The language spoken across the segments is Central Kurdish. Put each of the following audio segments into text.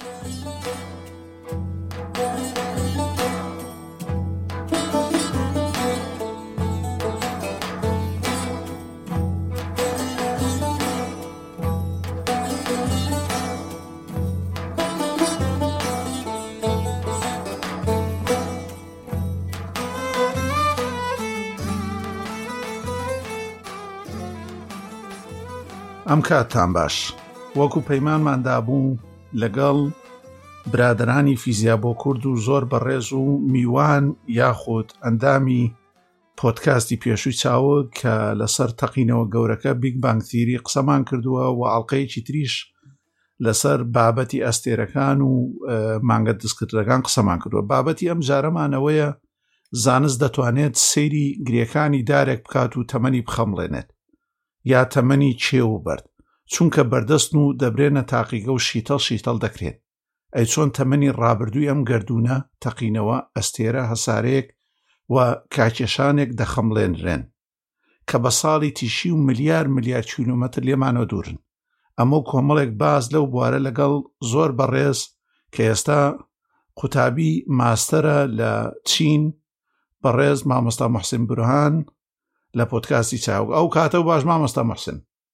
ئەم کاتتان باش. وەکو پەیمانماندا بوو لەگەڵ برادرانی فیزیا بۆ کورد و زۆر بەڕێز و میوان یاخود ئەندامی پۆدکاستی پێشووی چاوە کە لەسەر تەقینەوە گەورەکە بیگ بانگ تیری قسەمان کردووە و ئاڵلقەیەکی تریش لەسەر بابەتی ئەستێرەکان و مانگە دەستکردەکان قسەمان کردووە. بابەتی ئەم جارەمانەوەیە زانست دەتوانێت سەیری گرێکانی دارێک بکات و تەمەنی بخەمڵێنێت یا تەمەنی چێو بەرد، چونکە بەردەستن و دەبرێنە تاقیگە و شیتەڵ دەکرێت. ئەی چۆن تەمەنی ڕابردووی ئەم گردونە تەقینەوە ئەستێرە هەسارەیەک و کاکێشانێک دەخەمڵێنرێن کە بە ساڵی تیشی و ملیار کیلومتر لێمانەوە دوورن. ئەمە کۆمەڵێک باز لەو بوارە لەگەڵ زۆر بەڕێز کە ئێستا قوتابی ماستەرە لە چین بەڕێز مامۆستا موحسین بورهان لە پۆدکاستی چاوە. ئەو کاتە و باش مامۆستا موحسین.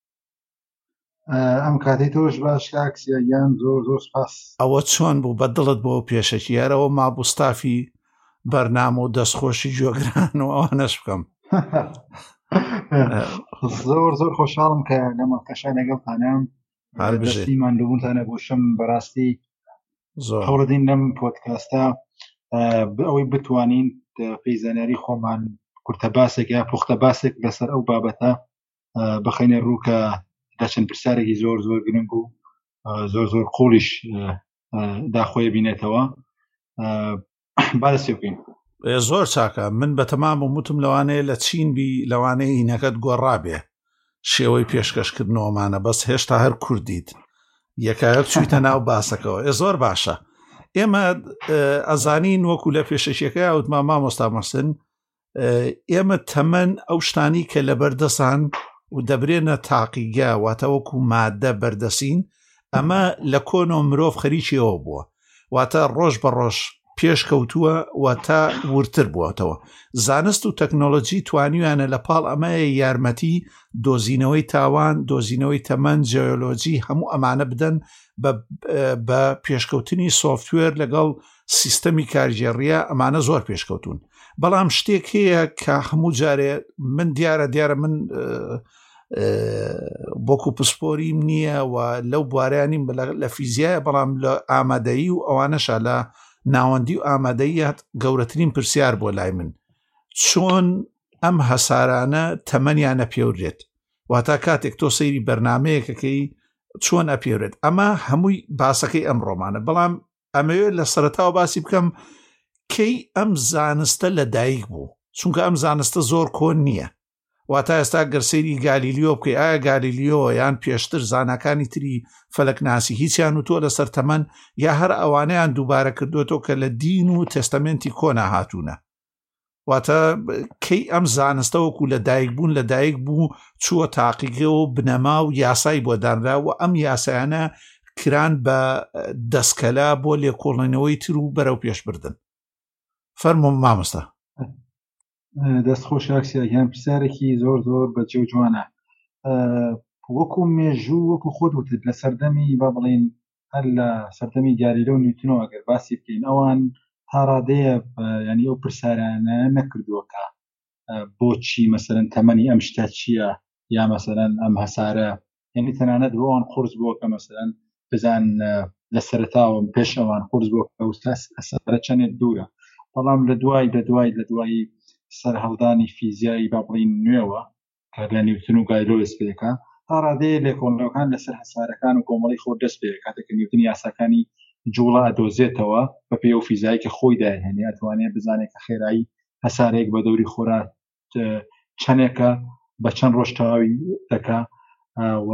ئەم کاتی تۆش باش کاکسیان زۆر سپاس. ئەوە چۆن بوو بەدڵت بۆ پێشەکی یارەوە مابوستافی بەرنامە و دەستخۆشی جۆگران و ئەوانەش بکەم. زۆر خۆشحاڵم کە لەمە قەشای لەگەڵتانم دەستیمان لەبوونتانە بۆشم بەڕاستی هەوڵدین لەم پۆدکاستە ئەوەی بتوانین پەیزانیاری خۆمان کورتە باسێک یا پوختە باسێک لەسەر ئەو بابەتە بخەینە ڕووکە دەچەند پرسیارێکی زۆر گرنگ و زۆر قوڵیش داخۆیە بینێتەوە. با دەستی بکەین. زۆر چاکە. من بەتەمام وتم لەوانەیە لە چین بی لەوانەیە هینەکەت گۆڕابێ شێوەی پێشکەشکردنەوەمانە، بەس هێشتا هەر کوردیت یەکایەک چوویتە ناو باسەکەەوە. زۆر باشە. ئێمە ئەزانین وەکو لە پێشەشیەکە وتما مامۆستا موحسین، ئێمە تەمەن ئەو شتانی کە لە بەردەسان و دەبرێنە تاقیگە واتە وەکو مادە بەردەسین، ئەمە لە کۆنۆ مرۆڤ خەریکیەوە بووە، واتە ڕۆژ بە ڕۆژ پێشکەوتووە و تا ورتر بووەتەوە. زانست و تەکنۆلۆجی توانیویانە لە پاڵ ئەمەیە یارمەتی دۆزینەوەی تاوان، دۆزینەوەی تەمەن، جیۆلۆجی هەموو ئەمانە بدەن بە پێشکەوتنی سۆفتوێر لەگەڵ سیستەمی کارژێڕیە. ئەمانە زۆر پێشکەوتون. بەڵام شتێک هەیە کە هەموو جارێ من دیارە من بۆکو پسپۆریم نییە و لەو بوارانیم لە فیزیایە، بەڵام لە ئامادەیی و ئەوانەشە لە ناوەندی و ئامادەیەت گەورەترین پرسیار بۆ لای من چۆن ئەم هەسارانە تەمەنیانە پێورێت، واتە کاتێک تۆ سەیری بەرنامەیەکەکەی چۆن ئەپێورێت. ئەمە هەمووی باسەکەی ئەم ڕۆمانە. بەڵام ئەمەوێت لە سەرەتاوە باسی بکەم کەی ئەم زانستە لە دایک بوو، چونکە ئەم زانستە زۆر کۆن نییە. واتە ئێستا گەرسەیری گالیلیۆ بکەی، ئایا گالیلیۆ یان پێشتر زانەکانی تری فەلەکناسی هیچیان و تۆ لەسەر تەمەن یا هەر ئەوانەیان دووبارە کردوێتەوە کە لە دین و تێستەمێنتی کۆنا هاتوونە. واتە کەی ئەم زانستە وەکو لە دایک بوون لە دایک بوو چووە تاقیگە و بنەما و یاسای بۆ دانرا و ئەم یاسایانە کران بە دەستکەلا بۆ لێکۆڵێنەوەی تر و بەرەو پێشبردن. فەرموو مامۆستا. دەستخۆش ئاکسیان پرسیارێکی زۆر بەجێ و جوانە. وەکو مێژوو وەکو خۆت وتت لە سەردەمی با بڵین هەر لە سەردەمی گالیلۆ و نیوتنەوە ئەگەر باسی بکەین ئەوان تا ڕادەیە ینی ئەو پرسیارانە نەکردووەکە بۆچی مەسەرەن تەمەنی ئەم شتە چییە یا مەسەرەن ئەم هەسارە، یعنی تەنانەت بۆەوان قورس بووە کە مەسەرەن بزان لە سەرەتاوە پێش ئەوان قورس بووە کە هەسارە چەندێک دوورە. بەڵام لە دوای سەر هەڵدانی فیزیایی با بڵین نوێوە کە لە نیوتن و گالیلۆ دەست پێەکە تا ڕادەیە لێکۆڵینەوەکان لەسەر هەسارەکان و کۆمەڵی خۆ دەست پێ کاتێک نیوتن یاساکانی جوڵە ئەدۆزێتەوە بە پێی ئەو فیزیایی کە خۆی داهێنێ ئەتوانێت بزانێت کە خێرایی هەسارەیەک بە دەوری خۆرا چەندێکە بە چەند ڕۆژ تەواوی دەکا و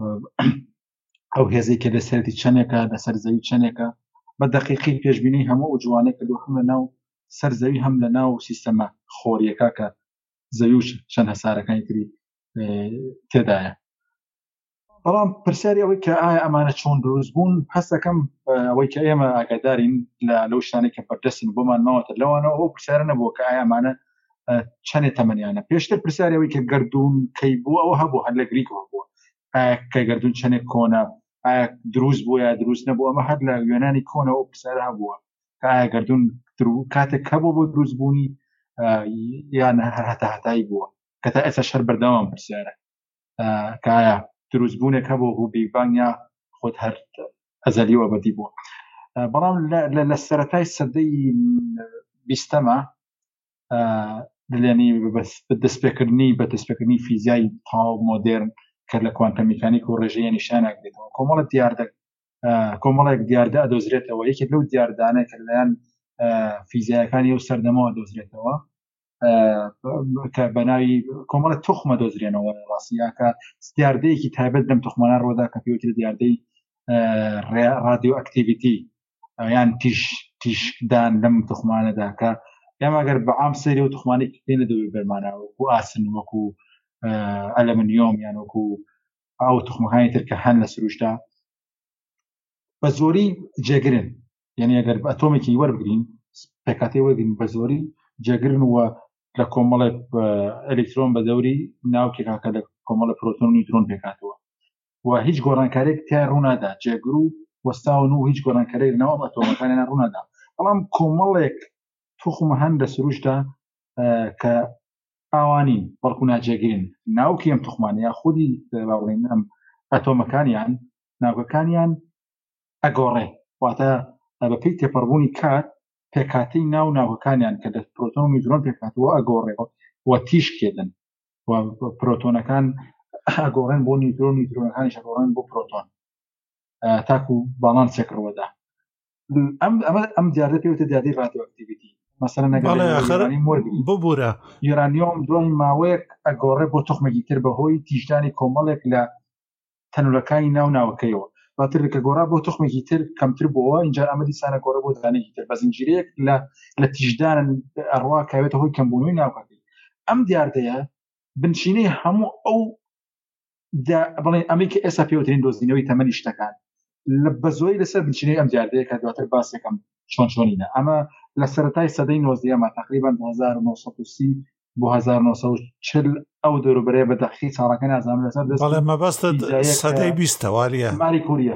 ئەو هێزەی کە لەسەرتی چەندێکە لەسەر زەوی چەندێکە بە دەقیقی پێشبینی هەموو جوانێک کە هەم لە ناو سەر زەوی هەم لە ناو سیستەمە خۆریەکە کە زەوی و چەند هەسارەکانی تری تێدایە. بەڵام پرسیاری ئەوەی کە ئایا ئەمانە چۆن دروست بوون هەستەکەم ئەوەی کە ئێمە ئاگادارین لەو شتانەی کە بەردەستین بۆمان ماوەتە لەوانەوە ئەو پرسیارە نەبووە کە ئایا ئەمانە چەندێ تەمەنیانە. پێشتر پرسیاری ئەوەی کە گەردوون کەی بوو ئەوە هەبوو، هەر لە گریکەوە بووە، ئایا کە گەردوون چەندێک کۆنە، ئایا دروست بووە یا دروست نەبوو. ئەمە هەر لە یۆنانی کۆنەوە پرسیارە هەبووە کە ئایا گەردوون کاتێک هەبوو بۆ دروست بوونی یان هەتایی بووە، کە تا ئێستا شەر بەردەوام پرسیارە کە ئایا دروستبوونێک هەبوو بوو بیگبانگ یا خۆت هەر ئەزەلی و ئەبەدی بووە. بەڵام لە سەرەتای سەدەی 20ەمە دلێنی بەدەستپێکردنی فیزیای تاو مۆدرن کە لە کوانتەم میکانیک و ڕێژەیە نیشانێک دێتەوە، کۆمەڵێک دیاردە ئەدۆزرێتەوە. یەکێک لەو دیاردانە کە لەلایەن فیزیایەکانی ئەو سەردەمەوە دۆزرێتەوە کە بەناوی کۆمەڵە تۆخمە دۆزرێنەوە ڕاستیاکە دیاردەیەکی تایبەت لەم تۆخمانە ڕۆدا کە پێوترێت دیاردەی رادیۆ ئەکتیڤیتی یان تیشدان لەم تۆخمانەدا کە ئێمە ئەگەر بەعام سەیری و تۆخمانێکی پێ نەدەوێت بەرمانە وەکو ئاسن وەکو ئەلەمنیۆم یان وەکو ئەو تۆخمەکانی تر کە هەن لە سروشدا بە زۆری جێگرن، یعنی ئەگەر ئەتۆمێکی وەربگرین پێکاتی وەرگین بە زۆری جێگرن و لە کۆمەڵێک ئەلکترۆن بە دەوری ناوکێکاکە لە کۆمەڵە پرۆتۆن و نیوترۆن پێکاتەوە و هیچ گۆڕانکارێک تیا ڕوونادا، جێگر و وەستاون و هیچ گۆڕانکارێک ناو ئەتۆمەکانیان ڕوونادا. بەڵام کۆمەڵێک توخمە هەن لە سروشدا کە ئاوانین بەڵکو ناجێگرن ناوکی ئەم توخمانە یا خودی باڵێن ئەم ئەتۆمەکانیان ناوکەکانیان ئەگۆڕێ، واتە بە پێی تێپەڕبوونی کات پێکاتی ناوکەکانیان کە لە پرۆتۆن و نیوترۆن پێکاتەوە ئەگۆڕێەوە و تیشکێدن و پرۆتۆنەکان ئەگۆڕێن بۆ نیوترۆن، نیوترۆنەکانیش ئەگۆڕێن بۆ پرۆتۆن تاکو باڵانسێک ڕوەدا. ئەم دیاردە پێوتە دیاردەی رادیۆئەکتیڤیتی. مەسەڵەن ببوورە یورانیۆم دوای ماوەیەک ئەگۆڕێ بۆ تۆخمێکی تر بەهۆی تیژدانی کۆمەڵێک لە تەنورەکانی ناوکەیەوە، باتر کە گۆڕا بۆ تۆخمێکی تر کەمتر بووە اینجا ئەمە دیسانە گۆڕە بۆ دانێکی تر بە زنجیرەیەک لە تیژدان ئەڕوا کاوێتە هۆی کەمبوونەوەی ناوکەکەی. ئەم دیاردەیە بنشینەی هەموو ئەو بڵێن ئەمەی کە ئێستا پێوترین دۆزینەوەی تەمەنی شتەکان لە بەزۆی لەسەر بنشینەی ئەم دیاردەیە کە دواتر باسێکم چۆنچۆنینە. ئەمە لە سەرەتای سەدەی 19ەمە تقریبا 1930 بۆ 1940 ئەو دەوروبەرەیە بە دەقیق چاڕەکە نازانم لەسەر دەست بەڵێ مەبەستە سەدەی 20ەوە ماری کوریە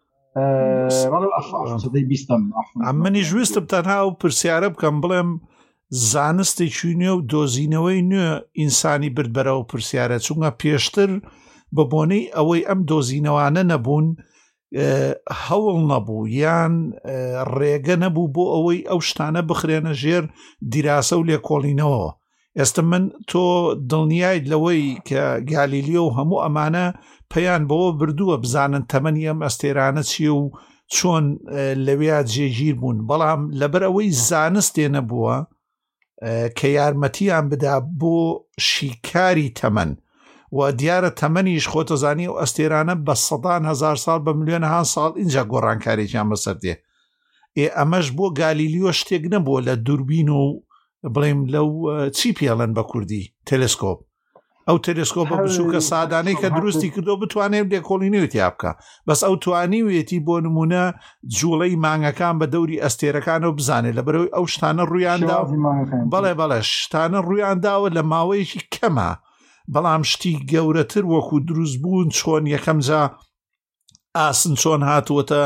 منی ژویستم تەنها و پرسیارە بکەم بڵێم زانستێکی نوێ و دۆزینەوەی نوێ ئینسانی برد بەرەوە پرسیارە، چونکە پێشتر بە بۆنەی ئەوەی ئەم دۆزینەوانە نەبوون هەوڵ نەبوو یان ڕێگە نەبوو بۆ ئەوەی ئەو شتانە بخرێنە ژێر دیراسە و لێکۆڵینەوە. ئێستا من تۆ دڵنیایت لەوەی کە گالیلیۆ و هەموو ئەمانە پەیان بەوە بردووە بزانن تەمەنی ئەم ئەستێرانە چیە و چۆن لەوێ جێگیر بوون، بەڵام لەبەر ئەوەی زانستێ نەبووە کە یارمەتیان بدا بۆ شیکاری تەمەن و دیارە تەمەنیش خۆتەزانی و ئەستێرانە بە سەدان هزار ساڵ بە ملیۆنەها ساڵ اینجا گۆڕانکارێکیان بەسەر دێ. ئەمەش بۆ گالیلیۆ شتێک نەبووە لە دووربین و بڵێم لەو چی پێڵەن بە کوردی تەلسکۆپ، ئەو تەلسکۆپە بچووکە سادانەی کە دروستی کردو بتوانێت لێکۆڵینەوەی تیا بەس ئەو توانیوێتی بۆ نمونە جوڵەی مانگەکان بە دەوری ئەستێرەکانەوە بزانێت لەبەرەوەی ئەو شتانە ڕوویاندا بەڵێ شتانە ڕوویانداوە لە ماوەیەکی کەمە، بەڵام شتی گەورەتر وەکو دروست بوون چۆن یەکەم جا ئاسن چۆن هاتووەتە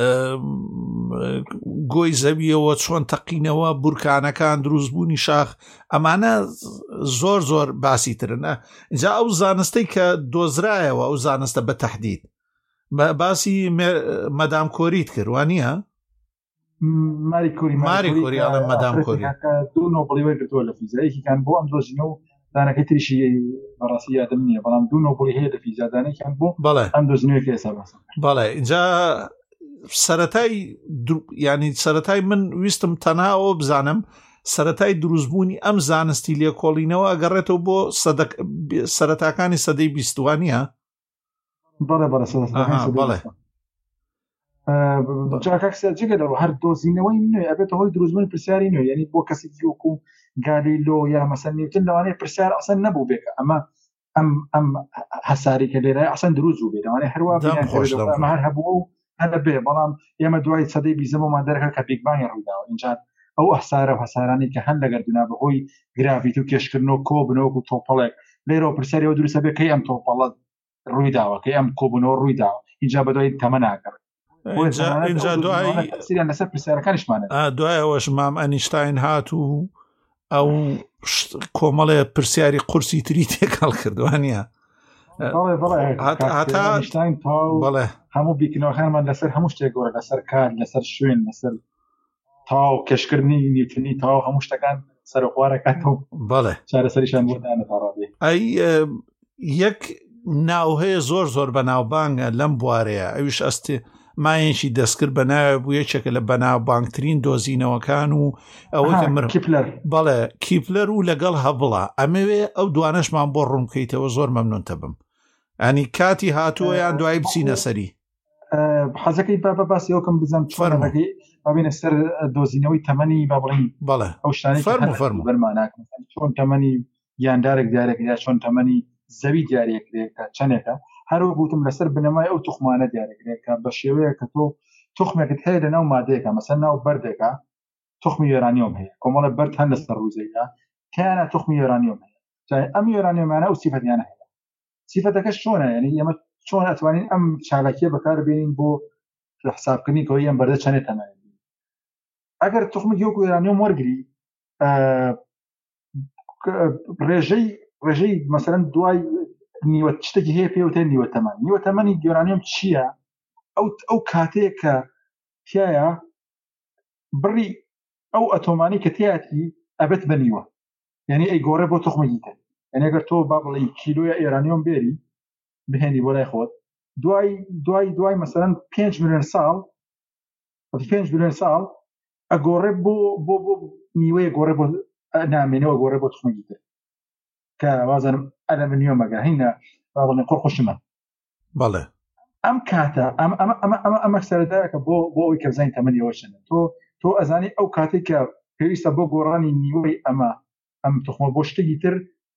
گۆی زەویەوە چۆن تەقینەوە بورکانەکان دروستبوونی شاخ ئەمانە زۆر زۆر باسی ترن. اینجا ئەو زانستەی کە دۆزرایەوە ئەو زانستە بە تەحدید باسی مەدام کۆریت کردوانیە ماری کۆری ئەڵێ مەدام کۆری دوو نۆبڵی گرتووە لە فیزیایەکیان بۆ ئەم دۆزینە و دانەکەی تریشی بەڕاستی یادم نییە، بەڵام دوو نۆبڵی هەیە لە فیزیادانێکیان بۆ ئەم دۆزینەوەی ئێستا باس. بەڵێ اینجا سەرەتای من ویستم تەنهاەوە بزانم سەرەتای دروستبوونی ئەم زانستی لێکۆڵینەوە ئەگەڕێتەوە بۆ سەرەتاکانی سەدەی 20وانە. بەڵێ جاکسجگە دەڕ هەر دۆزینەوەی نوێ ئەبێت هۆی دروستبوون پرسیاری نوێ، یعنی بۆ کەسێکی وەکو گالیلۆ یا مەسەل نیوتن لەوانەیە پرسیار ئەسەن نەبوو بێکە ئەمە ئەم هەساری کە لێرە ئەسەن دروست بوو بێتوانێت هەروە ئەمە هەر هەبوو هەر بێ بەڵام ئێمە دوای سەدەی 20مان دەرەکە کە بیگبانی ڕوویداوە اینجا ئەو ئەحسارە و هەسارانی کە هەن لەگەردونا بەهۆی گرافیت و کێشکردنەوە کۆبنەوە و تۆپەڵێک لێرە پرسیارەوە دروستە بێ کەی ئەم تۆپەڵە ڕوویداوە کەی ئەم کۆبنەوە ڕوویداوە اینجا بەدوای تەمە ناگەڕێت اینجا دوای سیریان لەسەر پرسیارەکانیشمانە دوای ئەوەش مام ئەنیشتاین هات و ئەو کۆمەڵێ پرسیاری قورسی تری تێکەڵ کردوانە بەڵێ هەموو بیکنەوەخانمان لەسەر هەموو شتێک گۆرە لەسەر کار لەسەر شوێن لەسەر تاو کەشکردنی نیوتنی تاو هەموو شتەکان سەرخوارەکاتەوە بەڵێ چارەسەریشان بۆدانە تاڕابێ ئەی یەک ناو هەیە زۆر بەناوبانگە لەم بوارەیە ئەویش ئەستێ مایەنشی دەستکرد بە ناوە بوو یەکێکە لە بەناوبانگترین دۆزینەوەکان و ئەوە کیپلەر بەڵێ کیپلەر و لەگەڵ هەبڵە ئەمەوێ ئەو دوانەشمان بۆ ڕوونکەیتەوە زۆر مەمنونتە بم ئەنی کاتی هاتووە یان دوای بچینە سەری حەزەکەی بە باسی ئەوکەم بزەم فەرمەکەی بابینە سەر دۆزینەوەی تەمەنی با بڵین بەڵێ ئەو شتانی فەرمو بەرماناکەن چۆن تەمەنی گیاندارێک دیارێک یا چۆن تەمەنی زەوی دیارێکرێکە چەندێکە هەروە گوتم لەسەر بنەمای ئەو توخمانە دیارێکرێکە بە شێوەیە کە تۆ توخمێکت هەیە لە ناو مادەیەکە مەسەن ناو بەردێکە توخمی یۆرانیۆم هەیە کۆمەڵە بەرد هەن لەسەر ڕووزەیدا تیانە توخمی یۆرانیۆم هەیە ئەم یۆرانیۆمانە ئەو سیفەتیانە هەیە سیفەتەکەش چۆنە یعنی ئێمە چۆن ئەتوانین ئەم چالاکیە بەکاربێنین بۆ حسابکردنی کەوەی ئەم بەردە چەندێت تەمەنی ئەگەر توخمێک وەکو یۆرانیۆم وەرگری ڕێژەی مەسەلەن دوای نیوە شتێکی هەیە پێوتێ نیوە تەمەنی یۆرانیۆم چییە ئەو کاتەیە کە تایە بڕی ئەو ئەتۆمانی کە تیاتی ئەبێت بە نیوە یعنی ئەی گۆڕێ بۆ توخمێکی تر یعنی ئەگەر تۆ با بڵێ کیلۆیە یۆرانیۆم بێری بهێنی بۆ لای خۆت دوای مەسەلەن 5 ملیۆن ساڵ ئەگۆڕێ بۆ نیوەیە گۆڕێ بۆ نامێنەوە گۆڕێ بۆ توخمێکی تر کە وازانم ئەلەمنیۆمەگە هینە با بڵێن قۆرخۆشمە بەڵێ ئەم کاتە ئەمە سەرەتایەکە بۆ ئەوی کە بزانین تەمەنیەوە چەندە تۆ ئەزانی ئەو کاتێک کە پێویستە بۆ گۆڕانی نیوەی ئەم توخمە بۆ شتێکی تر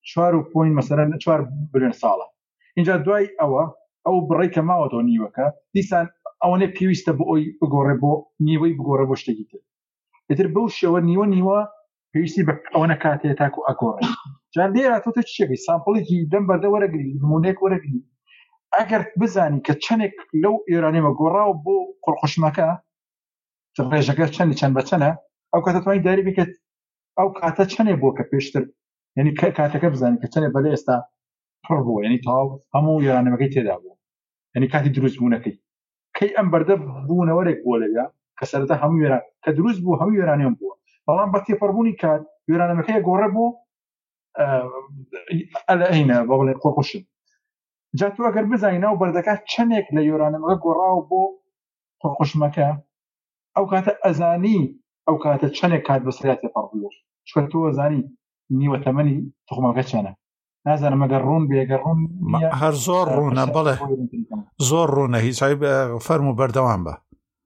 4 بلیۆن ساڵە اینجا دوای ئەو بڕی کە ماوەتەوە نیوەکە دیسان ئەوەنێ پێویستە بۆ ئەوی بگۆڕێ بۆ نیوەی بگۆڕێ بۆ شتێکی تر ئیتر بەو شێوە نیوە پێویستی بە ئەوەنە کاتێ تاکو ئەگۆڕێ جا لێرە تۆ چێکی سامپڵێکی دەم بەردە وەرەگری نمونەیەک وەرەگری ئەگەر بزانی کە چەندێک لەو ئێرانیمە گۆڕاو بۆ قڕخۆشمەکە ڕێژەکە چەند بە چەنە ئەو کاتە توانانی داری بکەیت ئەو کاتە چەندێک بۆ کە پێشتر یعنی کاتەکە بزانی کە چەندێک بەلێ ئێستا پڕ بووە یعنی تاو هەموو ئێرانەکەی تێدا بوو یعنی کاتی دروست بوونەکەی کەی ئەم بەردە بوونەوەرێک بۆ لەوێ کە سەرەتا هەموو وێران کە دروست بوو هەموو یۆرانیۆم بووە بەڵام بە تێپەڕبوونی کات یۆرانەکەی گۆڕە بۆ ئەلەینە بە بڵێ قۆرخۆشن جا تۆ ئەگەر بزانی ناو بەردەکە چەندێک لە یۆرانەکە گۆڕاوە بۆ قۆرخۆشمەکە ئەو کاتە ئەزانی ئەو کاتە چەندێک کات بەسەریا تێپەڕبووە چکە تۆ ئەزانی نیوە تەمەنی توخمەکە چەندە نازانم ئەگەر ڕوون بێگەر ڕوون هەر زۆر ڕوونە بڵێ زۆر ڕوونە هیچ فەرموو بەردەوام بە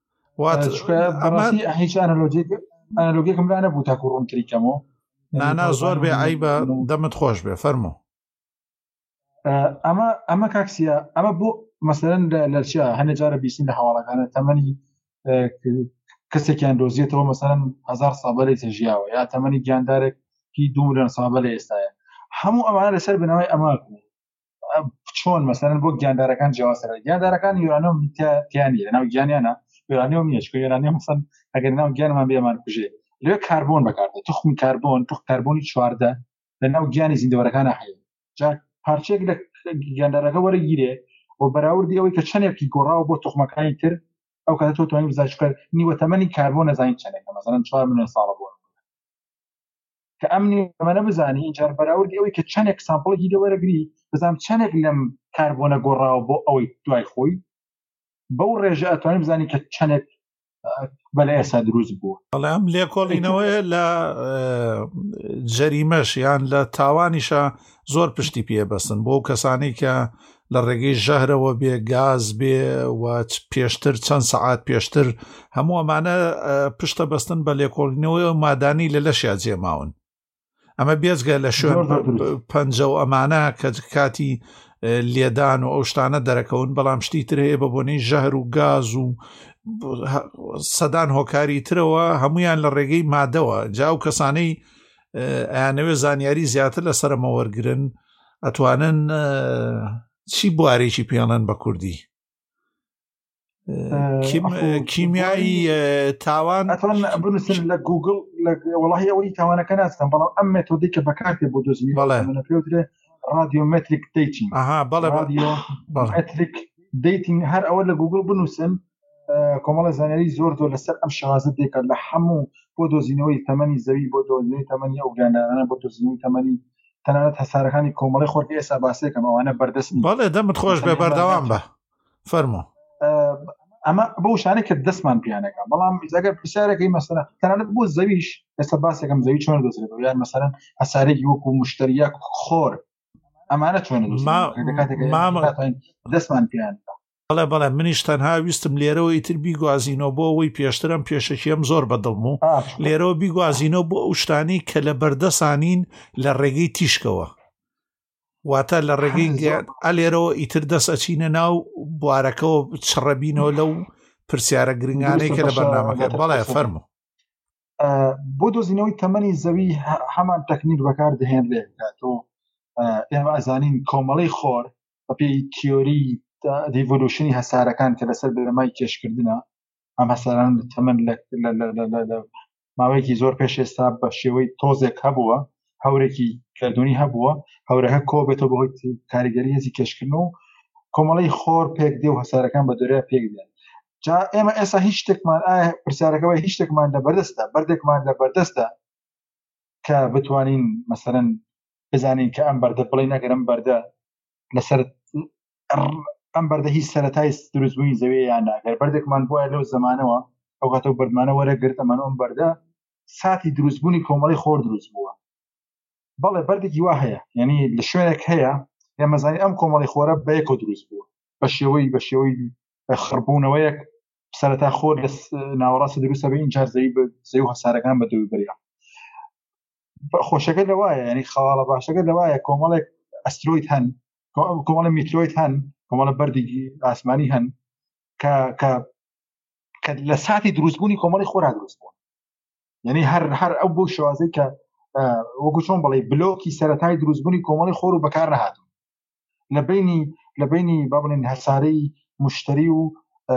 هیچ ئەنالۆگیەکەم لا نەبوو تاکو ڕوونتری کەمەوە نانا زۆر بێ ئای بە دەمت خۆش بێ فەرموو ئەمە کاکسیە ئەمە بۆ مەسەلەن لە چیا هەنێ جارە بیستین لە هەواڵەکانە تەمەنی کەسێکیان دۆزیێتەوە مەسەلەن 1000 ساڵ لەی تێژیاوە یا تەمەنی گیاندارێکی 2 ملیۆن ساڵ لە ئێستاە هەموو ئەمانە لەسەر بنەوەی ئەمە چۆن مەسەلەن بۆ گیاندارەکان جیاوازە گیاندارەکان یۆرانیۆم تیانی لەناو گیانیانە یۆرانیۆم نییە چکە یۆرانیۆم مەسەن ئەگەر ناو گیانمان بێمان کوژێ لێ کاربۆن بەکاردێت توخمی کاربۆنی 14 لەناو گیانی زیندەوەرەکانە هەیە جا پارچێک لە گیاندارەکە وەرەگیرێ و بەراوردی ئەوەی کە چەندێکی گۆڕاوە بۆ توخمەکانی تر ئەو کاتە تۆ توانین بزانیت نیوە تەمەنی کاربۆن نەزانین چەندێکە مەسەلەن 4 ملیۆن ساڵە بووە کە ئەم نیوەمەە بزانی اینجا بەراوردی ئەوەی کە چەندێک سامپڵێکی لێ وەرەگری بزانم چەندێک لەم کاربۆنە گۆڕاوە بۆ ئەوەی دوای خۆی بەو ڕێژە ئەتوانین بزانین کە چەندێک بەلە ئێستا دروست بووە بەڵێ ئەم لێکۆڵینەوەی لە جەریمەش یان لە تاوانیشە زۆر پشتی پێبەستن بۆ کەسانی کە لە ڕێگەی ژەهرەوە بێ گاز بێ و پێشتر چەند سەعات پێشتر هەموو ئەمانە پشتە بەستن بە لێکۆڵینەوەی مادانی لە لەشیا جێماون ئەمە بێزگە لە شوێن پەنجە و ئەمانە کە کاتی لێدان و ئەو شتانە دەرەکەون، بەڵام شتی تر هەیە بە بۆنەی ژەهر و گاز و سەدان هۆکاری ترەوە هەمویان لە ڕێگەی مادەوە. جا و کەسانەی ئەیانەوێ زانیاری زیاتر لەسەرمە وەرگرن ئەتوانن چی بوارێکی پێڵەن بە کوردی کیمیایی تاوان بنووسن لە گوگل وڵی ئەوەی تاوانەکە ناستن، بەڵام ئەم مێتۆدی کە بەکارتێ بۆ دۆزینی پێوترێ رادیۆمتریک دیتینگ. رادیۆمتریک دیتینگ هەر ئەوە لە گوگل بنووسن، کۆمەڵە زانیاری زۆر لەسەر ئەم شازت دێکات لە هەموو بۆ دۆزینەوەی تەمەنی زەوی، بۆ دۆزینەوەی تەمەنی ئەو گیاندارانە، بۆ دۆزینەوەی تەمەنی تەنانەت هەسارەکانی کۆمەڵی خۆرکی ئێستا باسێکم ئەوانە بەردەستن. بەڵێ دەمت خۆش بێ بەردەوام بە فەرمۆ. ئەمە بۆ شانێک کە دەستمان پیانەکە، بەڵام ئەگەر پرسیارەکەی مەسەلا تەنانەت بۆ زەویش ئێستا باسێکم زەوی چۆن دۆزرێتەوە، یان مەسەلەن هەسارێکی وەکو مشتریاک خۆر ئەمانە چۆن دەستمان پیان. بەڵێ منیش تەنها ویستم لێرەوە ئیتر بیگوازینەوە بۆ ئەوەی پێشترم پێشەکیم زۆر بەدڵم و لێرەوە بیگوازینەوە بۆ ئەو شتانی کە لە بەردەسانین لە ڕێگەی تیشکەوە، واتە لە ڕێگەی لێرەوە ئیتر دەسەچینە ناو بوارەکەەوە چڕەبینەوە لەو پرسیارە گرنگانەی کە لە بەرنامەکە. بەڵێ فەرموو. بۆ دۆزینەوەی تەمەنی زەوی هەمان تەکنیک بەکار دەهێنرێ کاتۆ ئێمە ئەزانین کۆمەڵی خۆر بە پێی تیۆری دیڤۆلوشنی هەسارەکان کە لەسەر بەرەمای کێشکردنە، ئەم هەساران تەمەن لە ماوەیەکی زۆر پێش ئێستا بە شێوەی تۆزێک هەبووە، هەورێکی کردوونی هەبووە، هەورەکە کۆ بێتەوە بەهۆی کاریگەری هێزی کێشکردن و کۆمەڵی خۆر پێک دێ و هەسارەکان بە دۆرەیە پێک دێن. جا ئێمە ئێستا هیچ شتێکمان پرسیارەکەەوەی هیچ شتێکمان لە بەردەستە بەردێکمان لە بەردەستە کە بتوانین مەسەرەن بزانین کە ئەم بەردە بڵێ نەگەرم بەردە لەسەر ئەم بەردە هیچ سەرەتای دروستبوونی زەوی یان ناگەر بەردێکمان بۆە لەو زمانەوە ئەو کاتەوە بەردمانە وەرەگرت ئەمانە ئەم بەردە ساتی دروستبوونی کۆمەڵی خۆر دروست بووە. بەڵێ بەردێکی وا هەیە، یعنی لە شوێنێک هەیە ئێمەزانی ئەم کۆمەڵی خۆرە بەیەکۆ دروست بووە بە شێوەی خڕبوونەوەیەک سەرەتا خۆر لە ناوەڕاستە دروستە بە اینجار زەوی و هەسارەکان بە دووی بەریا. خۆشەکە لەوایە، ینی خەواڵە باشەکە لەوایە کۆمەڵێک ئەسترۆید هەن، کۆمەڵە میترۆید هەن، کۆمەڵە بەردێکی ئاسمانی هەن کە لە ساتی دروستبوونی کۆمەڵی خۆرا دروست بوون. یعنی هەر ئەو بۆ شوازەی کە وەکو چۆن بڵێ بلۆکی سەرەتای دروستبوونی کۆمەڵی خۆر و بەکار نەهاتون لە بینی با بڵێن هەسارەی مشتری و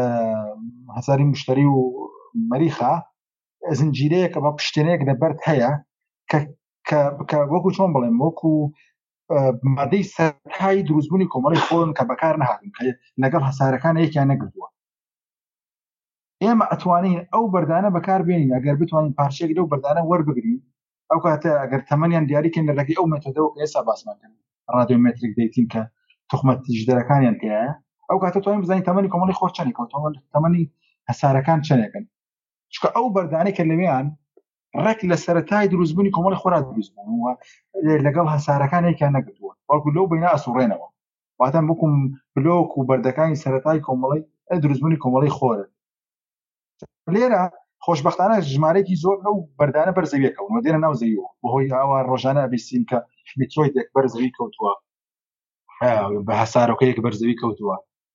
مەریخە زنجیرەیەکە بە پشتێنەیەک لەبەرد هەیە کە وەکو چۆن بڵێم وەکو مادەی سەرەتای دروستبوونی کۆمەڵی خۆرن کە بەکار نەهاتون کە لەگەڵ هەسارەکانە یەکیان نەگرتووە. ئێمە ئەتوانین ئەو بەردانە بەکار بێنین ئەگەر بتوانین پارچەیەک لەو بەردانە وەربگرین، ئەو کاتە ئەگەر تەمەنیان دیاریکەین لە ڕێگەی ئەو مێتۆدەوە کە ئێستا باسمان کردن رادیۆمتریک دیتین کە تۆخمەتیژدەرەکانیان تێیە، ئەو کاتە توانین بزانین تەمەنی کۆمەڵی خۆر چەندێکە و تەمەنی هەسارەکان چەندێکن، چونکە ئەو بەردانەی کە لەوێیان ڕێک لە سەرەتای دروستبوونی کۆمەڵی خۆرا دروست بوون و لەگەڵ هەسارەکان یەکیان نەگرتووە، بەڵکو لەو بینە ئەسوڕێنەوە، واتە وەکو بلۆک و بەردەکانی سەرەتای کۆمەڵی دروستبوونی کۆمەڵی خۆرە. لێرە خۆشبەختانە ژمارەیەکی زۆر لەو بەردانە بەرزەویەکەون دێنە ناو زەویەوە بەهۆی ئاوا ڕۆژانە ئەبیستین کە میترۆیدێک بەرزەوی کەوتووە بە هەسارۆکەیەک بەرزەوی کەوتووە.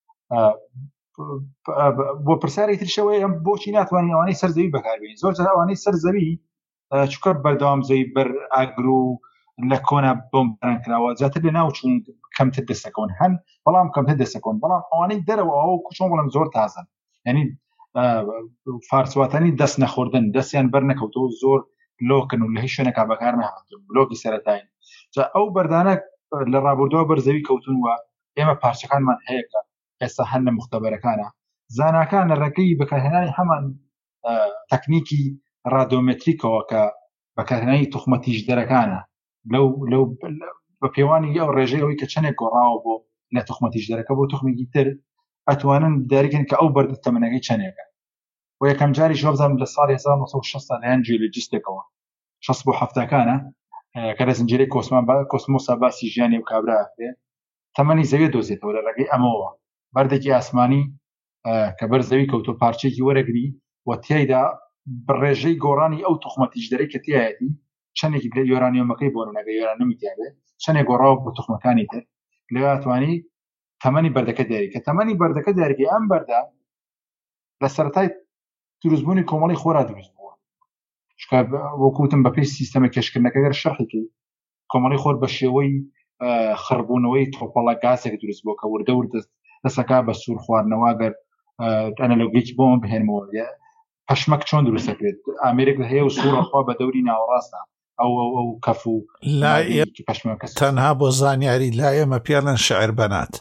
بۆ پرسیارێکی ترشەوەی ئەم بۆچی ناتوانین ئەوانەی سەر زەوی بەکاربێنین؟ زۆر جار ئەوانەی سەر زەوی چونکە بەردەوام زەوی بەر ئاگر و لە کۆنا بۆمباران کراوە زیاتر لە ناوچوون کەمتر دەستەکەون هەن، بەڵام کەمتر دەستەکەون، بەڵام ئەوانەی دەرەوە ئەو کوچۆن بڵم زۆر تازن، یعنی فارسواتانی دەست نەخوردن دەستیان بەر نەکەوتەوە زۆر لۆکن و لە هیچ شوێنێکا بەکار نەهاتن بلۆکی سەرەتاین. جا ئەو بەردانە لە ڕابردووە بەرزەوی کەوتون وە ئێمە پارچەکانمان هەیە کە ئێستا هەن لە مختبەرەکانە زاناکان لە ڕێگەی بەکارهێنانی هەمان تەکنیکی رادیۆمتریکەوە کە بەکارهێنانی توخمەتیژدەرەکانە لەو بە پێوانی ئەو ڕێژەیەوەی کە چەندێک گۆڕاوە بۆ لە توخمەتیژدەرەکە بۆ توخمێکی تر ئەتوانن دیاریکەن کە ئەو بەردە تەمەنەکەی چەندێکە. و یەکەم جاری شۆبزانم لە ساڵی 1960 لەیان جیۆلۆجیستێکەوە 60 بۆ 70کانە کە لە زنجیرەی کۆسمۆسا باسی ژیانی و کابراکرێ تەمەنی زەوی دۆزێتەوە لە ڕێگەی ئەمەوە بەردێکی ئاسمانی کە بەر زەوی کەوتۆ پارچێکی وەرەگری و تیایدا ڕێژەی گۆڕانی ئەو توخمەتیژدەرەی کە تایەتی چەندێکی لە یۆرانیۆمەکەی بۆ نەگە یۆرانیۆمی تیاابێ چەندێک گۆڕاو بۆ تخمەکانی تر لەواتوانی تەمەنی بەردەکە دیاری کە تەمەنی بەردەکە دیارگەی ئەم بەردە لە سەرەتای دروستبوونی کۆمەڵی خۆرا دروست بووە وەکوتم بەپێی سیستەمە کێشکردنەکە گەر شەرحێکی کۆمەڵی خۆر بە شێوەی خڕبوونەوەی تۆپەڵە گازێک دروست بووە کە وردە وردە دەسەکە بە سوور خواردنەوە گەر ئەنەلۆگیکی بۆمە بهێنمەوە پەشمەک چۆن دروستەکرێت ئامێرێک هەیە و سوورەخوا بە دەوری ناوەڕاستە ئەو کەف و پەشمەکە تەنها بۆ زانیاری لای ئێمە پێڵەن شعر بەنات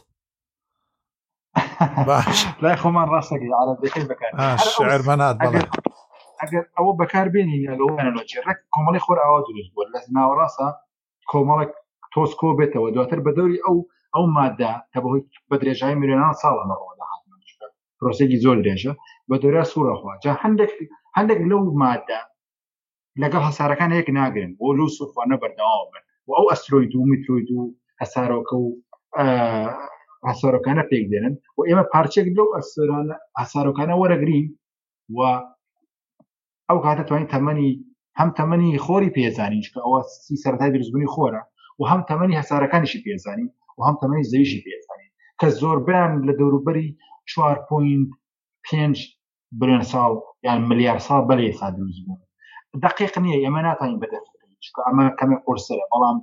باش لای خۆمان ڕاستەکەی عەرەبیەکەی بەکار شعر بەنات بەڵێ ئەگەر ئەوە بەکاربێنی لەگەڵانەوەجی ڕێک کۆمەڵی خۆر ئاوا دروست بووە لە ناوەڕاستە کۆمەڵێک تۆسکۆ بێتەوە دواتر بە دەوری ئەو مادە کە بەهۆی بە درێژایی میلیۆنان ساڵە نەڕۆدا پرۆسێکی زۆر درێژە بە دەورە سوورەخوا جا هەندێک لەو مادە لەگەڵ هەسارەکان هەیەک ناگرن بۆ لەو سوورخواردنە بەردەوام بن و ئەو ئەسترۆید و میترۆید و هەسارۆکە و هەسارۆکانە پێک دێنن و ئێمە پارچێک لەو هەسارۆکانە وەرەگرین و ئەو کاتە توانین هەم تەمەنی خۆری پێزانین کە ئەوە سەرەتای دروستبوونی خۆرە و هەم تەمەنی هەسارەکانیشی پێزانین و هەم تەمەنی زەویشی پێزانین کە زۆربیان لە دەوروبەری 4.5 بلیۆن ساڵ یان ملیار ساڵ بەلێ ئێستا دروست بوون دقیق نییە ئێمە ناتوانین بەدەستبکەین چونکە ئەمە کەمێک قورسەرە بەڵام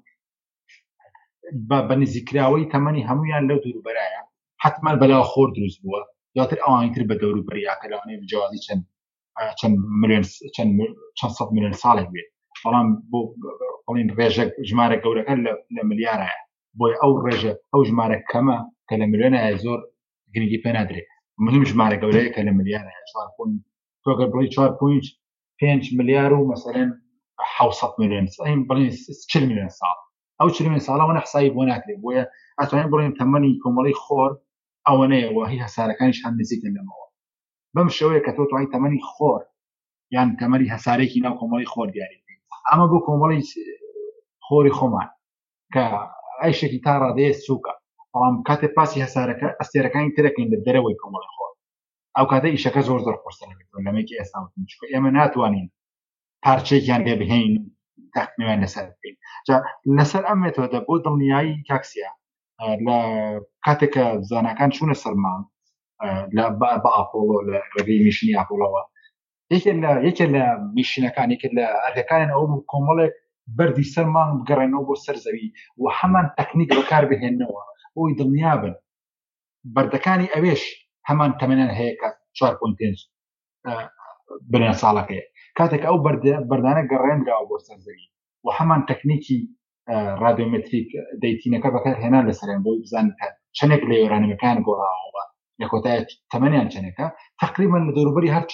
بە نزیکراوەی تەمەنی هەمویان لەو دەوروبەرایە حتما بەلاو خۆر دروست بووە دواتر ئەوانتر بە دەوروبەریاکە لەوانەیە بجوازی چەند سەد میلیۆن ساڵێک بێت بەڵام بۆ بڵین ڕێژە ژمارە گەورەکە لە ملیارایە بۆی ئەو ڕێژە ئەو ژمارە کەمە کە لە ملیۆنایە زۆر گرنگی پێ نادرێت مهم ژمارە گەورەیە کە لە ملیارایە تۆگە بڵی 4.5 ملیار و مەسەلەن 700 میلیۆن بڵین 40 میلیۆن ساڵ ئەو 40 میلیۆن ساڵەوە نەحسایی بۆ ناکرێت بۆیە ئەتوانین بڵین تەمەنی کۆمەڵی خۆر ئەوەنەیە وهی هەسارەکانیش هەم نزیکن لەمەوە بەم شێوەیە کە تۆ توانیت تەمەنی خۆر یان تەمەنی هەسارێکی ناو کۆمەڵی خۆر دیاری بکەیت ئەمە بۆ کۆمەڵی خۆری خۆمان کە ئەیشێکی تا ڕادەیە سووکە بەڵام کاتێک پاسی هەسارەکە ئەستێرەکانی ترەکەین لە دەرەوەی کۆمەڵی خۆر ئەو کاتە ئیشەکە زۆر قورسەرە لەمەیەکی ئێستا چونکە ئێمە ناتوانین پارچێکیان لێ بهێن تاقنیوان لەسەر بکەین جا لەسەر ئەم مێتۆدە بۆ دڵنیایی کاکسیا لە کاتێککە زاناکان چوونە سەرمان بە ئاپۆڵۆ لە ڕێگەی میشنی ئاپۆڵەوە یەکێ لە میشنەکان یەکێ لە ئەرکەکانیان ئەوە بوو کۆمەڵێک بەردی سەرمان بگەڕێنەوە بۆ سەر زەوی و هەمان تەکنیک بەکار بهێننەوە بۆی دڵنیابن بەردەکانی ئەوێش هەمان تەمەنیان هەیە کە 4.5 بلیۆن ساڵەکەیە کاتێک ئەو بەردانە گەڕێنراوە بۆ سەر زەوی و هەمان تەکنیکی رادیۆمتریک دەیتینەکە بەکار هێنا لەسەریان بۆی بزانن چەندێک لە یۆرانیەکان گۆڕاوە لە کۆتایە تەمەنیان چەندێکە تقریبا لە دەوروبەری هەر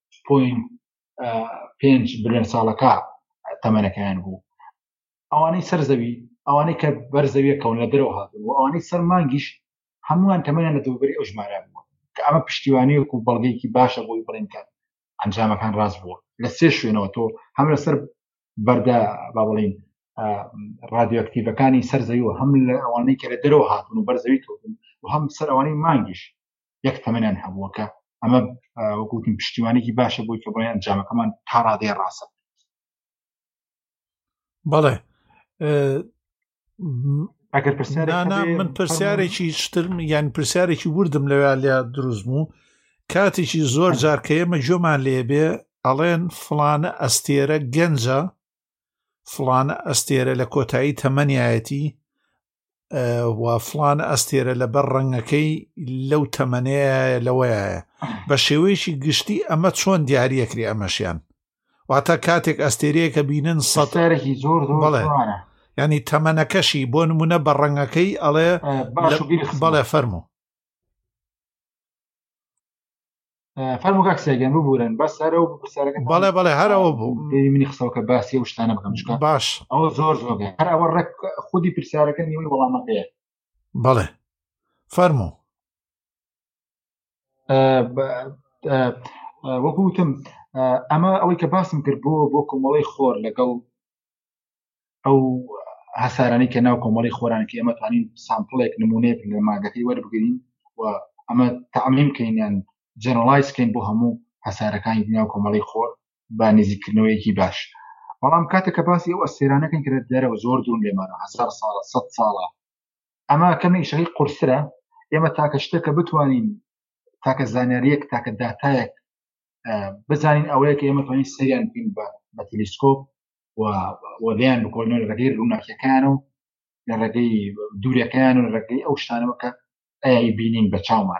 4.5 بلیۆن ساڵەکە تەمەنەکەیان بوو ئەوانەی سەر زەوی ئەوانەی کە بەرزەویە کەون لە دەرەوە هاتون و ئەوانەی سەر مانگیش هەمووان تەمەنیان لە دەوروبەری ئەو ژمارە بووە کە ئەمە پشتیوانیەک و بەڵگەیەکی باشە بۆی بڵێن کە ئەنجامەکان ڕاست بووە لە سێ شوێنەوە تۆ هەم لەسەر بەردە با بڵین رادیۆکتیڤەکانی سەر زەوی و هەم لە ئەوانەی کە لە دەرەوە هاتون و بەرزەوی کەوتن و هەم سەر ئەوانەی مانگیش یەک تەمەنیان هەبووە کە ئەمە وەکوتم پشتیوانێکی باشە بۆی کە بڵێن ئەنجامەکەمان تا ڕادەیە ڕاستە بەڵێ من پرسیارێکی شترم یان پرسیارێکی وردم لەوێ لیا دروست بوو کاتێکی زۆر جار کە ئێمە جۆمان لێبێ ئەڵێن فڵانە ئەستێرە گەنجە فڵانە ئەستێرە لە کۆتایی تەمەنیایەتی و فڵانە ئەستێرە لە بەر ڕەنگەکەی لەو تەمەنەیە لەوەیە بە شێوەیەکی گشتی ئەمە چۆن دیاریەکری ئەمەشیان واتە کاتێک ئەستێرەیەکە بینن سەتارێکی زۆر بەڵێ ینی تەمەنەکەشی بۆ نمونە بە ڕەنگەکەی ئەڵێ بەڵێ فەرموو فەرموو کاکسێگەن ببورن بەس هەرەوە بەڵێ هەرەوە بوو منی قسەوکە باسی و شتانە بکەم چکە باش ئەوە زۆر هەر ئەوە ڕێک خودی پرسیارەکە نیوەی وەڵامەکەیە بەڵێ فەرموو وەکوتم ئەمە ئەوەی کە باسم کرد بۆ کۆمەڵی خۆر لەگەڵ ئەو هەسارانی کە ناو کۆمەڵی خۆرانکی ئەمە توانین سامپڵێک نمونەیەک لە ماگەکەی وەربگرین و ئەمە تەعمیم کەین جنرالایز کەین بۆ هەموو هەسارەکانی ناو کۆمەڵی خۆر با نزیکردنەوەیەکی باش بەڵام کاتێک کە باسی ئەو ئەستێرانەکەن کرێت دەرەوە زۆر دوون لێمانە 1000 ساڵە 100 ساڵە ئەمە کەمی ئیشەکەی قورسرە ئێمە تاکە شتێکە بتوانین تاکە زانیاریەک تاکە داتایەک بزانین ئەوەیە کە ئێمە توانین سەریان بکەین بە تەلەسکۆپ و لێیان بکۆڵنەوە لە ڕێگەی ڕووناکیەکان و لە ڕێگەی دوورەکەیان و لە ڕێگەی ئەو شتانەوە کە ئەی بینین بە چاومان.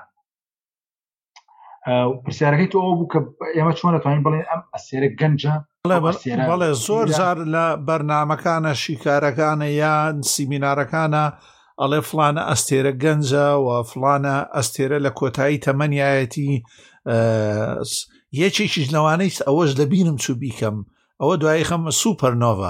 پرسیارەکەی تۆ ئەو بوو کە ئێمە چۆن دەتوانین بڵێن ئەم ئەستێرە گەنجە. بەڵێ زۆر جار لە بەرنامەکانە شیکارەکانە یان سیمینارەکانە ئەڵێ فلانە ئەستێرە گەنجە و فلانە ئەستێرە لە کۆتایی تەمەنیایەتی یەکێکیش لەوانەی ئەوەش دەبینم چوو بیکەم ئەوە دوایی خەمە سوپەرنۆڤا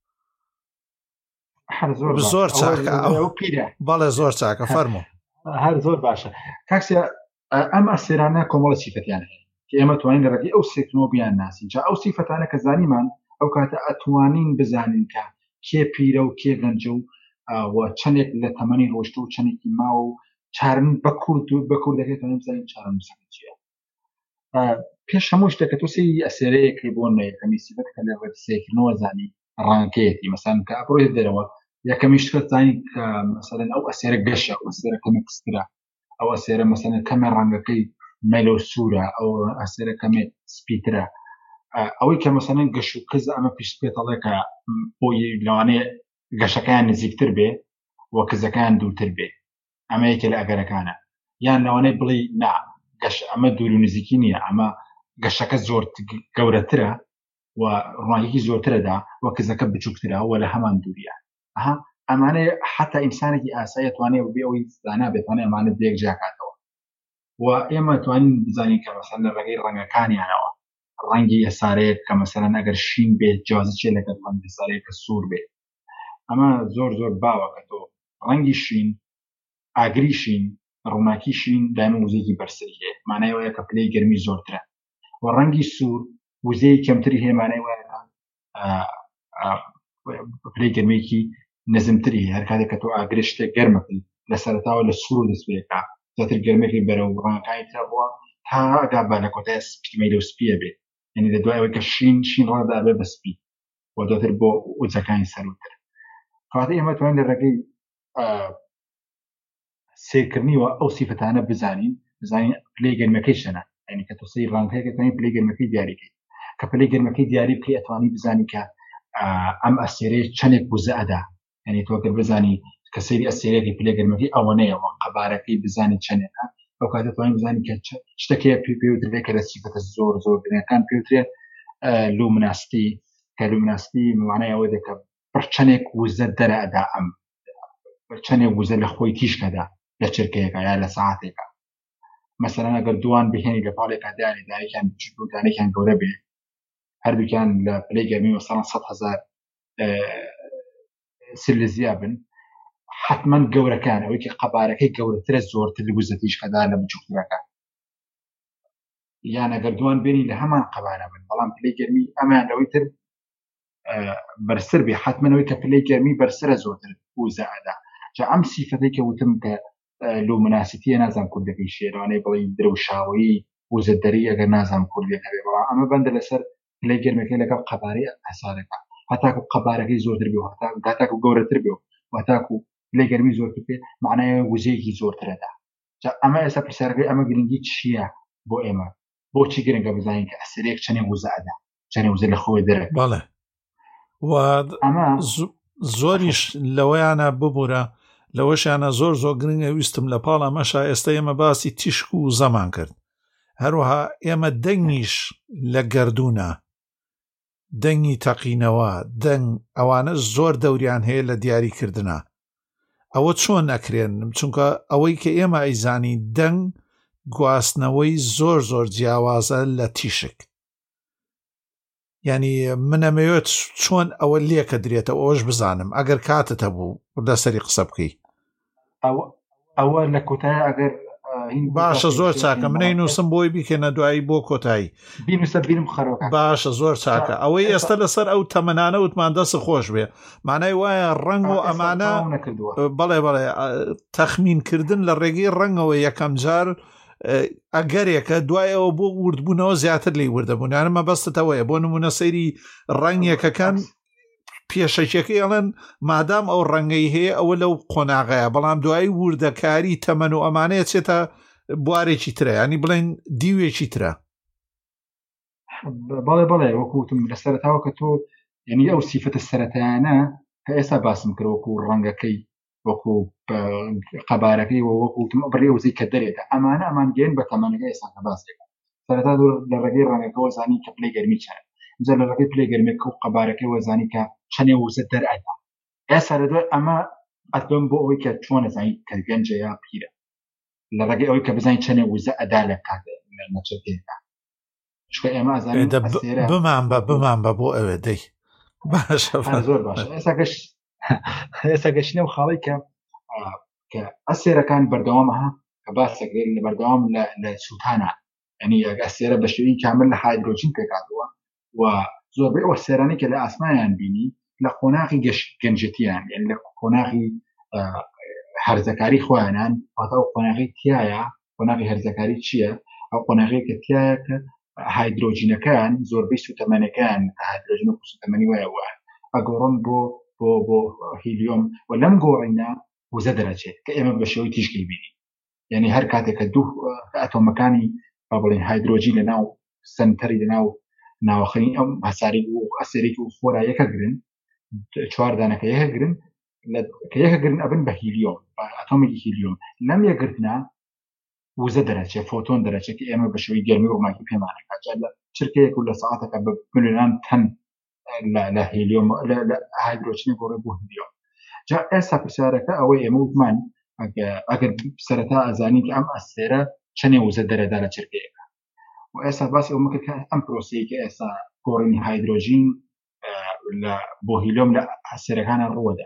زۆر چاکە بەڵێ زۆر چاکە فەرموو هەر زۆر باشە کاکسیا ئەم ئەستێرانە کۆمەڵە سیفەتیان هەیە کە ئێمە توانین لە ڕێگەی ئەو سێکنەوە بیان ناسین جا ئەو سیفەتانە کە زانیمان ئەو کاتە ئەتوانین بزانین کە کێ پیرە و کێ گەنجە و چەندێک لە تەمەنی ڕۆشتە و چەندێکی ماوە و چارن بە کوردەکەی توانین بزانین چارن مسەکە چییە. پێش هەموو شتێک کە تۆ سەیری ئەستێرەیەکی بۆ یەکەمی سیفەت کە لە ڕێگەی سێکنەوە زانی ڕانکەیەتی مەسەڵەن کە ئەبڕۆیت دەرەوە یەکەمی شتت زانی کە مەسەڵەن ئەو ئەستێرە گەشە ئەو ئەستێرە کەمێک کسترە ئەو ئەستێرە مەسەڵەن کەمێ ڕەنگەکەی مەلە و سوورە ئەو ئەستێرە کەمێ سپیترە ئەوەی کە مەسەڵەن گەش و کز ئەمە پیش پێتەڵێ کە بۆی لەوانەیە گەشەکان نزیکتر بێ و کزەکان دوورتر بێ ئەمە یەکێ لە ئەگەرەکانە یان لەوانەیە بڵێ نا گەش ئەمە دوور و نزیکی نییە ئەمە گەشەکە زۆر گەورەترە و ڕوانگەیەکی زۆرترەدا و کزەکە بچووکترە و لە هەمان دووریە ئەمانەیە حتا ئینسانێکی ئاسایی توانێت بێ ئەوی زانا بێتوانێت ئەمانە دێک جاکاتەوە و ئێمە توانین بزانین کە مەسەڵەن لە ڕێگەی ڕەنگەکانیانەوە ڕەنگی ئەسارەیە کە مەسەڵەن ئەگەر شین بێت جیازە چێ لەگەڵ ڕەنگی ئەسارەیە کە سوور بێت ئەمە زۆر زۆر باوە کە تۆ ڕەنگی شین ئاگری شین ڕووناکی شین دایمە وزەیەکی بەرسەری هەیە مانای وایە کە پلەی گەرمی زۆرترە و ڕەنگی سوور وزەی کەمتری هەیە مانای وایە پلەی گەرمێکی نەزمتری هەر کاتێک کە تۆ ئاگرە شتێک گەرمەکەی لە سەرەتاوە لە سوور دەست پێکا زیاتر گەرمێکی بەرەو ڕەنگەکانی تر بووە تا ئەگا با لە کۆتای سپیمەی لەو سپیە بێت یعنی لە دوای ئەوەی کە شین ڕەدا بێ بە سپی و دواتر بۆ وزەکانی سەرۆتر کاتە ئێمە توانین لە ڕێگەی سیرکردنیوە ئەو سیفەتانە بزانین پلەی گەرمەکەی شەنە یعنی کە تۆ سەی ڕەنگەکەی توانین پلەی گەرمەکەی دیاریکەی کە پلەی گەرمەکەی دیاری بکەی ئەتوانی بزانی کە ئەم ئەستێرەیە چەندێک وزە ئەدا یعنی تۆ ئەگەر بزانی کە سەیری ئەستێرەیەکی پلەی گەرمەکەی ئەوەنەیەوە قەبارەکەی بزانی چەندێکە ئەو کاتە توانین بزانی کە شتێکەیە پێوترێت کە لە سیفەتە زۆر زۆر گرنگەکان پێوترێت لومناستی کە لومناستی معنای ئەوەیە کە چەندێک وزە دەرە ئەدا ئەم چەندێک وزە لە خۆی تیشکەدا لە چرکەیەکە یا لە ساعتێکە مەسەڵەن ئەگەر دوان بهێنی لە پاڵێکا دانی دانێکیان بچووک و دانێکیان گەورە بێ هەردووکیان لە پلەی گەرمی مەسەڵەن 100,000 سلزیا بن حتما گەورەکان ئەوەی کە قەبارەکەی گەورەترە زۆرتر لە وزە تیشکەدا لە بچووکترەکە یان ئەگەر دوان بێنی لە هەمان قەبارە بن بەڵام پلەی گەرمی ئەمان لەوەی تر بەرسەر بێ حتمەوەی کە پلەی گەرمی بەرسرە زۆرتر وزە ئەدا جا ئەم سیفەتەی کە وتم کە لومناسیتیە نازانم کوردەکەی شێرانەی بڵێ درەوشاوی وزە دەری ئەگەر نازانم کوردەکە بێ بەڵام ئەمە بەندە لەسەر پلەی گەرمەکەی لەگەڵ قەبارەی ئەسارەکە هەتاکو قەبارەکەی زۆرتر بێ هەتاکو گەورەتر بێ وهتاکو پلەی گەرمی زۆرتر بێ معنایە وزەیەکی زۆرترەدا جا ئەمە ئێستا پرسیارەکەی ئەمە گرنگی چییە بۆ ئێمە بۆچی گرنگە بزانین کە ئەسەرێک چەندێک وزە ئەدا چەندێک وزە لە خۆی دەرەکە بەڵێ و زۆریش لەوەیانە ببوورە لەوەشیانە زۆر گرنگە ویستم لە پاڵ ئەمەشا ئێستا ئێمە باسی تیشک و زەمان کرد هەروەها ئێمە دەنگیش لە گەردوونە دەنگی تەقینەوە دەنگ ئەوانە زۆر دەوریان هەیە لە دیاریکردنە ئەوە چۆن ئەکرێن چونکە ئەوەی کە ئێمە ئەیزانی دەنگ گواستنەوەی زۆر جیاوازە لە تیشک ینی منەمەوێت چۆن ئەوە لێکە درێتە ئەوەش بزانم ئەگەر کاتت هەبوو دەسەری قسە بکەی ئەوە لە کۆتایی ئەگەر باشە زۆر چاکە منەی نووسم بۆی بیکەنە دوایی بۆ کۆتایی بینم خەرۆکە باشە زۆر چاکە ئەوەی ئێستا لەسەر ئەو تەمەنانە وتمان دەست خۆش بێ مانای وایە ڕەنگ و ئەمانە بەڵێ تەخمینکردن لە ڕێگەی ڕەنگەوە یەکەم جار ئەگەرێکە دوایەوە بۆ وردبوونەوە زیاتر لی وردەبوونیانمە بەستەوەیە بۆ نمونە سەیری ڕەنگێکەکان پێشەکێکی ئەڵەن مادام ئەو ڕەنگەی هەیە ئەوە لەو قۆناغەیە بەڵام دوایی وردەکاری تەمەن و ئەمانەیە چێتە بوارێکی ترە ینی بڵێن دیوێکی ترە. بەڵێ وەکوتم لە سەرتاوە کە تۆ یعنی ئەو سیفەتە سەرەتایانە کە ئێستا باسم کرد وەکو ڕەنگەکەی وەکو قەبارەکەی وەکوتم بڕێ وزەی کە دەرێتە ئەمان گەێن بە تەمەنەکە ئێستا کە باسێکە سەرەتا لە ڕێگەی ڕەنگەکەەوە زانی کە پلەی گەرمی چەند جا لە ڕێگەی پلەی گەرمێکە و قەبارەکەی وەزانی کە چەندێ وزە دەرئەدا ئێستا لە دوای ئەمە ئەتۆم بۆ ئەوەی کە چۆن نەزانی کە گەنجە یا پیرە لە ڕێگەی ئەوەی کە بزانین چەندێ وزە ئەدا لە کاتێ نەچێتێکە چکە ئێمە ئازانین بمان بە بۆ ئەوێ دەی باشە زۆر باشە ئێستا گەشتنە و خاڵی کە ئەسێرەکان بەردەوامەها کە باسەکرێت لە بەردەوام لە سووتانە ینی ئەسێرە بە شێوەی کامل لە هایدرۆجین پێکاتەوە و زۆربەی ئەوە سێرانی کە لە ئاسمانیان بینی لە قۆناغی گەنجەتیان یعنی لە قۆناغی هەرزەکاری خۆیانان واتە ئەو قۆناغی تایە قۆناغی هەرزەکاری چییە ئەو قۆناغی کە تایە کە هایدرۆجینەکان زۆربەی سوتەمەنەکان هایدرۆجین و سوتەمەنی وایە ئەگۆڕن بۆ هیلیۆم و لەم گۆڕینە وزە دەرەچێت کە ئێمە بە شێوەی تیشکی بینی یعنی هەر کاتێککە دوو ئەتۆمەکانی با بڵێن هایدرۆجین لە ناو سنتەری لە ناو ناوەخەی ئەم هەساری و ئەسێرێکی و خۆرا یەکە گرن چوار دانەکە یەکە گرن کە یەکە گرن ئەبن بە هیلیۆم ئەتۆمێکی هیلیۆم لەم یەکگرتنا وزە دەرەچێت فۆتۆن دەرەچێت کە ئێمە بە شێوەی گەرمی و ماکی پێمانەکە جا لە چرکەیەک و لە سەعاتەکە بە ملیۆنان تەن لە هیلیۆم لە هایدرۆجین گۆڕێ بۆ هیلیۆم جا ئێستا پرسیارەکە ئەوەی ئێمە وتمان ئەگەر سەرەتا ئەزانی کە ئەم ئەسێرە چەندێ وزە دەرەدا لە چرکەیەکە و ئێستا باسی ئەومە کرد کە ئەم پرۆسەیە کە ئێستا گۆڕینی هایدرۆجین بۆ هیلیۆم لە ئەسێرەکانە ڕووەدا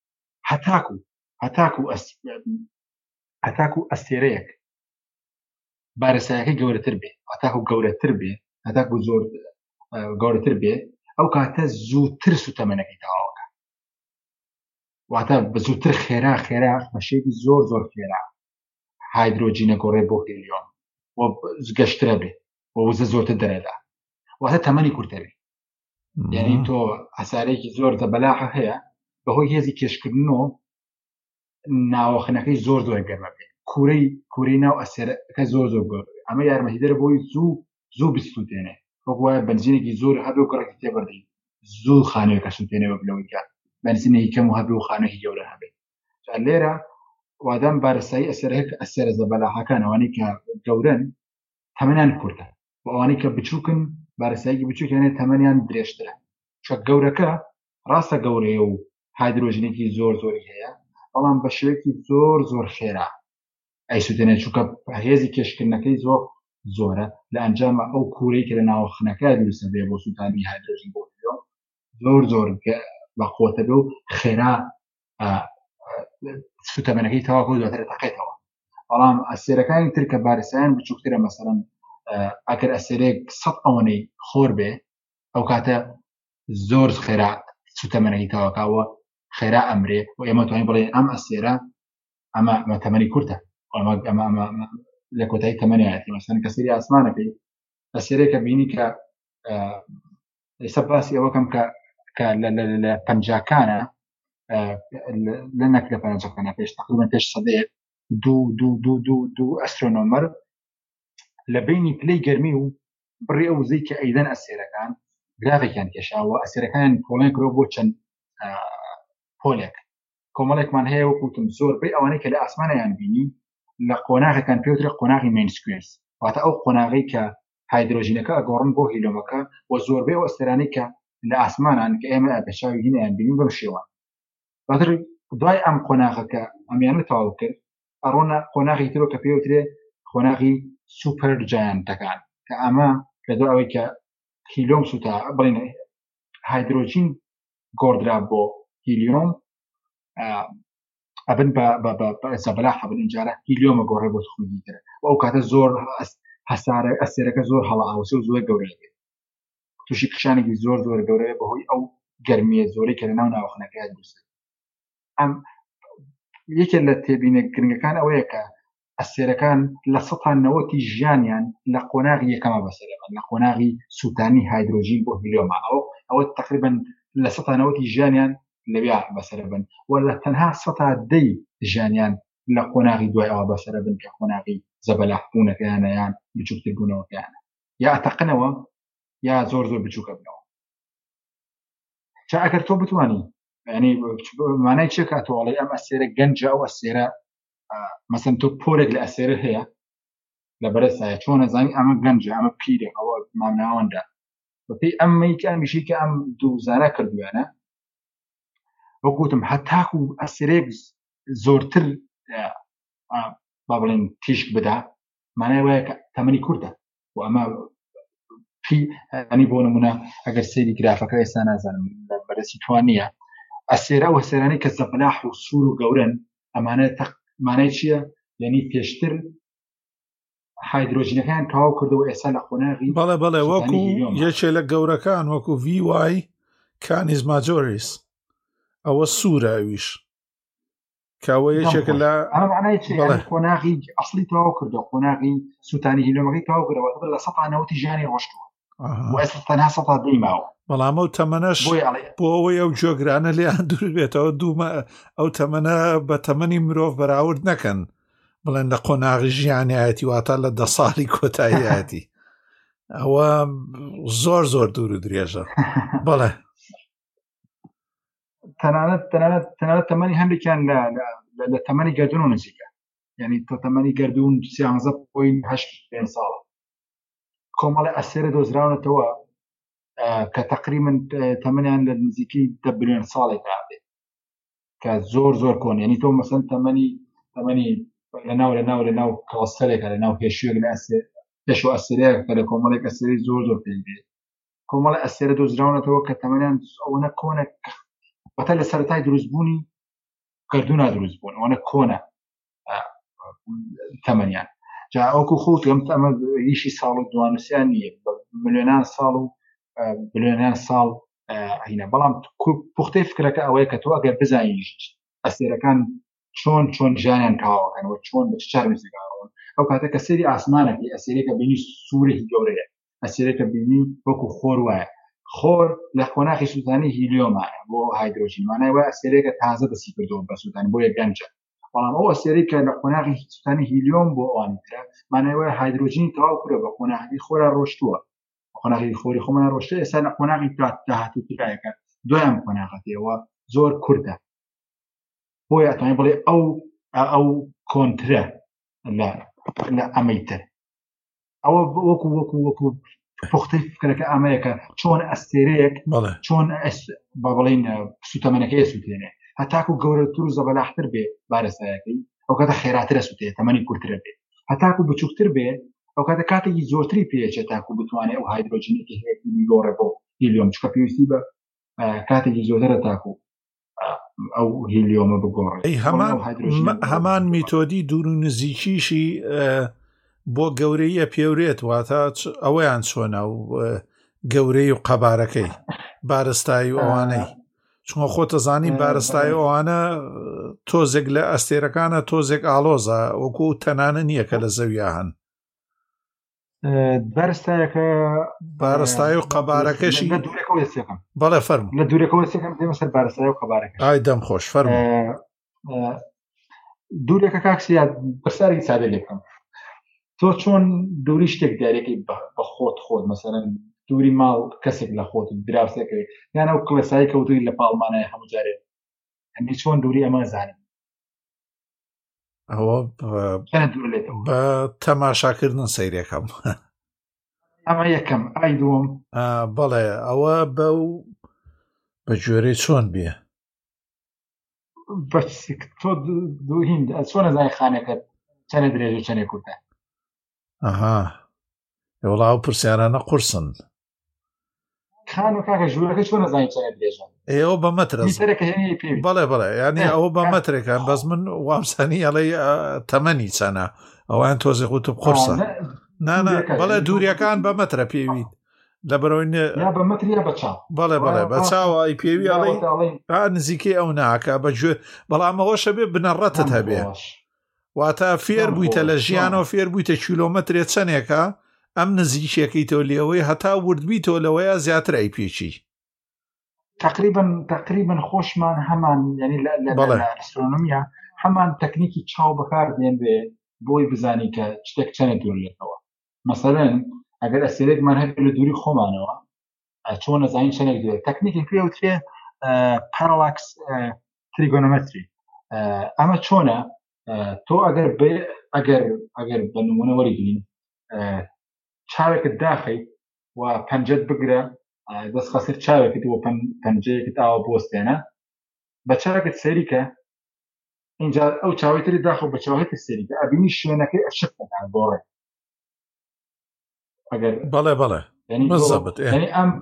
هەتاکو ئەسێرەیەک بارەسایەکەی گەورەتر بێ هەتاکو گەورەتر بێ هەتاکو زۆر گەورەتر بێ ئەو کاتە زووتر سوتەمەنەکەی تەواوەکە واتە بە زووتر خێرا بەشێکی زۆر خێرا هایدرۆجینە گۆڕێ بۆ هیلیۆم و گەشترە بێ و وزە زۆرتر دەرەدا واتە تەمەنی کورتە بێ یعنی تۆ ئەسارێکی زۆر دەبەلاحە هەیە بەهۆی هێزی کێشکردنەوە ناوەخنەکەی زۆر گەرمە بێ کوورەی ناو ئەسێرەکە زۆر گەورە ئەمە یارمەتیدەرە بۆی زوو بسووتێنێ وەکوایە بنزینێکی زۆر هەبێ و گڕێکی تێبەردەی زوو خانوویەکە سووتێنەوە بلەوەی کات بنزینێکی کەم و هەبێ و خانوویەکی گەورە هەبێ لێرە وادام بارەسایی ئەسێرە زەبەلاحەکان ئەوانەی کە گەورن تەمەنیان کورتە و ئەوانەی کە بچووکن بارەساییکی بچووکێنێ تەمەنیان درێژترە چکە گەورەکە ڕاستە گەورەیە و هایدرۆژینێکی زۆری هەیە بەڵام بە شێوەیەکی زۆر خێرا ئەیسووتێنێت چووکە هێزی کێشکردنەکەی زۆرە لە ئەنجامە ئەو کوورەی کە لە ناوەخنەکە دروستە بێ بۆ سووتانی هایدرۆژین بۆ زۆر بەخۆتە بێ و خێرا سوتەمەنەکەی تەواو دواتر تەقێتەوە بەڵام ئەسێرەکانی تر کە بارەساییان بچووکترە مەسەڵەن ئەگەر ئەسێرەیەک 100 ئەوەنەی خۆر بێ ئەو کاتە زۆر خێرا سوتەمەنەکەی تەواوکاوە خێرا ئەمرێ و ئێمە توانین بڵێن ئەم ئەسێرە ئەمە تەمەنی کورتە ئەمە لە کۆتایی تەمەنیەتی مەسەڵەن کە سەیری ئاسمانەکەی ئەسێرەیەکە بینی کە ئێستا باسی ئەوەکەم کە لە پەنجاکانە لە نەک لە پەنجاکانە تقریبا پێش سەدەیەک دوو ئەسترۆنۆمەر لە بینی پلەی گەرمی و بڕێ ئەو وزەی کە ئەیدەن ئەسێرەکان گرافێکیان کێشاوە ئەسێرەکان پۆڵێن کرۆ بۆ چەند پۆلێک کۆمەڵێکمان هەیە وەکوتم زۆربەی ئەوانەی کە لە ئاسمانیان بینی لە قۆناغەکان پێوترە قۆناغی مینسکوێرس واتە ئەو قۆناغی کە هایدرۆژینەکە ئەگۆڕن بۆ هیلۆمەکە و زۆربەی ئەو ئەستێرانەی کە لە ئاسمانان کە ئێمە بەشاوی هینیان بینین بەم شێوان بەتر دوای ئەم قۆناغەکە ئەمیانە تەواو کرد ئەڕۆنە قۆناغی ترۆ کە پێوترێ قۆناغی سوپەر جایانتەکان کە ئەمە لە دوای ئەوەی کە هیلۆم سوتا بڵێن هایدرۆجین گۆڕدرا بۆ هیلیۆم ئەبن بە زەبەلاح ئەبن ئینجارە هیلیۆمە گۆڕێ بۆ تخمێکی ترە و ئەو کاتە زۆر هەسارە ئەسێرەکە زۆر هەڵاوسێ و زۆر گەورەیە بێت تووشی کشانێکی زۆر گەورەیە بەهۆی ئەو گەرمیە زۆرەی کە لە ناو ناوەخنەکەی دروست ئەم یەکێک لە تێبینە گرنگەکان ئەوەیە کە ئەسێرەکان لە 90 ژیانیان لە قۆناغی یەکەمە بەسەرەبن، لە قۆناغی سوتانی هایدرۆژین بۆ هیلیۆمە، ئەوە تقریبا لە 90 ژیانیان لەوێ بەسەرەبن، و لە تەنها 10 ژیانیان لە قۆناغی دوای ئەوە بەسەرەبن کە قۆناغی زەبەلاحبوونەکەیانە یان بچووکتر بوونەوەکەیانە، یا ئەتەقنەوە یا زۆر زۆر بچووکە بنەوە. چا ئەگەر تۆ بتوانی ینی مانای چێ کاتۆڵی ئەم ئەسێرە گەنجە، ئەو ئەسێرە مەسەن تۆ پۆرێک لە ئەسێرە هەیە لە بەرەسایە، چۆن نەزانی ئەمە گەنجە ئەمە پیرە، ئەوە مامناوەندا بەپێی ئەمەی کە ئەمیشی کە ئەم دووزانە کردویانە، وەگوتم هەتاکو ئەسێرەیەک زۆرتر با بڵێن تیشک بدا، مانای وایە کە تەمەنی کوردە، و ئەمە ئەنی بۆ نمونە ئەگەر سەیری گرافەکە ئێستا نازانم لە بەرەسی توان نییە، ئەسێرە و هەسێرانی کە زەبەلاح و سوور و گەورن، ئەمانە مانای چییە؟ یعنی پێشتر هایدرۆژینەکان تەواو کردەوە، ئێستا لە قۆناغی بەڵێ وەکو یەکێ لە گەورەکان وەکو VY کانیز ماجۆریس، ئەوە سوورە، ئەویش کاوە یەکێکە لە ئەمە معنای چی؟ قۆناغی ئەسڵی تەواو کردەوە، قۆناغی سوتانی هیلیۆمەکەی تەواو کردەوە لە 190 ژیانی ڕۆشتووە، و ئێستا تەنها 100 ماوە. بەڵام ئەو تەمەنەش بۆ ئەوەی ئەو جۆگرانە لێیان دوور بێتەوە، ئەو تەمەنە بە تەمەنی مرۆڤ بەراورد نەکەن، بڵێن لە قۆناغی ژیانیەتی واتە لە 10 ساڵی کۆتاییەتی، ئەوە زۆر زۆر دوور و درێژە. بەڵێ تەنانەت تەمەنی هەندێکیان لە تەمەنی گەردون و نزیکە، یعنی تۆ تەمەنی گەردون 13.8 ساڵە. کۆمەڵی ئەسێرە دۆزراونەتەوە کە تقریبا تەمەنیان لە نزیکی 10 بلیۆن ساڵێک هاتێت، کە زۆر زۆر کۆن، یعنی تۆ مەسەن تەمەنی لەناو کڵەستەرێکە، لەناو هێشوێک لە پێش و ئەسێرەیە کە لە کۆمەڵێک ئەسێرەی زۆر زۆر پێی دێت. کۆمەڵی ئەسێرە دۆزراونەتەوە کە تەمەنیان ئەوەنە کۆنە، وەتە لە سەرەتای دروستبوونی گەردوونا دروستبوون، ئەوەنە کۆنە تەمەنیان. جا ئەوکو خۆت ئەمە ریشی ساڵ و دوانوسیان نییە، ملیۆنان ساڵ و بلیۆنان ساڵ هینە، بەڵام پوختەی فکرەکە ئەوەیە کە تۆ ئەگەر بزانیش ئەسێرەکان چۆن ژیانیان تەواوەکەنەوە، چۆن بە چ چارەنووسێکەوە، ئەو کاتە کە سەیری ئاسمانێکی ئەسێرێکە بینی سوورێکی گەورەیە، ئەسێرێکە بینی وەکو خۆر وایە، خۆر لە قۆناغی سوتانی هیلیۆمایە بۆ هایدرۆژین، مانای وایە ئەسێرێکە تازە دەسی کردەوە بە سوتانی، بۆ یە گەنجە. بەڵام ئەو ئەسێرەی کە لە قۆناغی سوتانی هیلیۆم بۆ ئەوانیترە، مانای وایە هایدرۆژینی تەواو کرێ، بە قۆناغی خۆرا ڕۆشتووە، قۆناغی خۆری خۆمان ڕۆشتە، ئێستا لە قۆناغی داهاتووترایەکە دوایان قۆناغەتەوە زۆر کوردە، بۆیە ئەتوانێت بڵێ ئەو کۆنترە لە ئەمەیتر. ئەوە وەکو پوختەی فکرەکە ئەمەیەکە چۆن ئەستێرەیەک چۆن با بڵێن سوتەمەنەکەی سوتێنێ، هەتاکو گەورەتر و زەبەلاحتر بێ بارەسایەکەی، ئەو کاتە خێراترە سوتێت، تەمەنی کورتترە بێ، هەتاکو بچووکتر بێ، ئەو کاتە کاتێکی زۆرتری پێچێت تاکو بتوانێت ئەو هایدرۆژینێکی هەیە گۆڕێ بۆ هیلیۆم، چکە پێویستی بە کاتێکی زۆرترە تاکو ئەو هیلیۆمە بگۆڕێت. هەمان میتۆدی دوور و نزیکیشی بۆ گەورەیە پێورێت، واتە ئەوەیان چۆنە و گەورەی و قەبارەکەی بارستایی و ئەوانەی، چونکە خۆتە زانی بارستایی ئەوانە تۆزێک لە ئەستێرەکانە تۆزێک ئالۆزە، وەکو تەنانە نییە کە لە زەویە هەن. بارستایی و قەبارەکەشی بەڵێ فەرم لە دوورەکەەوە سێکم دێمە سەر بارستایی و قەبارەکە. ئای دەم خۆش فەرم. دوورێکە کاکسیا بەسەری سادە لێ بکەم، تۆ چۆن دووری شتێک دیارێکی بە خۆت مەسەرەن دووری ماڵ کەسێک لە خۆت دراوسێکەوێت، یان ئەو کڵێسایی کەوتوی لە پاڵمانای هەموو جارێت، ئەنی چۆن دووری ئەمە زانین؟ ئەوە بە تەماشاکردن سەیرێکم. ئەمە یەکەم. ئای دووەم بەڵێ ئەوە بە جۆرەی چۆن بێ، تۆ دووهین چۆن نەزانی خانەکەت چەنە درێژ و چەنێ کورتە؟ وڵاو پرسیارانە قورسن. خان و کاکە ژوورەکە چۆن نەزانی چەنە درێژە؟ ئێوە بە مەترە بەڵێ ینی ئەوە بە مەترێکان، بەس من وامسانی ئەڵێ تەمەنی چەنە، ئەوان تۆزێ خوتب قورسە. بەڵێ دووریەکان بە مەترە پێویت لە بەرەوەی بە مەتریا بەچاو. بەڵێ بە چاوی پێوی ئەڵێ نزیکەی ئەو ناکە بەگوێ، بەڵام ئەوەشە بێ بنەڕەتت هەبێ، واتە فێر بوویتە لە ژیانەوە فێر بوویتە کیلۆمەترێ چەندێکە ئەم نزیکێکیتەوە لێەوەی هەتا وردبییتەوە لەوەیە زیاتر ئەی پێچی تقریبا خۆشمان هەمان ینی لە ئەسترۆنۆمیا هەمان تەکنیکی چاو بەکار دێن بێ بۆی بزانی کە شتێک چەنە دوور لێتەوە مەسەلەن ئەگەر ئەسێرێکمان هەبێت لە دووری خۆمانەوە چۆن نەزانین چەندێک دوێت تەکنیکی پێوترێ پارالاکس تریگۆنۆمەتری ئەمە چۆنە تۆ ئەگەر بە نمونە وەریگرین چاوێکت داخەیت و پەنجەت بگرە دەست خەسر چاوێکت و پەنجەیەکت ئاوە بۆستێنە بە چاوێکت سەریکە اینجا ئەو چاوەتری داخە بە چاوێتت سەریکە ئەبینی شوێنەکەی ئەشکەکان گۆڕێ ئەگەر بەڵێ مەزەبت ئەم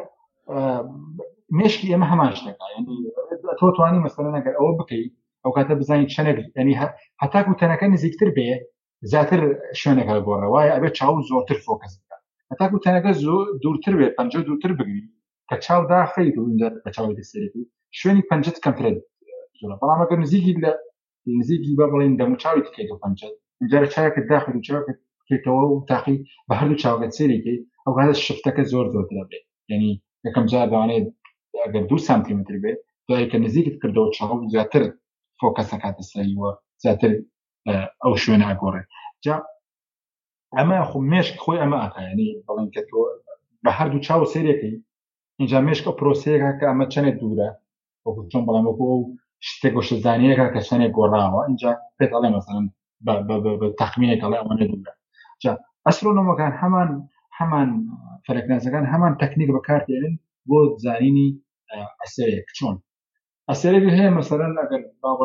مێشکی ئێمە هەمان شتەکە ینی تۆ توانی مەسەلەن ئەگەر ئەوە بکەیت ئەو کاتە بزانین چەندێک ینی هەتاکو تەنەکە نزیکتر بێ زیاتر شوێنێکە گۆڕێ وایە ئەبێت چاو زۆرتر فۆکەس بکات هەتاکو تەنەکە دوورتر بێت پەنجە دوورتر بگری کە چاو داخەیت و اینجا بە چاوی سەرێتی شوێنی پەنجەت کەمترە زۆرە بەڵام ئەگەر نزیکی بە بڵین دەموچاوی تکەیت و پەنجەت اینجا چاوێکت داخل و چاوێکت بکەیتەوە و تاقی بە هەردوو چاوەکەت سەرێکی ئەو کاتە شفتەکە زۆرترە بێت ینی یەکەم جار دەوانێت ئەگەر 2 سانتیمتر بێت دوای کە نزیکت کردەوە چاو زیاتر فۆکەسە کاتە سەریوە زیاتر ئەو شوێنە ئەگۆڕێ جا ئەمە خو مێشک خۆی ئەمە ئاکایانی بەڵێن کە تۆ بە هەردوو چاو سەرێکی اینجا مێشکە پرۆسەیەکە کە ئەمە چەندێک دوورە وەکو چۆن بەڵام وەکو شتێک گۆشەزانیەکە کە چەندێک گۆڕاوە اینجا پێت ئەڵێ مەسەڵەن بە تەخمینێک ئەڵێ ئەوەنە دوورە جا ئەسترۆنۆمەکان هەمان فەلەکناسەکان هەمان تەکنیک بەکاردێنن بۆ زانینی ئەسەرێک چۆن ئەسەرێک هەیە مەسەڵەن ئەگەر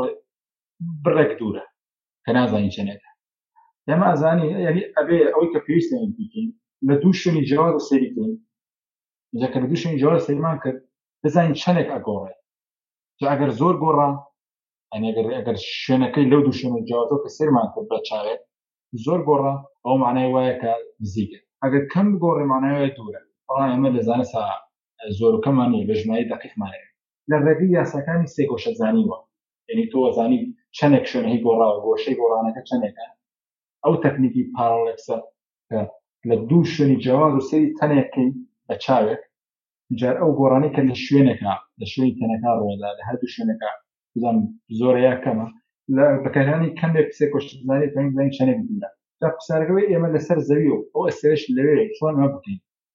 بڕێک دوورە کە نازانی چەندێکە ئێمە ئەزانی یعنی ئەبێ ئەوەی کە پێویستە بکەین لە دوو شوێنی جیاواز سەیری بکەین اینجا کە لە دوو شوێنی جیاواز سەیرمان کرد بزانین چەندێک ئەگۆڕێ جا ئەگەر زۆر گۆڕا یعنی ئەگەر شوێنەکەی لەو دوو شوێنە جیاوازەوە کە سەیرمان کرد بە چاوێک زۆر گۆڕا ئەو معنای وایە کە نزیکە ئەگەر کەم بگۆڕێ معنای وایە دوورە بەڵام ئێمە لە زانسا زۆرەکەمانی بە ژماری دەقیقمانەیە لە ڕێگەی یاساکانی سێ گۆشە زانیوە یعنی تۆ زانی چەندێک شوێنەی گۆڕاوە گۆشەی گۆڕانەکە چەندێکە ئەو تەکنیکی پارالاکسە کە لە دوو شوێنی جیاواز و سەیری تەنێکەکەی بە چاوێک جار ئەو گۆڕانەی کە لە شوێنێکە لە شوێنی تەنەکە ڕۆدا لە هەردوو شوێنەکە بزانم زۆرەیە کەمە لە بەکارهێنانی کەمێک سێ گۆشە زانی توانین بزانین چەندێک دوورە جا قسارەکەی ئێمە لەسەر زەوی و ئەو ئەسێرەش لەوێ چۆن ئەمە بکەین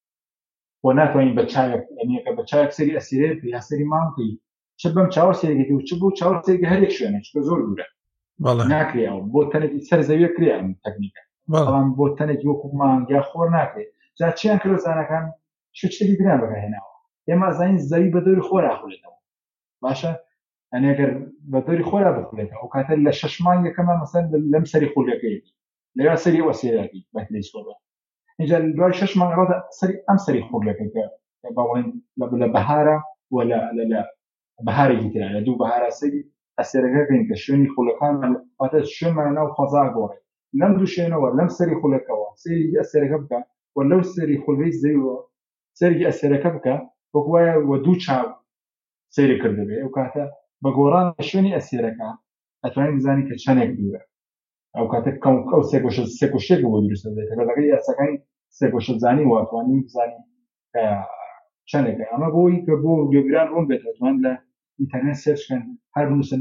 بۆ ناتوانین بە چاوێک یعنی کە بە چاوێک سەری ئەسیرێ یا سەری مام بکەین چ بەم چاوە سەرێکی و چ بۆ چاوە سەرێکی هەر یەک شوێنە چکە زۆر دوورە ناکرێەوە بۆ تەنێکی سەر زەویە کرێ ئەم تەکنیکە بەڵام بۆ تەنێکی وەکو مانگیا خۆر ناکرێت جا چیان کرد زانەکان شتێکی دران بەکارهێناوە ئێمە زانین زەوی بە دەوری خۆر ئاخولێتەوە باشە ئەنێ ئەگەر بە دەوری خۆرا بخولێتەوە ئەو کاتە لە 6 مانگ یەکەمە مەسەن لەم سەری خولەکەیەتی لەوێ سەری ئەوە سێراکی بە تەلەسکۆپە اینجا دوای 6 مانگ ڕۆدا سەری ئەم سەری خولەکەی کە باوەڵێن لە بەهارە و لە بەهارێکی ترە لە دوو بەهارە سەری ئەسێرەکەکەین کە شوێنی خولەکان واتە شوێنمانە ناو خۆزا گۆڕێ لەم دوو شوێنەوە لەم سەری خولەکەەوە سەری ئەسێرەکە بکە و لەو سەری خولەی زەویەوە سەری ئەسێرەکە بکە وەکو وایە وە دوو چاو سەیری کردبێ ئەو کاتە بە گۆڕان شوێنی ئەسێرەکە ئەتوانین بزانی کە چەندێک دوورە ئەو کاتە ئەو سێ گۆشەیەک بۆ دروستە دێت کە لەگەڵ یاساکانی سێ گۆشە زانی واتوانین بزانین کە چەندێکە ئەمە بۆی کە بۆ گوێگران ڕوون بێت ئەتوان لە ئینتەرنێت سێرچکەن هەر بنووسن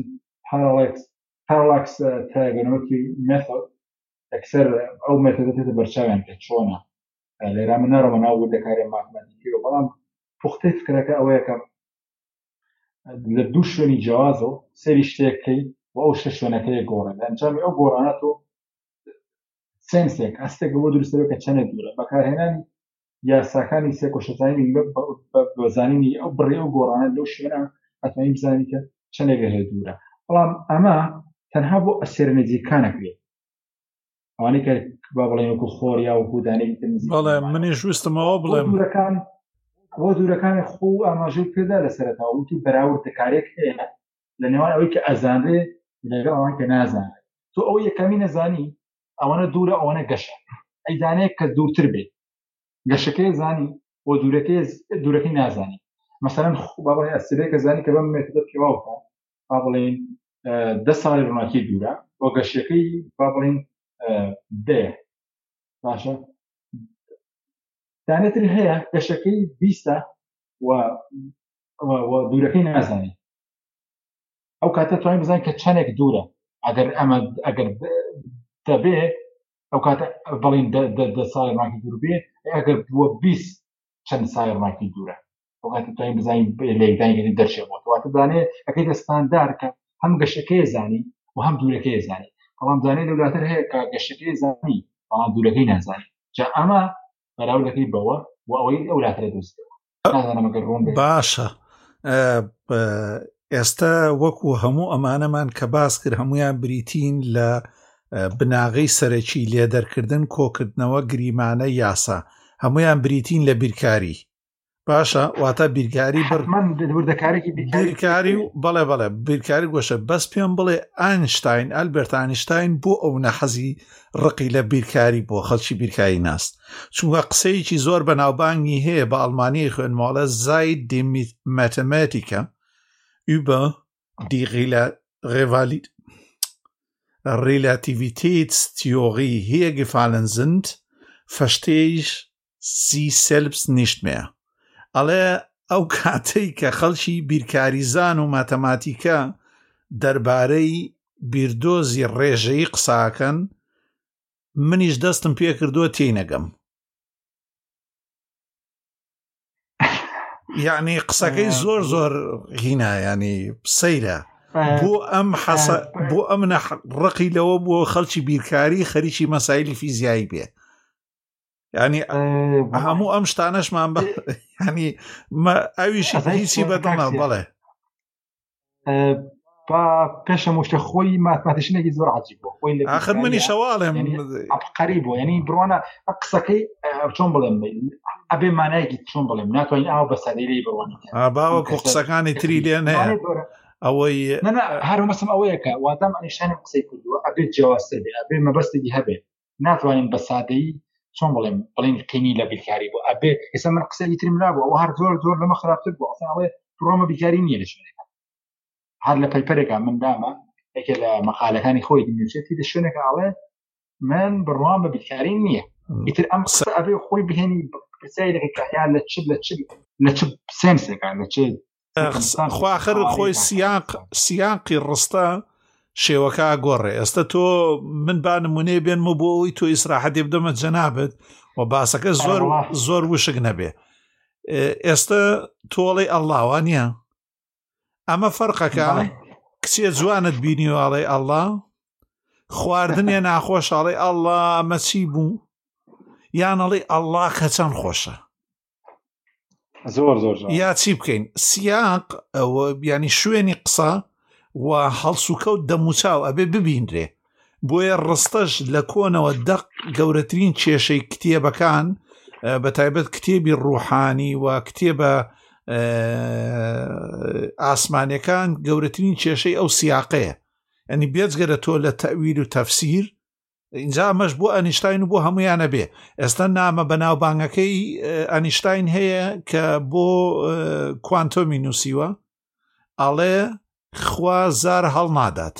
پارالاکس تریگۆنۆمەتری مێثۆد ئەکسەر ئەو مێتۆدەتێتە بەرچاویان کە چۆنە لێرا من ناڕۆمە ناو وردەکاری ماتماتیکیەوە بەڵام پوختەی فکرەکە ئەوەیە کە لە دوو شوێنی جیاوازەوە سەیری شتێکەکەی و ئەو شە شوێنەکەی گۆڕە لە ئەنجامی ئەو گۆڕانە تۆ سێنسێک ئەستێک بۆ دروستە بێت کە چەندێک دوورە بەکارهێنانی یاساکانی سێ گۆشەزانی بەزانینی ئەو بڕێ ئەو گۆڕانە لەو شوێنە ئەتوانین بزانین کە چەندێک هەیە دوورە بەڵام ئەمە تەنها بۆ ئەسێرە نزیکانەکرێت ئەوانەی کە با بڵێن وەکو خۆر یا وەکو دانەیەکی تر نزیک بەڵێ منیش ویستمەوە بڵێم بۆ دوورەکانی خۆ ئاماژەی پێدا لە سەرەتاوە وتی بەراوردەکارێک هەیە لە نێوان ئەوەی کە ئەزانرێ لەگەڵ ئەوانەی کە نازانێت تۆ ئەو یەکەمی نەزانی ئەوەنە دوورە ئەوەنە گەشە ئەی دانەیەک کە دوورتر بێت گەشەکەی زانی بۆ دوورەکەی نازانی مەسەلەن با بڵێن ئەسێرەیەک کە زانی کە بەم مێتۆدە پێواوکە با بڵێن 10 ساڵی ڕۆناکی دوورە بۆ گەشتەکەی با بڵین بێ باشە دانێتری هەیە گەشتەکەی 20 و دوورەکەی نازانی ئەو کاتە توانین بزانین کە چەندێک دوورە ئەگەر دەبێ ئەو کاتە بەڵین 10 ساڵی ڕۆناکی دوور بێ ئەگەر بووە 20 چەند ساڵی ڕۆناکی دوورە ئەو کاتە توانین بزانین لێدانگەری دەرچێت بۆ واتە دانێ ئەەکەی دەستاندار کە هەم گەشتەکەی زانی و هەم دوورەکەی زانی بەڵام زانێ لەولاتر هەیە کە گەشتەکەی زانی بەڵام دوورەکەی نازانی جا ئەمە بەراو دەکەی بەوە و ئەوەی ئەولاترە دۆستەوە نازانم ئەگەر ڕوون بێت. باشە ئێستا وەکو هەموو ئەمانەمان کە باس کرد هەمویان بریتین لە بناغی سەرەکی لێدەرکردن کۆکردنەوە گریمانە یاسا هەمویان بریتین لە بیرکاری باشە واتە بیرکاری بیرکاری و بەڵێ بیرکاری گۆشە بەس پێم بڵێ ئاینشتاین ئەلبەرت ئاینشتاین بۆ ئەو نەحەزی ڕقی لە بیرکاری بۆ خەڵکی بیرکاری ناست چونکە قسەیەکی زۆر بەناوبانگی هەیە بە ئەڵمانی خوێنماڵە Zeit der Mathematiker über die Relativitätstheorie hergefallen sind, verstehe ich sie selbst nicht mehr. ئەڵێ ئەو کاتەی کە خەڵکی بیرکاریزان و ماتەماتیکە دەربارەی بیردۆزی ڕێژەی قساکەن منیش دەستم پێ کردووە تێنەگەم یعنی قسەکەی زۆر هینا ینی سەیرە بۆ ئەم ڕقی لەوە بۆ خەڵکی بیرکاری خەریکی مەسایلی فیزیایی بێ ینی هەموو ئەم شتانەشمان بە ینی ئەویشی هیچی بەدڵە بەڵێ پێشە مشتە خۆی ماتماتیشنێکی زۆر عجیب بۆ خۆی آخر منی شەواڵێم عبقەری بۆ ینی بڕوانە قسەکەی چۆن بڵێم ئەبێ مانایەکی چۆن بڵێم ناتوانین ئەو بە سادەیی بڕوانە باوەکو قسەکانی تری لێن هەیە ئەوەی هەرومەسم ئەوەیە کە واتام ئەنیشتانی قسەی کردووە ئەبێت جیاوازتر بێ ئەبێ مەبەستێکی هەبێ ناتوانین بە سادەیی چۆن بڵێم قینی لە بیرکاری بۆ ئەبێ ئێستا من قسەی ترم نابوو ئەوە هەر زۆر لەمە خراپتر بوو ئەڵێ ڕۆمە بیرکاری نییە لە شوێنێک هەر لە پەیپەرێکە من دامە یەکێ لە مەقالەکانی خۆی دنیوچێتی لە شوێنێکە ئاڵێ من بڕوام بە بیرکاری نییە ئیتر ئەم قسە ئەبێ خۆی بهێنی پرسیارێکی کەحیان لە چ سێنسێکان لە چ خواخر خۆی سیاقی ڕستە شێوەکە گۆڕێ ئێستا تۆ من با نمونێ بێنمە بۆ ئەوی تۆ ئیسراحەتی بدەمە جەنابێت و باسەکە زۆر وشک نەبێ ئێستا تۆڵی ئەڵڵاوانە ئەمە فەرقەکە کچێ جوانت بینیواڵێ ئەڵڵا خواردنێ ناخۆشاڵێ ئەڵڵا ئەمە چی بوو یانەڵێ ئەڵڵا کە چەند خۆشە زۆر یا چی بکەین سیاق ئەوە بیانی شوێنی قسە و هەڵسوکەوت دەموچاو ئەبێ ببیندرێ بۆیە ڕستەش لە کۆنەوە دەق گەورەترین کێشەی کتێبەکان بە تایبەت کتێبی ڕوحانی و کتێبە ئاسمانەکان گەورەترین کێشەی ئەو سیاقەیە ئەنی بێجگەرە تۆ لە تەویل و تەفسیر اینجا ئەمەش بۆ ئەنیشتاین و بۆ هەمویانە بێ ئێستا نامە بەناوبانگەکەی ئەنیشتاین هەیە کە بۆ کوانتۆمی نووسیوە ئەڵێ خوا زار هەڵ نادات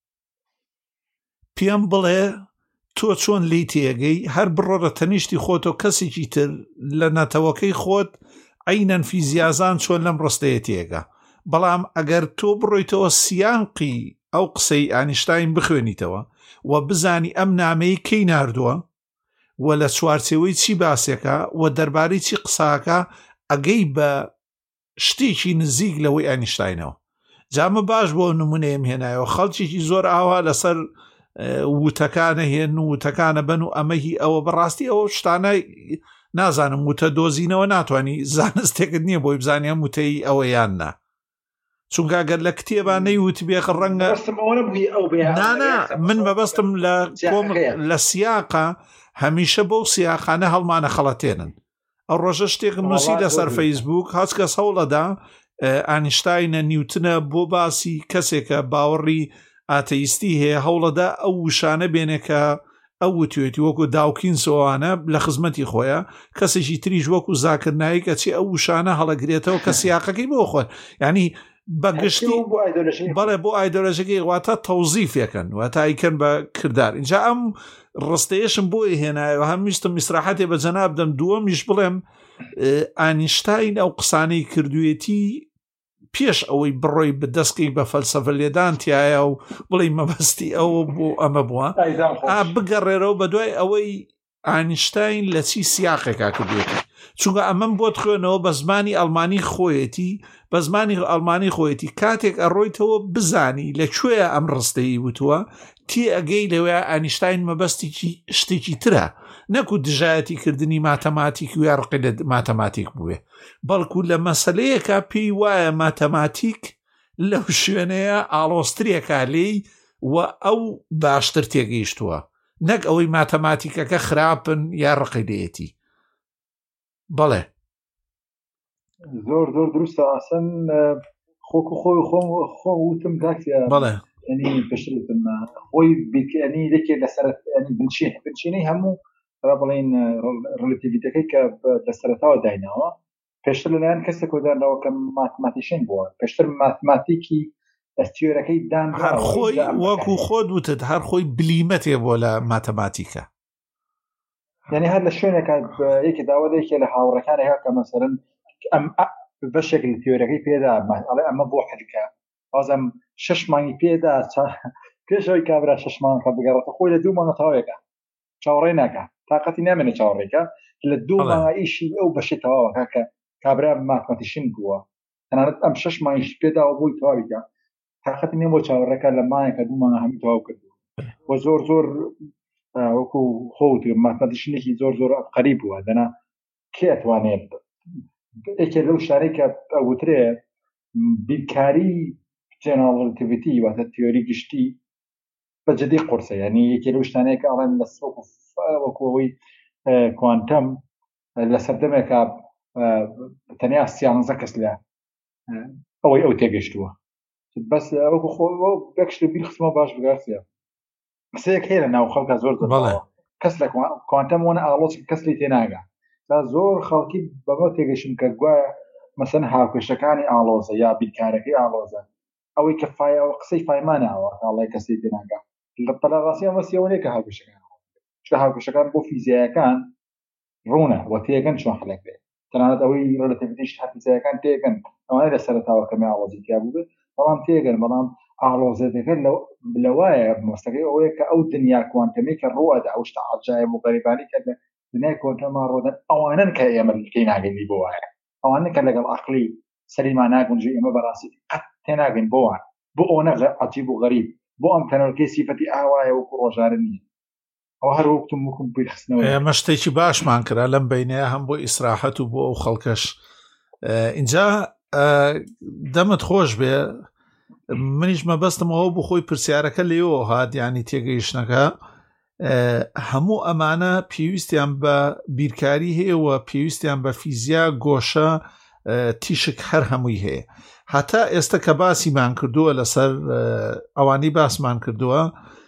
پێم بڵێ تۆ چۆن لی تێگەی هەر بڕۆرە تەنیشتی خۆتۆ کەسێکی تر لە نەتەوەکەی خۆت عینەن فیزیازان چۆن لەم ڕستەیە تێگە بەڵام ئەگەر تۆ بڕۆیتەوە سیانقی ئەو قسەی ئانیشتاین بخوێنیتەوە و بزانی ئەم نامەی کەی ناردووە و لە چوارچێوەی چی باسێکە و دەربارەی چی قساکە ئەگەی بە شتێکی نزیک لەوەی ئانیشتاینەوە جامە باش بۆ نمونەیەم هێنایەوە خەڵکیی زۆر ئاوا لەسەر وتەکانە هێن و وتەکانە بن و ئەمەهی ئەوە بەڕاستی ئەوە شتانە نازانم وتە دۆزینەوە ناتوانانی زانستێکت نییە بۆی بزانیە وتەی ئەوە یاننا چونکە گەر لە کتێبان نەیوت بێخ ڕەنگە من بەبەستم لە سیاقە هەمیشە بەو سیاقانە هەڵمانە خەڵەتێنن ئەو ڕۆژە شتێکم نووسی لەسەر فەیسبوک هەچ کەس هەوڵەدا ئانیشتاینە نیوتنە بۆ باسی کەسێکە باوەڕی ئاتەیستی هەیە هەوڵەدا ئەو وشانە بێنێکە ئەو وتوێتی وەکو داوکینسەوانە لە خزمەتی خۆیە کەسێکی تریژ وەکو زاکردنایی کە چی ئەو وشانە هەڵەگرێتەوە کە سیاقەکەی بۆ خۆن ینی بەگشتی بەڵێ بۆ ئایدۆلۆژیەکەی واتە تەوزیفێکن واتە ئیکەن بە کردار اینجا ئەم ڕستەیەشم بۆی هێنایەوە هەمیشتم میسراحەتێ بە جەناب دەم دووەمیش بڵێم ئاینشتاین ئەو قسانەی کردوێتی پێش ئەوەی بڕۆی بەدەستکەی بە فەلسەفە لێدانتیایە و بڵێ مەبەستی ئەوە بۆ ئەمە بووە بگەڕێرەوە بە دوای ئەوەی ئاینشتاین لە چی سیاقێکا کردوێتی چونکە ئەمەم بۆ خوێنەوە بە زمانی ئەڵمانی خۆیەتی بە زمانی ئەڵمانی خۆیەتی کاتێک ئەڕۆیتەوە بزانی لەکوێ ئەم ڕستەیی وتووە تی ئەگەی لەوێ ئاینشتاین مەبەستی شتێکی ترە نەکو دژایەتی کردنی ماتەماتیک و یا ڕقی لە ماتەماتیک بووێ بەڵکو لە مەسەلەیەکە پێی وایە ماتەماتیک لەو شوێنەیە ئاڵۆسترێکا لێی و ئەو باشتر تێگەیشتووە نەک ئەوەی ماتەماتیکەکە خراپن یا ڕقی لێتی بەڵێ زۆر زۆر دروستە ئاسن خۆک و خۆی خۆ وتم کاکسیا بەڵێ ینی پێشتم خۆی بیکەنی لێکێ لەسەر بنچینەی هەموو بڵین ڕێلەتیڤیتەکەی کە لە سەرەتاوە دایناوە پێشتر لەلایەن کەسێک کۆدانەوە کە ماتماتیشین بووە پێشتر ماتماتیکی ئەستیۆرەکەی دان هەر خۆی وەکو خۆت وتت هەر خۆی بلیمەتێ بۆ لە ماتەماتیکە یعنی هەر لە شوێنێکە یەکی داوەدەیەکێ لە هاوڕەکانێکە کە مەسەرن ئەم بەشێک لە تیۆرەکەی پێدا ئەمە بۆ حەلکە ئازم 6 مانگی پێدا پێشەوەی کابرا 6 مانگە بگەڕێتە خۆی لە 2 مانگە تەواوێکە چاوەڕێ ناکە تااقەتی نامێنێ چاوەڕێکە لە 2 مانگە ئیشی ئەو بەشی تەواوەکە کە کابرا ماتماتیشین بووە تەنانەت ئەم 6 مانگیش پێداوە بۆی تەواویکە تااقەتی نێ بۆ چاوەڕێکە لە مانگێکە 2 مانگە هەمی تەواو کردووە بۆ زۆر زۆر وەکو خۆت ماتماتیشینێکی زۆر زۆر قەریب بووە دەنا کێ ئەتوانێت یەکێ لەو شارێکە ئەوترێ بیرکاری جێنەرال ڕێلەتیڤیتی واتە تیۆری گشتی بەجددی قورسە یعنی یەکێ لەو شتانەیەکە ئەڵێن لە وەکوەوەی کوانتەم لە سەردەمێکە تەنیا 11 کەس لە ئەوەی ئەو تێگەشتووە بەس وەکو خۆ بەکشت بیر خستمە باش بگاسیە قسەیەک هەیە لە ناو خەڵکە زۆر کەس لە کوانتەم وەنە ئاڵۆچ کەس لی تێناگا تا زۆر خەڵکی بەمە تێگەشتن کە گوایە مەسەن هاوکێشەکانی ئاڵۆزە یا بیرکارەکەی ئاڵۆزە ئەوەی کە قسەی فایمانەوە ئاڵای کەسی تێناگا لە بەڵاڕاستی ئەمە سیەوەیە کە هاوکێشەکان چکە هاوکێشەکان بۆ فیزیایەکان ڕوونە و تێگەن چۆن هەڵێک بێت تەنانەت ئەوەی ڕێلەتیڤیتیش فیزیایەکان تێگەن ئەوانەی لە سەرەتاوە کەمی ئاڵۆزی تیا بوو بێت بەڵام تێگەن بەڵام ئاڵۆزەکە لەوایە مەستەکەی ئەوەیە کە ئەو دنیا کوانتەمی کە ڕوەدا ئەو شتە عەجایب و غەریبانەی کە دنیای کوانتەما ڕۆدەن ئەوانن کە ئێمە تێی ناگەینی بۆ وایە ئەوانە کە لەگەڵ عەقلی سەریمان ناگونجی ئێمە بەڕاستی قەت تێناگەین بۆوان بۆ ئەوەنە عەجیب و غەریب بۆ ئەم تەنۆرکەی سیفەتی ئاوایە وەکو ڕۆژارە نییە ئەو هەر وەکتم وەکم بیرخستنەوە ئێمە شتێکی باشمان کرا لەم بینەیە هەم بۆ ئیسراحەت و بۆ ئەو خەڵکەش اینجا دەمت خۆش بێ منیش مەبەستمەوە بۆ خۆی پرسیارەکە لێەوە هات ینی تێگەیشتنەکە هەموو ئەمانە پێویستیان بە بیرکاری هەیە و پێویستیان بە فیزیا گۆشە تیشک هەر هەمووی هەیە هەتا ئێستا کە باسیمان کردووە لەسەر ئەوانی باسمان کردووە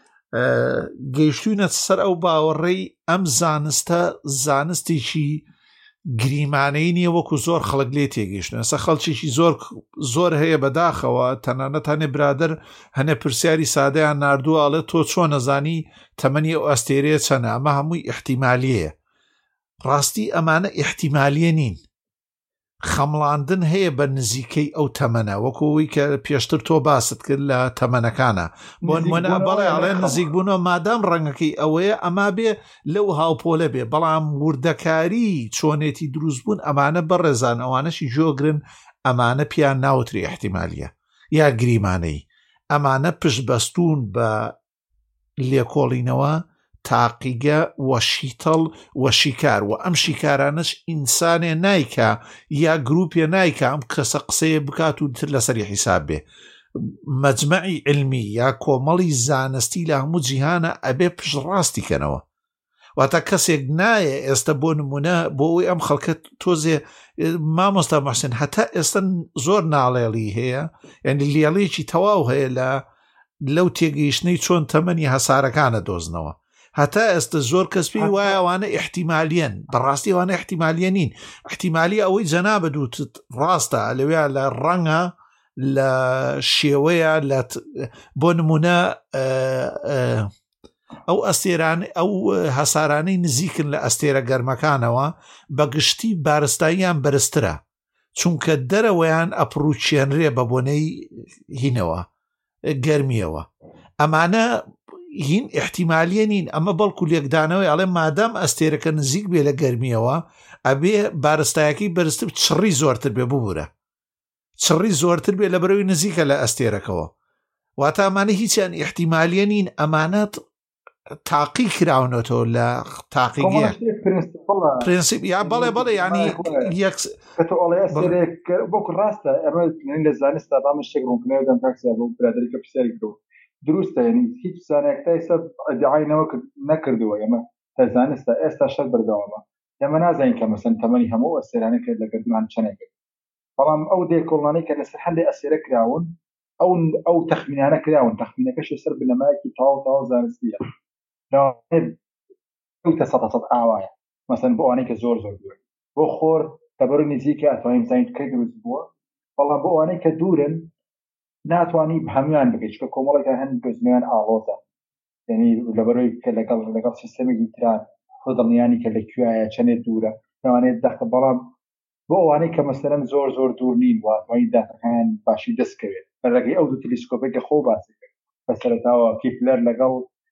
گەیشتوونە سەر ئەو باوەڕێی ئەم زانستە زانستێکی گریمانەی نییە وەکو زۆر خەڵک لێ تێگەیشتن ئەستا خەڵکێکی زۆر هەیە بەداخەوە تەنانەت هەنێ برادر هەنێ پرسیاری سادەیان ناردووە ئەڵێ تۆ چۆن نەزانی تەمەنی ئەو ئەستێرەیە چەنە ئەمە هەمووی احتیمالیەیە ڕاستی ئەمانە احتیمالیە نین خەمڵاندن هەیە بە نزیکەی ئەو تەمەنە وەکوەوەی کە پێشتر تۆ باست کرد لە تەمەنەکانە بۆ نمونە بەڵێ ئەڵێ نزیک بوونەوە مادام ڕەنگەکەی ئەوەیە ئەما بێ لەو هاوپۆلە بێ بەڵام وردەکاری چۆنێتی دروست بوون ئەمانە بەڕێزان ئەوانەشی جۆگرن ئەمانە پیان ناوتری احتیمالیە یا گریمانەی ئەمانە پشت بەستون بە لێکۆڵینەوە تاقیگە و شیتەڵ و شیکار و ئەم شیکارانش ئینسانێ نایکە یا گروپێ نایکە ئەم کەسە قسەیە بکات و تر لەسەری حیساب بێ مەجمەعی علمی یا کۆمەڵی زانستی لە هەموو جیهانە ئەبێ پشتڕاستی کەنەوە واتە کەسێک نایە ئێستا بۆ نمونە بۆ ئەوی ئەم خەڵکە تۆزێ مامۆستا مەحسن هەتا ئێستا زۆر ناڵێڵی هەیە یعنی لێڵەیەکی تەواو هەیە لەو تێگەیشتنەی چۆن تەمەنی هەسارەکانە دۆزنەوە هەتا ئێستا زۆر کەسپی وایە ئەوانە احتیمالیەن بەڕاستی ئەوانە احتیمالیە نین احتیمالی ئەوەی جەنابەت وتت ڕاستە لەوێ لە ڕەنگە لە شێوەیە بۆ نمونە ئەو ئەستێران ئەو هەسارانەی نزیکن لە ئەستێرە گەرمەکانەوە بە گشتی بارستاییان بەرزترە چونکە دەرەوەیان ئەپڕوچێنرێ بە بۆنەی هینەوە گەرمیەوە. ئەمانە هین احتیمالیە نین، ئەمە بەڵکو لێکدانەوەی ئەڵێ مادام ئەستێرەکە نزیک بێ لە گەرمیەوە ئەبێ بارستایەکەی بەرزتر چڕی زۆرتر بێ ببوورە، چڕی زۆرتر بێ لە بەرەوەی نزیکە لە ئەستێرەکەەوە. واتە ئەمانە هیچیان احتیمالیە نین، ئەمانەت تاقی کراونەتەوە لە تاقیگە پرینسیپ یا بەڵێ ینی بۆکو ڕاستە ئەمە لە زانستا بامە شتێک ڕوونکردنەوە دەم کاکسیا بۆ برادەری کە پرسیاری کردەوە دروستە، یعنی هیچ زانایەکتای سەر ئەدعای نەکردووە ئێمە تا زانستە ئێستا شەر بەردەوامە، ئێمە نازانین کە مەسەن تەمەنی هەموو ئەستێرانە کرد لە گەردومان چەندێک، بەڵام ئەو دێکۆڵانەی کە لەسەر هەندێک ئەستێرە کراون ئەو تەخمینانە کراون، تەخمینەکەشی سەر بنەمایەکی تاو زانستیە سەد ئاوایە مەسەن بۆ ئەوانەی کە زۆر دوور بۆ خۆر تەبەر نزیکە ئەتوانین بزانین کەی دروست بووە، بەڵام بۆ ئەوانەی کە دوورن ناتوانانی هەمویان بگەیت چکە کۆمەڵێکە هەند گۆزنیان ئاڵۆزە، یعنی لەبەرەوەی کە لەگەڵ سیستەمێکی تران خۆ دڵنیانی کە لەکوایە چەندێک دوورە لەوانەیە دەخە، بەڵام بۆ ئەوانەی کە مەسەرەن زۆر دوور نین واتوانین داتەکان باشی دەستکەوێت بەڕێگەی ئەو دوو تەلێسکۆپێکە خۆ باسی کرد بەسەرەتاوە کیپلەر لەگەڵ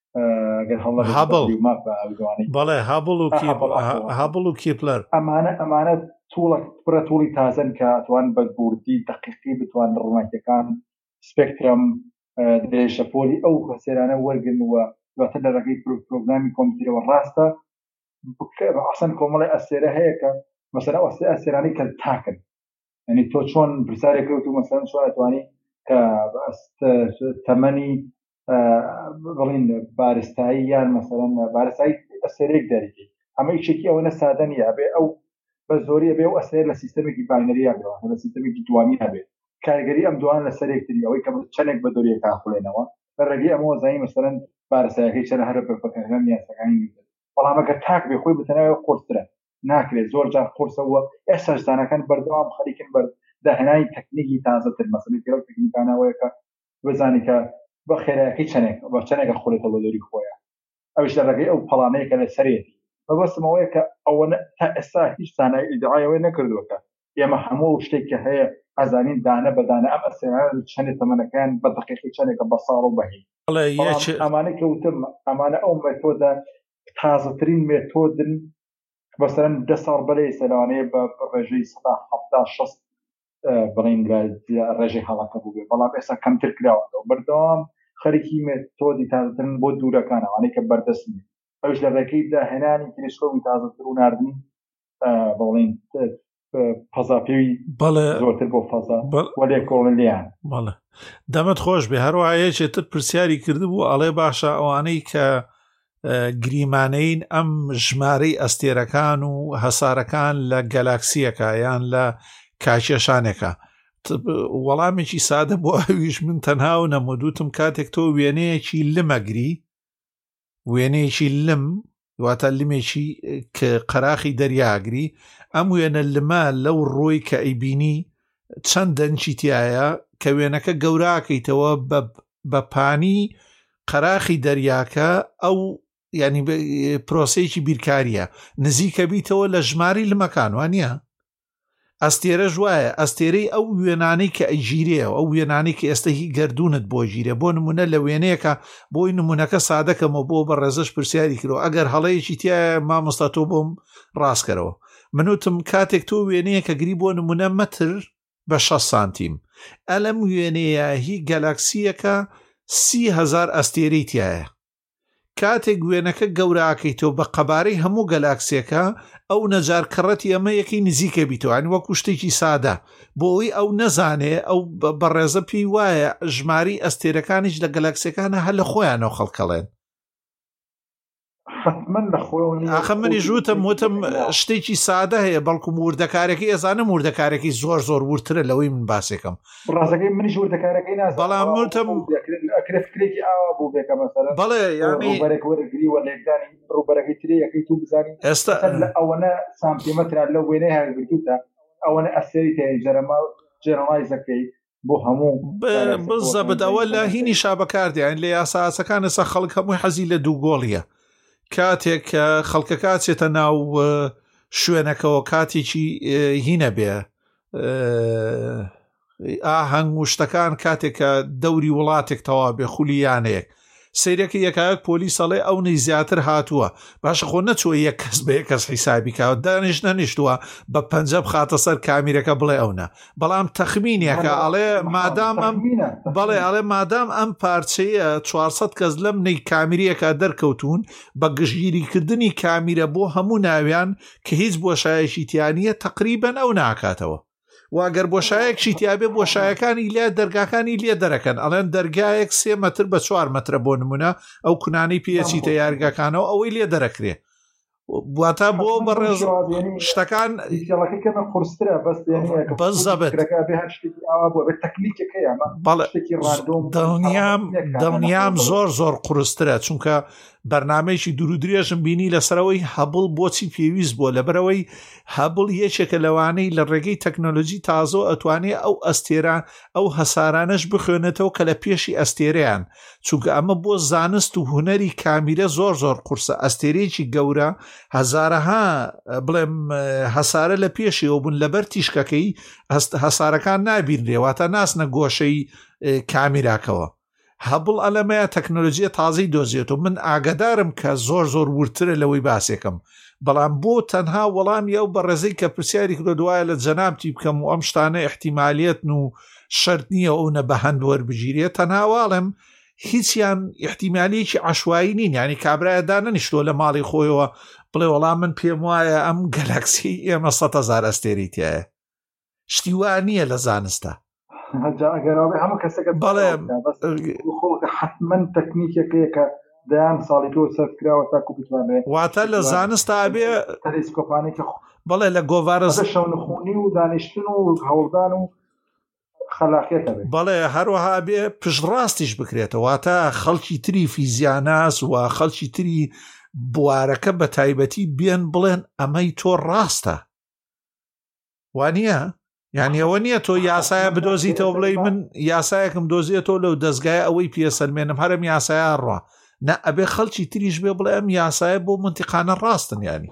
بەڵێ هابڵ و کیپلەر ئەمانە پڕە توڵی تازن کە ئەتوان بە بوردی دقیقی بتوان ڕووناکیەکان سپێکترم درێژەپۆلی ئەو هەسێرانە وەرگن و دواتر لە ڕێگەی پرۆگرامی کۆمپیوتەرەوە ڕاستە ئەسەن کۆمەڵی ئەستێرە هەیە کە مەسەلا ئەستێرانی کە تاکن، یعنی تۆ چۆن پرسیارێکەوت و مەسەلەن چۆن ئەتوانی کە تەمەنی بڵین بارستایی یان مەسەلەن بارستایی ئەستێرەیەک دەریکەی، ئەمە هیچێکی ئەوە نەسادە نیە، ئەبێ ئەو بە زۆری ئەبێ ئەو ئەستێر لە سیستەمێکی باینەری هەبێت، لە سیستەمێکی دوانی هەبێت، کارگەری ئەم دوان لەسەر یەکتری ئەوەی کە چەندێک بە دۆریە کاخولێنەوە بە ڕێگەی ئەمەوە زانی مەسەلەن بارستایەکەی چەند هەرە پەکەکان یاسەکانی، بەڵام ئەگەر تاک بێ خۆی بتەنەوە قورسرە ناکرێت، زۆر جار قورسەوە ئێستا زانەکان بەردەوام خەریکن بەر داهێنانی تەکنیکی تازەتر، مەسەلەن کە تەکنیکانەوەیە کە بزانی کە بە خێرایەکەی چەندێکە خولێتەوە بە دۆری خۆیان، ئەوش لە ڕێگەی ئەو پەڵامەیەکە لە سەرێتی بەبەستمەوەیە کە ئەوە تا ئێستا هیچ زانای ئیدعایەوەی نەکردووەکە ئێمە هەموو شتێک کە هەیە ئەزانین دانە بەدانە ئەم ئەستێرانە چەندێک تەمەنەکان بە دقیقی چەندێکە بە ساڵ و بەهی، ئەمانە کەوتم ئەمانە ئەو مێتۆدە تازەترین مێتۆدن بەسەرەن 10 ساڵ بەلەی سەلانەیە بە ڕێژەی 170-60 بڵین ڕێژەی هەڵەکە بوو بێ، بەڵام ئێستا کەمتر کراوەەوە بەردەوام خەریکی مێتۆدی تازەترن بۆ دوورەکانەوانەی کە بەردەستنی ئەوش لە ڕێگەی داهێنانی تەلێسکۆپی تازەتر و ناردنی بڵین فەزاپێوی زۆرتر بۆ فەزا وەلێکۆڵلیان. بەڵێ دەمت خۆش بێ. هەروایەکێتر پرسیاری کردبوو ئەڵێ باشە ئەوانەی کە گریمانەین ئەم ژمارەی ئەستێرەکان و هەسارەکان لە گەلاکسیەکە یان لە کاکێشانێکە، وەڵامێکی سادە بۆ ئەویش من تەنها و نەمەدوتم کاتێک تۆ وێنەیەکی لمەگری، وێنەیەکی لم واتە لمێکی کە قەراخی دەریاگری، ئەم وێنە لمە لەو ڕۆی کە ئەیبینی چەند دەنجی تایە کە وێنەکە گەوراکەیتەوە بە پانی قەراخی دەریاکە، ئەو ینی پرۆسەیەکی بیرکاریە نزیکە بیتەوە لە ژماری لمەکان وانە ئەستێرە ژوایە ئەستێرەی ئەو وێنانەی کە ئەیگیرێەوە، ئەو وێنانەی کە ئێستا هی گردونت بۆ گیرێ، بۆ نمونە لە وێنەیەکە بۆی نمونونەکە سادەکەمەوە بۆ بە ڕێزش پرسیاری کرەوە ئەگەر هەڵەیەکی تایە مامۆستا تۆ بۆم ڕاستکەرەوە منوتم کاتێک تۆ وێنەیەکە گری بۆ نمونە مەتر بە 6 سانتیم، ئەلەم وێنەیە هی گەلاکسیەکە 30,000 ئەستێرەی تایە، کاتێک وێنەکە گەوراکەیتەوە بە قەبارەی هەموو گەلاکسیەکە ئەو نەجار کڕەتی ئەمە یەکەی نزیکە بیتەوە، وەکو شتێکی سادە بۆ ئەوی ئەو نەزانێ ئەو بەڕێزە پێی وایە ژماری ئەستێرەکانیش لە گەلاکسیەکانە هەر لە خۆیانەوە خەڵکەڵێن. ئاخە منی ژوتم وتم شتێکی سادە هەیە، بەڵکو وردەکارێکی ئێزانم وردەکارێکی زۆر ورترە لەوەی من باسێکم ڕاستەکەی منیش وردەکارەکەی نازانم، بەڵام وتم ئەکرێکی ئاوا بوو بێکە مەسەلەن بەڵێ ینی ڕوبەرێک وەرگری و لێکدانی ڕوبەرەکەی ترێ یەکەی تو بزانین ئێستا ئەوەنە سانتیمەتران لەو وێنەی هەرگرتوتە ئەوەنە ئەستێری تێ جەرەما جێنەڵایزەکەی بۆ هەموو بزەبت ئەوە لە هینی شابەکاردیان لە یاساسەکان ئێستا خەڵک هەمووی حەزی لە دوو گۆڵیە کاتێک خەڵکە کاتێتە ناو شوێنەکەەوە کاتێکی هینە بێ ئاهەنگ و شتەکان کاتێکە دەوری وڵاتێک تەوا بێ خولیانەیەک سیرەکە یەکایەک پۆلیسەڵێ ئەو نەی زیاتر هاتووە باشە خۆ نەچوە یەک کەس بە یەک کەس حیسابی کاوە دانیش نەنیشتووە بە پەنجە بخاتە سەر کامیرەکە بڵێ ئەونا بەڵام تەخمینێکە ئەڵێ مادام ئەم بەڵێ ئەڵێ مادام ئەم پارچەیە 400 کەس لەم نەی کامیریەکە دەرکەوتون بە گشتگیریکردنی کامیرە بۆ هەموو ناویان کە هیچ بۆشایەکی تیانیە تقریبەن ئەو ناکاتەوە واگەر بۆشایەکشی تیابێ بۆشایەکانی لێ دەرگاکانی لێ دەرەکەن ئەڵێن دەرگایەک 3 مەتر بە 4 مەترە بۆ نمونە ئەو کونانەی پێچی تەیارگاکانەوە ئەوەی لێ دەرەکرێ بواتە بۆ بەڕێز شتەکان دڵنیام زۆر قورسترە چونکە بەرنامەیەکی دوور و درێژم بینی لەسەرەوەی هەبڵ بۆچی پێویست بۆ لەبەرەوەی هەبڵ یەکێکە لەوانەی لە ڕێگەی تەکنۆلۆژی تازۆ ئەتوانێت ئەو ئەستێران ئەو هەسارانەش بخوێنێتەوە کە لە پێشی ئەستێرەیان چونکە ئەمە بۆ زانست و هوەری کامیرە زۆر قورسە ئەستێرەیەکی گەورە هەزارەها بڵێم هەسارە لە پێشیەوە بوون لەبەر تیشکەکەی هەسارەکان نابینرێواتە ناسنە گۆشەی کامیراکەوە هەبڵ ئەلەمەیە تەکنۆلۆژیە تازەی دۆزیێتەوە من ئاگدارم کە زۆر ورترە لەوەی باسێکم بەڵام بۆ تەنها وەڵامی ئەو بەڕێزەی کە پرسیاری کردو دوایە لە جەنابتی بکەم و ئەم شتانە احتیمالیەتن و شەرت نییە ئەو نە بە هەند وەربگیرێت تەنهاواڵم هیچیان احتیمالیەکی عەشوایی نین یعنی کابرایەدا نەنیشتۆ لە ماڵی خۆیەوە بڵێ وەڵام من پێم وایە ئەم گەلاکسی ئێمە 100,000 ئەستێری تایە شتی وا نییە لە زانستە هەموو کەسەکە بەڵێ حتمما تەکنیکێکەکە دایان ساڵی تۆ سەرکراوە تاکو بتوانێت واتە لە زانستا بێ تەلێسکۆپانێکی بەڵێ لە گۆڤارە شەونخوونی و دانیشتن و هەوڵدان و خەلاقیەتە بێت بەڵێ هەروەها بێ پشتڕاستیش بکرێتەوە واتە خەڵکی تری فیزیاناس و خەڵکی تری بوارەکە بە تایبەتی بێن بڵێن ئەمەی تۆ ڕاستە وانە یعنی ئەوە نییە تۆ یاسایە بدۆزیتەوە بڵێ من یاسایەکم دۆزیێتەوە لەو دەستگای ئەوەی پێسەلمێنم هەرم یاسایە ڕوا نە ئەبێ خەڵکی تریش بێ بڵێ ئەم یاسایە بۆ منتیقانە ڕاستن ینی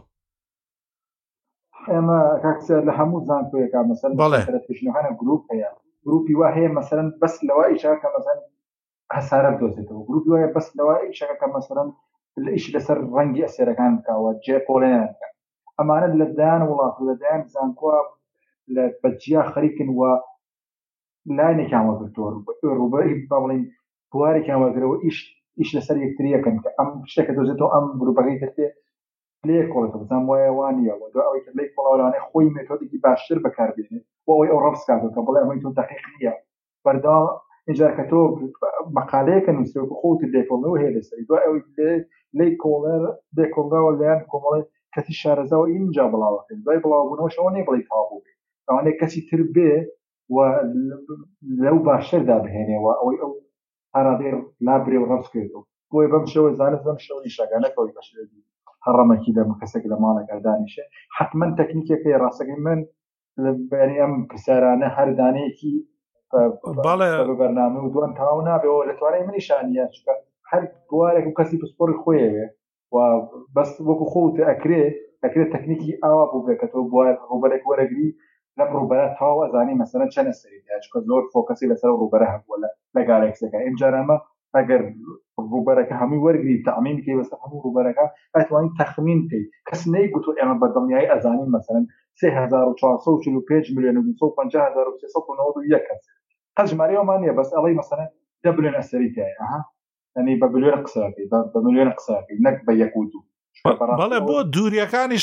ئێمە کاکسە لە هەموو زانکۆیەکە مەسەلەنە گروپ هەیە گروپی وا هەیە مەسەلەن بەس لەوە ئیشاکە مەسەلەن هەسارە بدۆزێتەوە گروپی وایە بەس لەوە ئیشەکە مەسەلەن ئیش لەسەر ڕەنگی ئەسێرەکان بکەوە جێپۆڵێنەکە ئەمانە لە دایان وڵات و لە دایان زانکۆ لە بەجیا خەریکن و لاینێکیان وەگرتووە ڕوبەری بڵین بوارێکیان وەگرەوە ئیش لەسەر یەکتریەکەن کە ئەم شتێکە دۆزێتەوە ئەم گروپەکەی ترتێ لێ کۆڵێتەوە بزانام وایە وانیەوە دو ئەوەی لەی کۆڵاوانەی خۆی مێتۆدێکی باشتر بەکاربێنێت بۆ ئەوەی ئەو ڕەفسکاتەوە کە بڵێ ئەمەی تۆ دەقیق نییە بەردەوام اینجا کە تۆ مەقالەیەکە نووسیوە خۆت لێکۆڵنەوە هەیە لەسەری دو ئەوەی لەی کۆڵەر دێکۆڵراوە لەیان کۆمەڵێ کەسی شارەزاوە اینجا بڵاوەکەن دوای بڵاوبوونەوە شەوە نێ بڵی تاوبوو بێت ئەوانەیە کەسی تر بێ و لەو باشتردا بهێنێەوە ئەوەی ئەو هەرادێر لابرێ و ڕەفسکێتەوە بۆی بەم شەوە زانست بەم شەوەی شاگانەکەەوەی بەشێتی هەڕەمەکی لە کەسێک لە ماڵێکە دانیشێ حتمما تەکنیکێکی ڕاستەکەی من بەنی ئەم پرسیارانە هەردانەیەکی بەرنامە و دوان تاو نابێەوە لە توانای منیشانە چکە هەر بوارێک و کەسی پسپۆری خۆیەوێ و بەس وەکو خۆت ئەکرێت تەکنیکی ئاوا بوو بێکەوە بوار ڕوبەرێک وەرەگری لەم ڕوبەرە تاو ئەزانی مەسەلەن چەند ئەستێریە چکە زۆر فۆکەسی لەسەر ڕوبەرە هەبووە لە گالاکسەکە ئەمجارەمە ئەگەر ڕوبەرەکە هەمووی وەرگری تەعمیم بکەی بەسەر هەموو ڕوبەرەکە ئەتوانی تەخمین بکەی کەس نەیگوتۆ ئێمە بەدڵنیایی ئەزانین مەسەلەن 3445 ملیۆن و 250391 کەس قەژمارەوەمان نییە بەس ئەڵەی مەسەلەن 10 بلیۆن ئەستێری تایە ئەنی بە بلیۆن قسەکەی بە ملیۆن قسەکەی نەک بە یەک و دوو بەڵێ بۆ دووریەکانی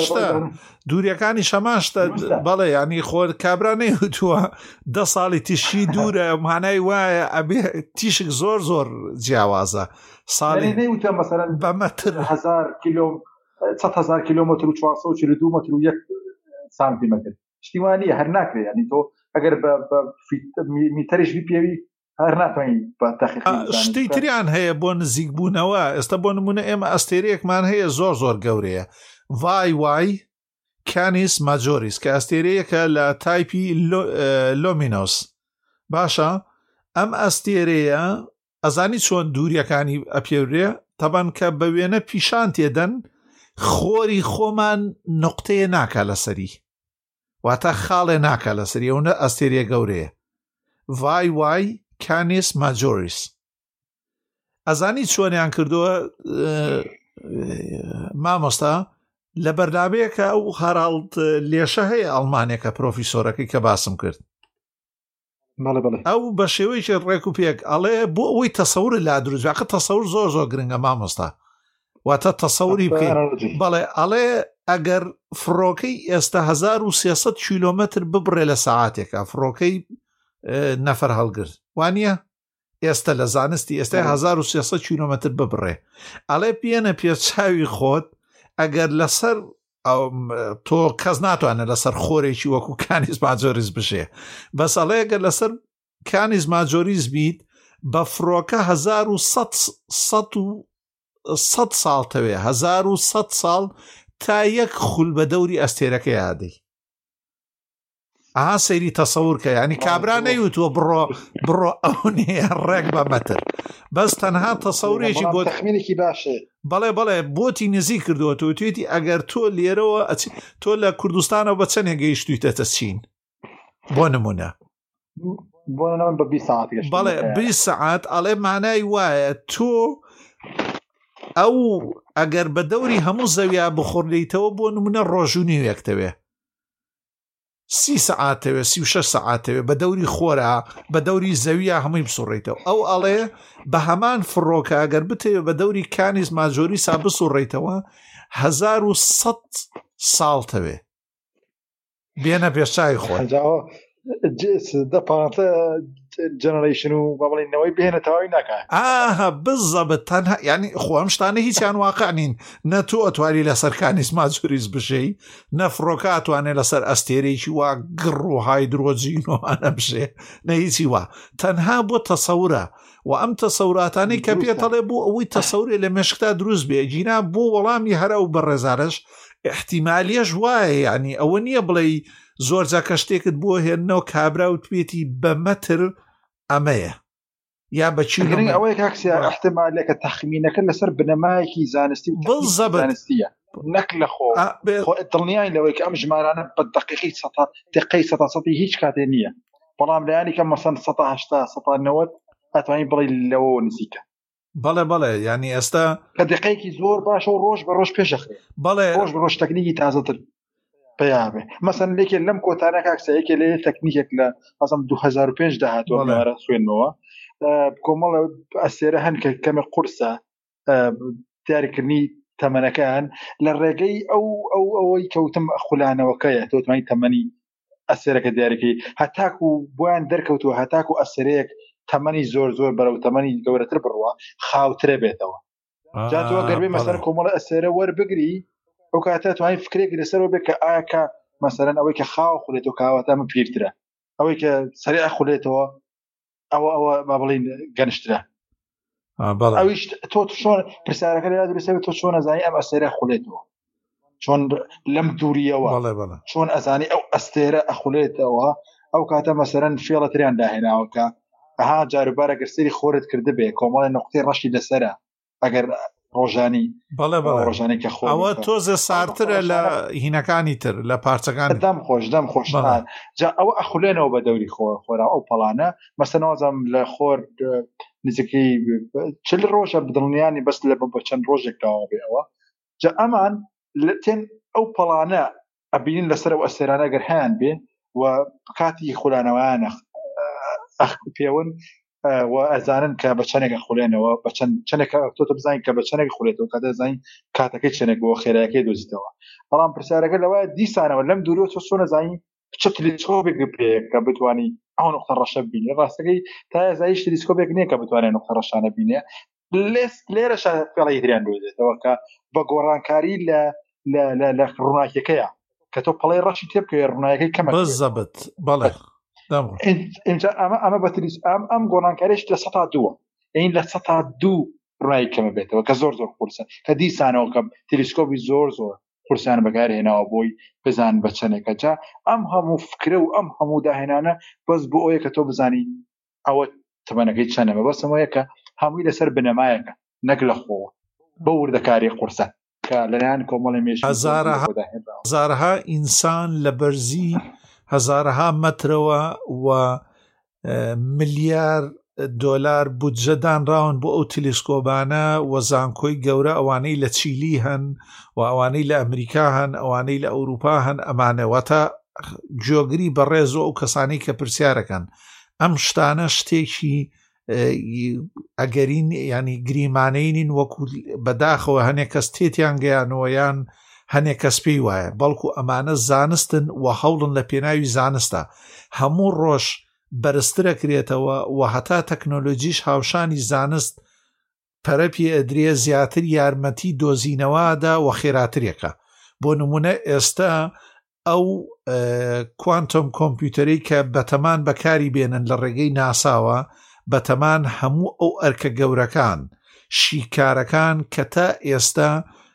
شەماشتە بەڵێ ینی خۆ کابرا نەیوتووە 10 ساڵی تیشی دوورە مانای وایە ئەبێ تیشک زۆر جیاوازە ساڵی نەیوتە مەسەلەن بە مەتر 100,000 کیلۆمتر و 442 متر و 1 سانتیمەتر شتیوانیە هەر ناکرێت ینی تۆ ئەگەر بە میتەریش پێوی هەر ناتوانین بە تەخیق شتی تریان هەیە بۆ نزیک بوونەوە ئێستا بۆ نمونە ئێمە ئەستێرەیەکمان هەیە زۆر گەورەیە وای کانیس ماجۆریس کە ئەستێرەیەکە لە تایپی لۆمینۆس باشە ئەم ئەستێرەیە ئەزانی چۆن دووریەکانی ئەپێورێ تەبەن کە بە وێنە پیشان تێدەن خۆری خۆمان نقطەیە ناکا لەسەری واتە خاڵێ ناکا لەسەری ئەوە ئەستێرە گەورەیە ڤای وای کانیس ماجۆریس ئەزانی چۆنیان کردووە مامۆستا لە بەردابەیەکە ئەو هەراڵد لێشە هەیە ئەڵمانێکە پرۆفیسۆرەکەی کە باسم کرد ئەو بە شێوەیەکی ڕێک و پێک ئەڵێ بۆ ئەوەی تەسەور لا دروستکە تەسەور زۆر زۆر گرنگە مامۆستا واتە تەسەوری بکەین بەڵێ ئەڵێ ئەگەر فڕۆکەی ئێستا 1300 کیلۆمتر ببڕێ لە سەعاتێکە فڕۆکەی نەفەر هەڵگرت وانە ئێستا لە زانستی ئێستا 1300 کیلۆمتر ببڕێ ئەڵێ پێنە پێچاوی خۆت ئەگەر لەسەر تۆ کەس ناتوانێت لەسەر خۆرێکی وەکو کانیز ماجۆریز بشێ بەس ئەڵێ ئەگەر لەسەر کانیز ماجۆریز بیت بە فڕۆکە 1100 ساڵ تەوێ 1100 ساڵ تا یەک خول بە دەوری ئەستێرەکە یادەی ئاها سەیری تەسەورکە ینی کابرا نەیوتووە بڕۆ ئەو نیە ڕێک بە مەتر بەس تەنها تەسەورێکی بۆ تەخمینێکی باشێ بەڵێ بۆتی نزی کردووە تۆ توێتی ئەگەر تۆ لێرەوە تۆ لە کوردستانەوە بە چەندێک گەیشتویتەتە چین بۆ نمونە بە 20 ساعت بەڵێ 20 ساعت ئەڵێ مانای وایە تۆ ئەو ئەگەر بە دەوری هەموو زەویا بخۆردەیتەوە بۆ نمونە ڕۆژوونی وەکتەوێ 30 ساعتەوێ 36 ساعتەوێ بە دەوری خۆرە بە دەوری زەویە هەمووی بسوڕێتەوە ئەو ئەڵێ بە هەمان فڕۆکە ئەگەر بتەوێ بە دەوری کانیز ماجۆری سا بسوڕێتەوە 1100 ساڵتەوێ بێنە پێشای خۆی دەپاتە جەنەرەیشن و بەڵێنەوەی بێنە تەواوی ناکات ئاها بزەبت تەنها ینی خۆم شتانە هیچیان واقع نین نە تۆ ئەتوانی لەسەر کانیز ماجۆریز بشەی نە فڕۆکە ئەتوانێت لەسەر ئەستێرەیەکی وا گڕ و هایدرۆجینۆوانە بشێ نە هیچی وا تەنها بۆ تەسەورە و ئەم تەسەوراتانەی کە پێتەڵێ بۆ ئەوەی تەسەورێ لە مێشکتا دروست بێ جینا بۆ وەڵامی هەرە و بەڕێزارش احتیمالیەش وایە ینی ئەوە نییە بڵێ زۆرجا کە شتێکت بۆ هێننەوە کابرا و توێتی بە مەتر ئەمەیە یا بەچی ئەوەی کاکسیا احتیمالێکە تەخمینەکە لەسەر بنەمایەکی زانستی زانستیە نەک لە خۆ دڵنیای لەوەی کە ئەم ژمارانە بە دقەی 100 هیچ کاتێ نییە بەڵام لایانی کە مەسەن 180 ئەتوانی بڵێ لەوە نزیکە بەڵێ ینی ئێستا کە دقەیەکی زۆر باشە و ڕۆژ بە ڕۆژ پێشەخرێ بەڵێ ڕۆژ بە ڕۆژ تەکنیکی تازەتر پیامێ مەسەن لێکێ لەم کۆتانە کاکسەیەکێ لێ تەکنیکێک لە ئەزم 2005 داهاتوە لەوارە خوێندنەوە کۆمەڵە ئەسێرە هەن کە کەمە قورسە دیاریکردنی تەمەنەکان لە ڕێگەی ئەوەی کەوتم خولانەوەکەیە تۆتمانی تەمەنی ئەسێرەکە دیاریکەی هەتاکو بۆیان دەرکەوتووە هەتاکو ئەسێرەیەک تەمەنی زۆر بەرەو تەمەنی گەورەتر بڕوە خاوترە بێتەوە جاتەوە گەربێ مەسەر کۆمەڵە ئەسێرە وەربگری ئەو کاتە توانین فکرێک لەسەرەوە بێت کە ئایا کە مەسەرەن ئەوەی کە خاو خولێتەوە کاواتە من پیرترە ئەوەی کە سەریع خولێتەوە ئەوە با بڵین گەنشترە ئەویش تۆ چۆن پرسیارەکە لە درسەوێت تۆ چۆن ئەزانی ئەم ئەستێرە خولێتەوە چۆن لەم دووریەوە چۆن ئەزانی ئەو ئەستێرە ئەخولێتەوە ئەو کاتە مەسەرەن فێڵەتریان داهێناوە کە ئەها جاروبارە گەرسەری خۆرت کرده بێ کۆمەڵی نقطەی ڕەشی لەسەرە ئەگەر ڕۆژانی ڕۆژانی کە خۆ ئەوە تۆزە سارترە لە هینەکانی تر لە پارچەکان دەم خۆشتان جا ئەوە ئەخولێنەوە بە دەوری خۆرا ئەو پەڵانە مەسەنەوەزم لە خۆر نزیکەی چل ڕۆژە بدڵنیانی بەس لە بە چەند ڕۆژێک داوا بێ ئەوە جا ئەمان تێن ئەو پەڵانە ئەبینین لەسەر ئەو ئەسێرانە گەر هەیان بێ و کاتی خولانەوەیانە پێون و ئەزانن کە بە چەندێک خولێنەوە بە چەندێک تۆ بزانین کە بە چەندێک خولێتەوە کە دەزانین کاتەکەی چەندێک بۆ خێرایەکەی دۆزیتەوە بەڵام پرسیارەکە لەوە دیسانەوە لەم دوورۆ تۆ چۆن نەزانین چ تەلێسکۆپێک پێ کە بتوانی ئەو نقطە ڕەشە ببینی ڕاستەکەی تا ئێزایش تەلێسکۆپێک نییە کە بتوانێت نقطە ڕەشانە بینێ لێرەش فێڵی تریان دۆزێتەوە کە بە گۆڕانکاری لە ڕووناکیەکەیە کە تۆ پەڵەی ڕەشی تێ بکەوێ ڕووناکیەکەی کەمە بزەبت بەڵێ ئەمە بەتریس ئەم گۆڕانکاریش لە 102 ئەین لە 102 ڕای کەمە بێتەوە کە زۆر قورسە کە دیسانەوە کە تەلێسکۆپی زۆر قورسیان بەکارهێناوە بۆی بزان بە چەندێکە. جا ئەم هەموو فکرە و ئەم هەموو داهێنانە بەس بۆ ئەوەیە کە تۆ بزانی ئەوە تەمەنەکەی چەندەمە، بەسەوەیە کە هەمووی لەسەر بنەمایەکە نەک لە خۆوە بە وردەکاری قورسە کە لەلایەن کۆمەڵی مێژووی هەزارها ئینسان لە بەرزی هەزارها مەترەوە و ملیار دۆلار بودجەدان ڕاون بۆ ئەو تلیسکۆبانە و زانکۆی گەورە ئەوانەی لە چیلی هەن و ئەوانەی لە ئەمریکا هەن ئەوانەی لە ئەوروپا هەن ئەمانەوەتە جۆگری بەڕێز و ئەو کەسانی کە پرسیارەکەن. ئەم شتانە شتێکی ئەگەرین ینی گریمانەینین وەکو بەداخەوە هەنێک کەس تێتیان گەیانەوە یان هەنێک کەس پێی وایە، بەڵکو ئەمانە زانستن و هەوڵن لە پێناوی زانستە هەموو ڕۆژ بەرزترەکرێتەوە و هەتا تەکنۆلۆژیش هاوشانی زانست پەرەپی ئەدرێ زیاتر یارمەتی دۆزینەوەدا و خێراترێکە. بۆ نمونە ئێستا ئەو کوانتۆم کۆمپیوتەری کە بەتەمان بەکاری بێنن لە ڕێگەی ناساوە بەتەمان هەموو ئەو ئەرکە گەورەکان شیکارەکان کە تا ئێستا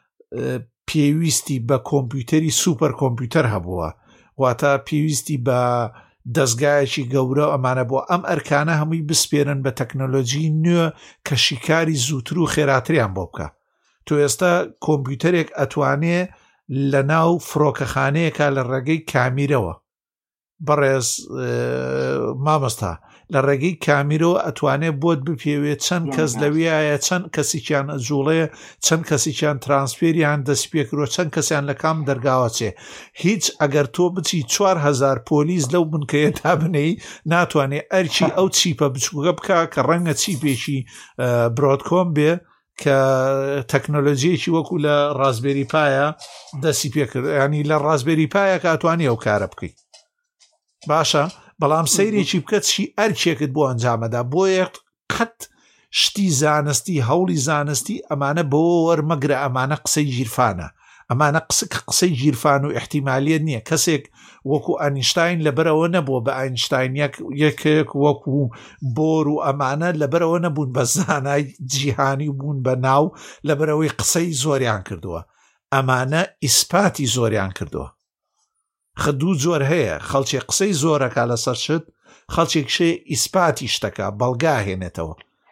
پێویستی بە کۆمپیوتەری سوپەر کۆمپیوتەر هەبووە واتە پێویستی بە دەستگایەکی گەورە ئەمانە بۆ ئەم ئەرکانە هەمووی بسپێرن بە تەکنۆلۆژی نوێ کە شیکاری زووتر و خێراتریان بۆ بکە. تۆ ئێستا کۆمپیوتەرێک ئەتوانێ لە ناو فڕۆکەخانەیەکە لە ڕێگەی کامیرەوە بەڕێز مامۆستا لە ڕێگەی کامیرەوە ئەتوانێت بۆت بپێوێت چەند کەس لەویایە چەند کەسییان ئەجوڵەیە چەند کەسییان ترانسفێریان دەست پێکرۆ چەند کەسیان لە کام دەرگاوە چێ هیچ ئەگەر تۆ بچی 4,000 پۆلیس لەو بنکەیە تا بنەی ناتوانێت ئەرچی ئەو چیپە بچووکە بکە کە ڕەنگە چیپێکی برۆدکۆم بێ کە تەکنۆلۆژیەکی وەکو لە ڕازبێری پایە دەستی پێکرد ینی لە ڕازبێری پایە کاتوانی ئەو کارە بکەیت باشە، بەڵام سەیرێکی بکەت چی ئەرکێکت بۆ ئەنجامەدا بۆ یەک قەت شتی زانستی هەوڵی زانستی ئەمانە بۆ وەرمەگرە ئەمانە قسەی ژیرفانە ئەمانە قسەی ژیرفان و احتیمالیت نییە. کەسێک وەکو ئاینشتاین لەبەرەوە نەبووە بە ئاینشتاین یەکێک وەکو بۆر و ئەمانە لەبەرەوە نەبوون بە زانای جیهانی بوون بە ناو لەبەرەوەی قسەی زۆریان کردووە ئەمانە ئیسپاتی زۆریان کردووە. خدوو زۆر هەیە خەڵکی قسەی زۆرەکە لەسەر شت خەڵکێک شێ ئیسپاتی شتەکە بەڵگا هێنێتەوە.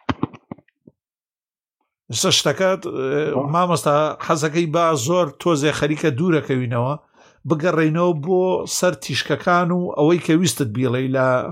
سە شتەکەت مامۆستا حەزەکەی با زۆر تۆزێ خەریکە دوورەکەوینەوە بگەڕێنەوە بۆ سەر تیشکەکان و ئەوەی کە ویستت بیڵێ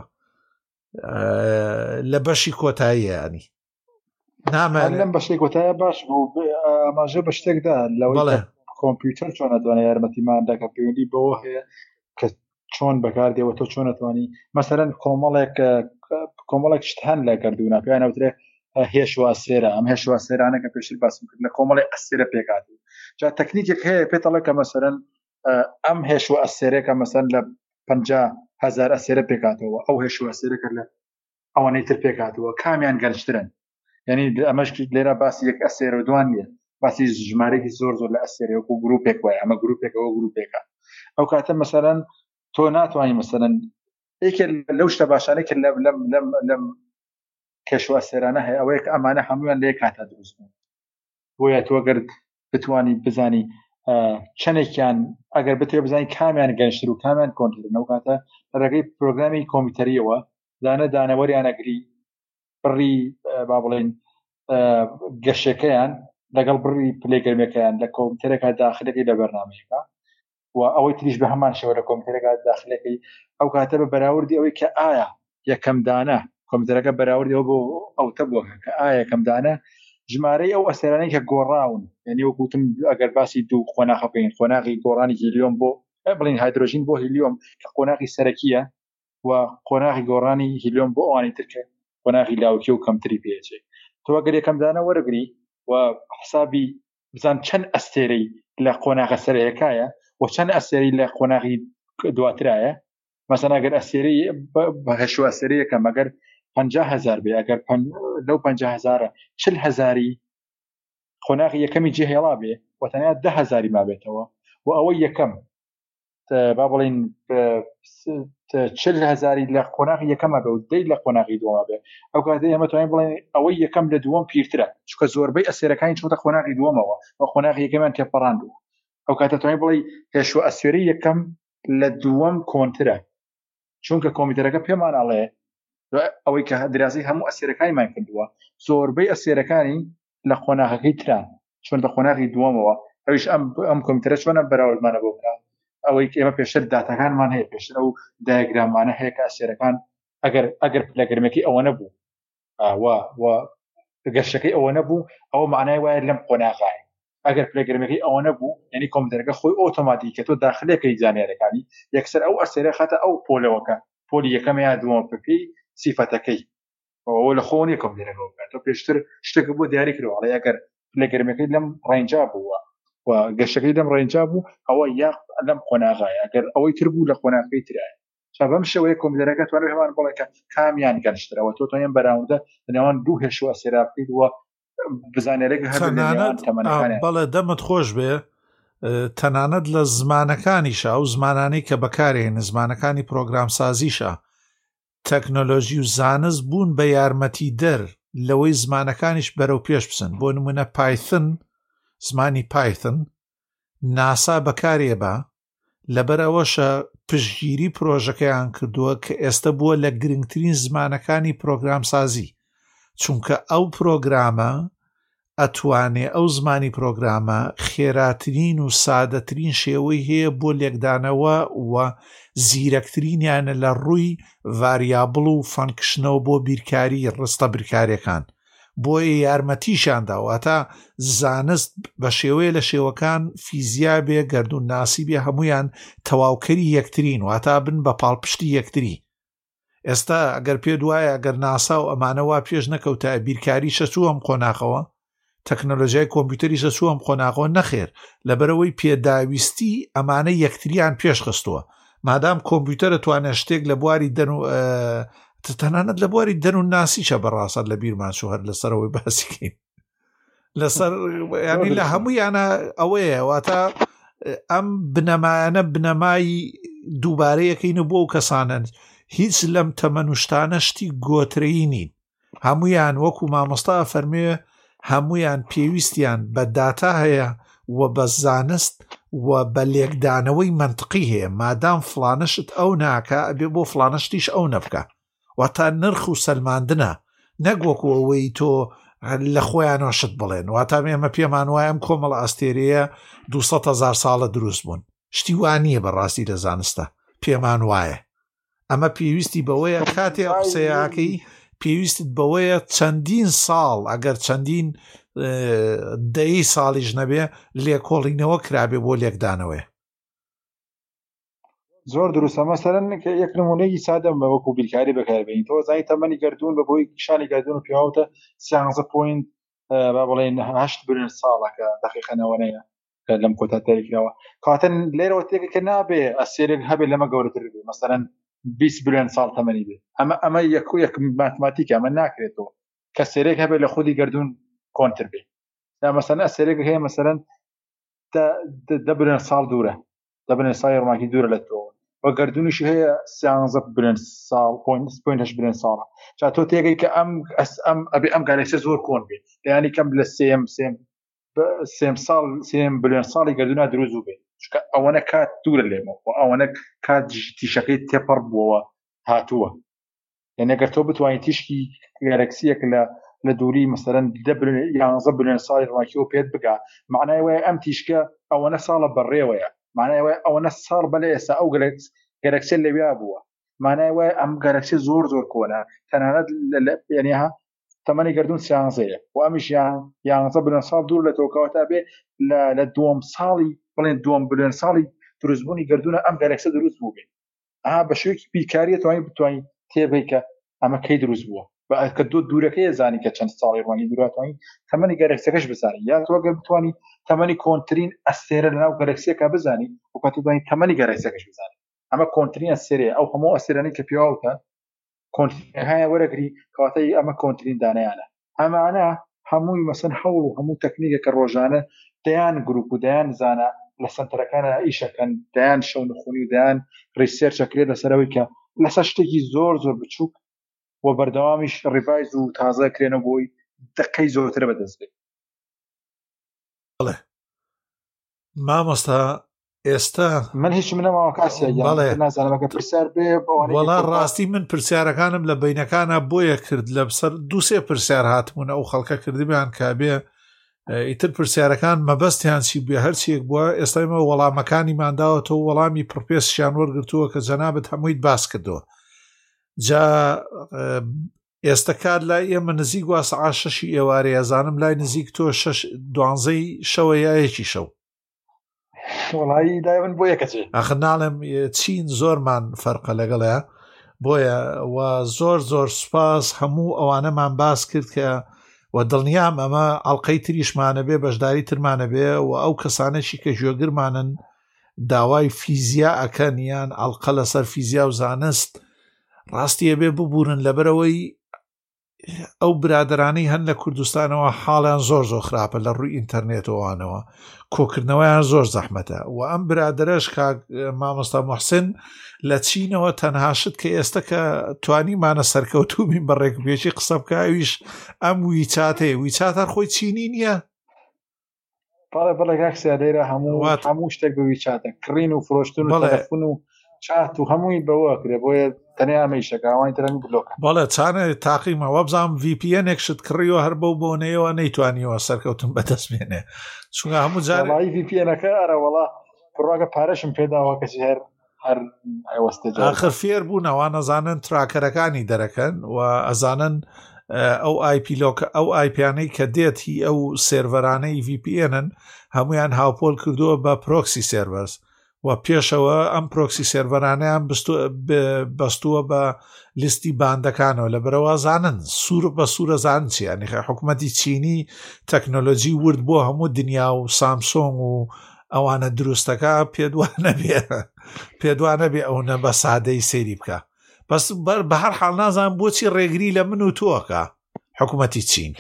لە بەشی کۆتاییە ینی نامانە لەم بەشی کۆتایە باش بوو ئاماژە بە شتێکدا لەوەی کۆمپیوتەر چۆن ئەتوانێت یارمەتیمانداکە پەیوەندی بەوە هەیە کە چۆن بەکاردێەوە تۆ چۆن ئەتوانی مەسەرەن کۆمەڵێک شت هەن لە گەردوونە پێیان ئەوترێ هێشوا سێرە ئەم هێشوا سێرانە کە پێشتر باسم کرد لە کۆمەڵی ئەسێرە پێکات جا تەکنیکێک هەیە پێتەڵێ کە مەسەرەن ئەم هێشوا ئەسێرەکە مەسەرەن لە 50,000 ئەسێرە پێکاتەوە ئەو هێشوا ئەسێرەکە لە ئەوانەی تر پێکاتەوە کامیان گەرجترن یعنی ئەمەش لێرە باسی یەک ئەسێرە دوان نیە باسی ژمارەی زۆر زۆر لە ئەسێرە وەکو گروپێک وایە ئەمە گروپێکەوە گروپێکە ئەو کاتە مەسەرەن تۆ ناتوانانی مەسەرەن یەکێک لەو شتە باشانەی کە لەم کێشوا سێرانە هەیە ئەوەیە کە ئەمانە هەمویان لێ کاتە دروست بوون بۆیە تۆ گەر بتوانی بزانی چەندێکیان ئەگەر بتوێ بزانی کامیان گەنجتر و کامیان کۆنترن ئەو کاتە لە ڕێگەی پرۆگرامی کۆمپیوتەریەوە دانەوەریان ئەگری بڕی با بڵێن گەشەکەیان لەگەڵ بڕی پلێگەرمەکەیان لە کۆمپیوتەرێکا داخلەکەی لە بەرنامەیەکە و ئەوەی تریش بە هەمان شێوە لە کۆمپیوتەرێکا داخلەکەی ئەو کاتە بە بەراوردی ئەوەی کە ئایا یەکەم دانە کۆمپیوتەرەکە بەراوردەوە بۆ ئەوتە بووە کە ئایا یەکەم دانە ژمارەی ئەو ئەسێرانەی کە گۆڕاون یعنی وەکوتم ئەگەر باسی دوو خۆناغ بکەین خۆناغی گۆڕانی هیلیۆم بۆ بڵین هایدرۆژین بۆ هیلیۆم کە خۆناغی سەرەکیە و خۆناغی گۆڕانی هیلیۆم بۆ ئەوانی ترکە خۆناغی لاوکی و کەمتری پێچێ تۆ ئەگەر یەکەم دانە وەرەگری و حسابی بزان چەند ئەستێرەی لە خۆناغە سەرەکایە و چەند ئەستێری لە خۆناغی دواترایە مەسەڵەن ئەگەر ئەستێرەی بە هەشوا ئەستێرەیەکە مەگەر 50,000 بێ ئەگەر لەو 50,000 40,000 خۆناغی یەکەمی جێهێڵا بێ و تەنیا 10,000 ما بێتەوە و ئەوەی یەکەم با بڵین 40,000 لە خۆناغی یەکەمە بێ و دەی لە خۆناغی دووەمە بێ ئەو کاتە ئێمە توانین بڵێن ئەوەی یەکەم لە دووەم پیرترە چونکە زۆربەی ئەسێرەکانی چوتە خۆناغی دووەمەوە و خۆناغی یەکەمیان تێپەڕاندووە ئەو کاتە توانین بڵێ پێشوە ئەسێرەی یەکەم لە دووەم کۆنترە، چونکە کۆمپیوتەرەکە پێمان ئەڵێ ئەوەی کە دراسەی هەموو ئەسێرەکانیمان کردووە زۆربەی ئەسێرەکانی لە قۆناغەکەی تران چۆن بە قۆناغی دووەمەوە، ئەویش ئەم کۆمپیوتەرە چۆنە بەراوردمانە بۆ بکات، ئەوەی ئێمە پێشتر داتاکانمان هەیە، پێشتر ئەو دایەگرامانە هەیە کە ئەسێرەکان ئەگەر پلەگەرمێکی ئەوە نەبوو گەشتەکەی ئەوە نەبوو ئەوە معنای وایە لەم قۆناغایە، ئەگەر پلەگەرمەکەی ئەوە نەبوو یعنی کۆمپیوتەرەکە خۆی ئۆتۆماتیک کە تۆ داخلەکەی زانیارەکانی یەکسەر ئەو ئەسێرە خاتە ئەو پۆلەوەکە پۆلی یەکەم یا دووەم پێی سیفەتەکەی ئەوە لە خۆ نیە کۆمپیوتەرەکە بکات، تۆ پێشتر شتێک بۆ دیاری کردووە ئەڵێ ئەگەر پلەگەرمەکەی لەم ڕێنجا بووە و گەشتەکەی لەم ڕێنجا بوو ئەوە یا لەم قۆناغایە، ئەگەر ئەوەی تر بوو لە قۆناغەکەی ترایە. بەم شێوەیە کۆمپیوتەرەکە توانێت هەمان بڵێ کە کامیان گەشترەوە تۆ توانێت بەراوردە لەنێوان دوو هێشوە ئەسێرا بکەیت وە بزانێرێک بەڵێ دەمت خۆش بێ تەنانەت لە زمانەکانیشە ئەو زمانانەی کە بەکارێن زمانەکانی پرۆگرامسازیشە تەکنۆلۆژی و زانست بوون بە یارمەتی دەر لەوەی زمانەکانیش بەرەو پێش بچن، بۆ نمونە پایتن زمانی پایتن ناسا بەکارێ بە لەبەر ئەوەشە پشتگیری پرۆژەکەیان کردووە کە ئێستا بووە لە گرنگترین زمانەکانی پرۆگرامسازی، چونکە ئەو پرۆگرامە ئەتوانێ ئەو زمانی پرۆگرامە خێراترین و سادەترین شێوەی هەیە بۆ لێکدانەوە و زیرەکترینیانە لە ڕووی ڤاریابڵ و فەنکشنەوە بۆ بیرکاری ڕستە برکاریەکان، بۆیە یارمەتیشانداوە تا زانست بە شێوەیە لە شێوەکان فیزیا بێ گەردون ناسی بێ هەمویان تەواوکەری یەکترین واتا بن بە پاڵپشتی یەکتری. ئێستا ئەگەر پێ دوایە ئەگەر ناسا و ئەمانەوە پێش نەکەوتە بیرکاری شەچوو ئەم قۆناغەوە تەکنۆلۆژیای کۆمپیوتەری شەچوو ئەم قۆناغەوە نەخێر لەبەرەوەی پێداویستی ئەمانە یەکتریان پێش خستووە، مادام کۆمپیوتەرە توانێت شتێک لە بواری دەن و تەنانەت لە بواری دەن و ناسیچە بەڕاستە لە بیرمانچوو هەر لەسەرەوەی باسیکەین لەسەر ینی لە هەموویانە ئەوەیە واتە ئەم بنەمایانە بنەمایی دووبارەیەکەینە بۆ ئەو کەسانن هیچ لەم تەمەنوشتانە شتی گۆترەیی نین، هەمویان وەکو مامۆستا فەرمێ هەمویان پێویستیان بە داتا هەیە و بە زانست و بە لێکدانەوەی منطقی هەیە، مادام فلانشت ئەو ناکە ئەبێ بۆ فلانشتیش ئەو نەبکە، واتە نرخ و سەلماندنە نەگوەکو ئەوەی تۆ لە خۆیانەوە شت بڵێن، واتە ئێمە پێمان وایە ئەم کۆمەڵە ئەستێرەیە 200,000 ساڵە دروست بوون، شتی وانییە بەڕاستی لە زانستە پێمان وایە، ئەمە پێویستی بەوەیە کاتێ قسەیەکەی پێویستت بەوەیە چەندین ساڵ ئەگەر چەندین دەی ساڵیش نەبێ لێکۆڵینەوە کرابێ بۆ لێکدانەوەی. زۆر دروستە مەسەرەن یەک نمونەیەکی سادەم بە وەکو بیرکاری بەکاربێنین، تۆ زای تەمەنی گەردوون بە بۆی شانی گەردوون و پیاوتە 13 با بڵێن 8 بلێن ساڵەکە دەقیقەنەوەنەیە کە لەم کۆتا تاریکراوە کاتن لێرەوە تێکە کە نابێ ئەسێرێک هەبێت لەمە گەورەتر بێ مەسەرەن 20 بلێن ساڵ تەمەنی بێ، ئەمە یەک ماتماتیکە ئەمە ناکرێتەوە کە سێرێک هەبێت لە خودی گەردوون کۆنتر بێ، مەسەرەن ئەسێرێک هەیە مەسەرەن 10 بلێن ساڵ دوورە، 10 بلێن ساڵی ڕۆماکی دوورە لە تۆ و گەردونیش هەیە 13 بلێن ساڵ 0.8 بلێن ساڵە، جا تۆ تێگەی کە ئەم گالاکسیە زۆر کۆن بێ یعنی کەم لە سێم بلێن ساڵی گەردوونە دروست بێ، چونکە ئەوەنە کات دوورە لێمەوە و ئەوەنە کات تیشەکەی تێپەڕ بووەوە هاتووە، یعنی ئەگەر تۆ بتوانیت تیشکی گالاکسیەک لە دووری مەسەرەن 11 بلێن ساڵی ڕۆماکیەوە پێت بگا معنای وایە ئەم تیشکە ئەوەنە ساڵە بەڕێوەیە، معنای وایە ئەوەنە ساڵ بەلێ ئێستا ئەو گالاکسیە لەویا بووە، معنای وایە ئەم گالاکسیە زۆر کۆنە تەنانەت یعنیها تەمەنی گەردوون 13ەیە و ئەمیش 11 بلێن ساڵ دوور لە تۆکەوەتا بێ لە دووەم ساڵی بڵێن 2 بلێن ساڵی دروستبوونی گەردوونە ئەم گالاکسیە دروست بوو بێ، بە شێوەیەکی بیرکاریە توانیت تێبەی کە ئەمە کەی دروست بووە کە دوورەکەی زانی کە چەند ساڵی ڕوانی دووراتوانی تەمەنی گەلاکسیەکەش بزانی، یا تۆ ئەگەر بتوانی تەمەنی کۆنترین ئەستێرە لەناو گەلاکسیەکە بزانی و کە توانی تەمەنی گەلاکسیەکەش بزانی، ئەمە کۆنترین ئەستێرەیە، ئەو هەموو ئەستێرانەی کە پێوەتە کۆنترینەکانی وەرەگری کەواتای ئەمە کۆنترین دانایانە، ئەمانە هەمووی مەسەن هەوڵ و هەموو تەکنیکە کە ڕۆژانە دەیان گروپ و دەیان زانە لە سنتەرەکانە ئیشەکەن دەیان شەو نخوونی و دەیان ریسێرچەکرێت لەسەرەوەی کە لەسەر شتێکی زۆر بچووک و بەردەوامیش ڕیڤایز و تازە کرێنە بۆی دقەی زۆرتر بەدەست بێت. مامۆستا ئێستا من هیچ منەماوە کاسیە نازانمەکە پرسیار بێ وەڵا ڕاستی من پرسیارەکانم لە بینەکانە بۆیە کرد لە بسەر دووسێ پرسیار هاتمونە ئەو خەڵکە کردبیان کابێ ئیتر پرسیارەکان مەبەستیان چی بێ هەرچیەک بووە ئێستایمە وەڵامەکانی ماداوەتەوە وەڵامی پرپێسیان وەرگرتووە کە جەنابەت هەموویت باس کردووە جا ئێستا کار لای ئێمە نزیک وا سەعات 6 ئێوارەیە زانم لای نزیک تۆ 12 شەوە یایەکی شەو وڵایی دای من بۆ یەکەچێ ئەخ ناڵێم چین زۆرمان فەرقە لەگەڵەیە بۆیە و زۆر سوپاس هەموو ئەوانەمان باس کرد کە و دڵنیام ئەمە ئەڵلقەی تریشمانە بێ بەشداری ترمانە بێ و ئەو کەسانەشی کە ژێگرمانن داوای فیزیا ئەکەن یان ئەڵلقە لەسەر فیزیا و زانست ڕاستیە بێ ببورن لەبەرەوەی ئەو برادرانەی هەن لە کوردستانەوە حاڵیان زۆر خراپە لە ڕووی ئینتەرنێتەوەوانەوە کۆکردنەوەیان زۆر زەحمەتە و ئەم برادرەش مامۆستا موحسین لە چینەوە تەنهاشت کە ئێستا کە توانیمانە سەرکەوتوبین بە ڕێکوپێکی قسە بکە ئەویش ئەم ویچات هەر خۆی چینی نییە بەڵێ کاکسیا لێرە هەموو شتێک بە ویچاتە کڕین و فرۆشتن و تەلەفۆن و چات و هەمووی بەوە کرێ بۆیە تەنیامەیشەکەوانی ترنگ بلۆکە بەڵێ چانە تاقیمەوە بزانام VPN-ێکشت کڕیەوە هەر بەو بۆنەیەوە نەیتوانیەوە سەرکەوتن بەدەست بێنێ چونکە هەموو جارێ VPN-ەکە ئەرەوەڵا پڕواگە پارەشم پێداوە کەسی هەر ئەوەستە ئاخر فێر بوون ئەوان ئەزانن تراکەرەکانی دەرەکەن و ئەزانن ئەو ئەو ئایپیانەی کە دێتی ئەو سێڤەرانەی VPN-ن هەمویان هاوپۆل کردووە بە پرۆکسی سێڤەرز و پێشەوە ئەم پرۆکسی سێڤەرانەیان بەستووە بە لیستی باندەکانەوە لە بەرەوە زانن سوور بە سوورە زان چیانی حکوومەتی چینی تەکنۆلۆژی ورد بۆ هەموو دنیا و سامسۆنگ و ئەوانە دروستەکە پێدوانە بێ ئەوە بە سادەی سێری بکە بەس بە هەر حاڵ نازان بۆچی ڕێگری لە من و تۆکە حکوومەتی چین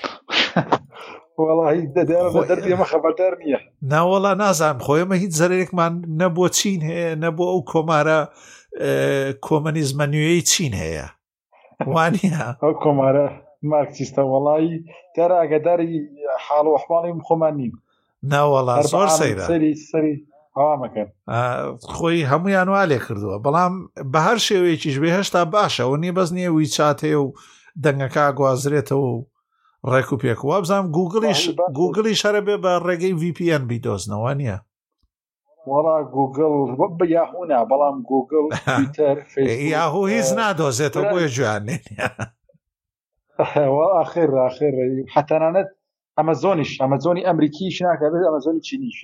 دەردێمە خەبەردار نییە ناوەڵا نازانم خۆیمە هیچ زەرێکمان نەبووە چین هەیە نەبووە ئەو کۆمارە کۆمەنیزمە نوێی چین هەیە وانە ئەو کۆمارە مارکسیستە وەڵایی تێرە ئەگەداری حاڵ و ئەحواڵی خۆمان نیم ناوەڵا زۆر سەیرە سەری هەوامەکەن خۆی هەمویان وا لێ کردووە بەڵام بە هەر شێوەیەکیش بێ هێشتا باشە و نیە بەس نییە ویچات هەیە و دەنگەکە گوازرێتەوە و ڕێک و پێک وابزانام گوگڵی شەرە بێ بە ڕێگەی VPN بیدۆزنەوە نییە وەڵا گوگڵ بە یاهونا بەڵام گوگڵ یاهوو هیچ نادۆزێتەوە بۆیە جوانێ آخر حتەنانەت ئەمەزۆنی ئەمریکیش ناکەبێت ئەمەزۆنی چینیش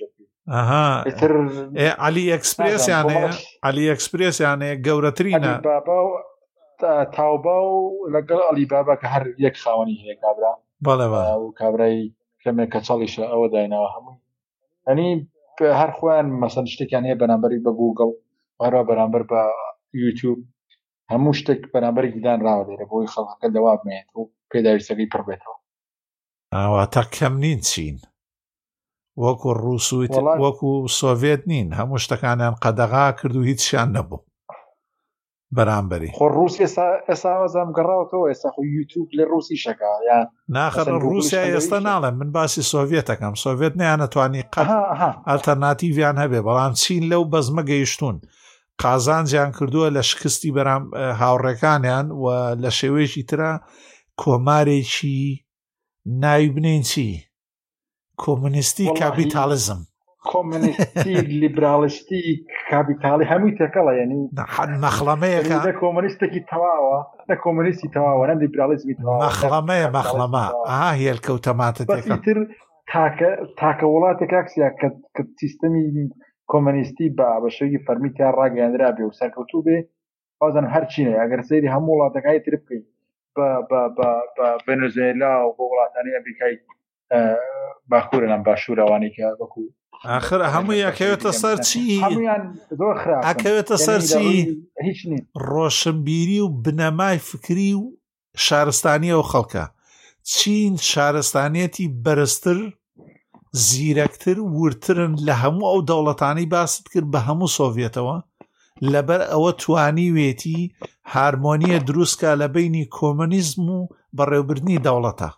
علی ئەکسپرێسیانەیە گەورەترینە تاوبا و لەگەڵ ئەلی بابا کە هەر یەک خاوەنی هەیە کابرا بەڵێ و کابرای کەمێک کە چاڵیشە ئەوە دایناوە هەموو ئەنی هەر خۆیان مەسەن شتێکیان هەیە بەرامبەری بە گوگڵ هەروە بەرامبەر بە یوتیوب هەموو شتێک بەرامبەری دان ڕاوە لێرە بۆی خەڵکەکە دەوا بمێت و پێداویستەکەی پڕ بێتەوە ئەواتە کەم نین چین وەکو ڕووسویت وەکو سۆڤێت نین هەموو شتەکانیان قەدەغا کرد و هیچیان نەبوو بەرامبەری خۆ ڕووس ئێستا وەزام گەڕاوەتەوە ئێستا خۆ یوتیوب لە ڕووسی شەکە یان ناخەر ڕووسیا ئێستا ناڵێم من باسی سۆڤێتەکەم سۆڤێت نیانەتوانی قەت ئەلتەرناتیڤیان هەبێ بەڵام چین لەو بەزمە گەیشتون قازانجیان کردووە لە شکستی بەرام هاوڕێکانیان و لە شێوەیەکی ترە کۆمارێکی ناوی بنین چی کۆمونیستی کاپیتالیزم کۆمونیستی لیبرالیستی کاپیتالی هەمووی تێکەڵە یعنی مەخڵەمەیەکە کۆمونیستێکی تەواوە نە کۆمونیستی تەواوە نە لیبرالیزمی تەواوە مەخڵەمە هێلکەوتەماتە تر تاکە وڵاتێک کاکسیا کە سیستەمی کۆمونیستی بە شێوەیەکی فەرمیتیان ڕاگەیاندرا بێ و سەرکەوتوو بێ بازن هەر چینە ئەگەر سەیری هەموو وڵاتەکانی تر بکەین بە ڤێنزوێلا و بۆ وڵاتانی ئەمریکای باکوورە لەم باشوورەوانی کە وەکو آخر هەمووی ئەکەوێتە سەر چی زۆر خراپ ئەکەوێتە سەر چی هیچ نین ڕۆشنبیری و بنەمای فکری و شارستانی ئەو خەڵکە چین شارستانیەتی بەرزتر زیرەکتر ورترن لە هەموو ئەو دەوڵەتانی باست کرد بە هەموو سۆڤێتەوە لەبەر ئەوە توانی وێتی هارمۆنیە دروستکە لە بینی کۆمونیزم و بەڕێوەبردنی دەوڵەتە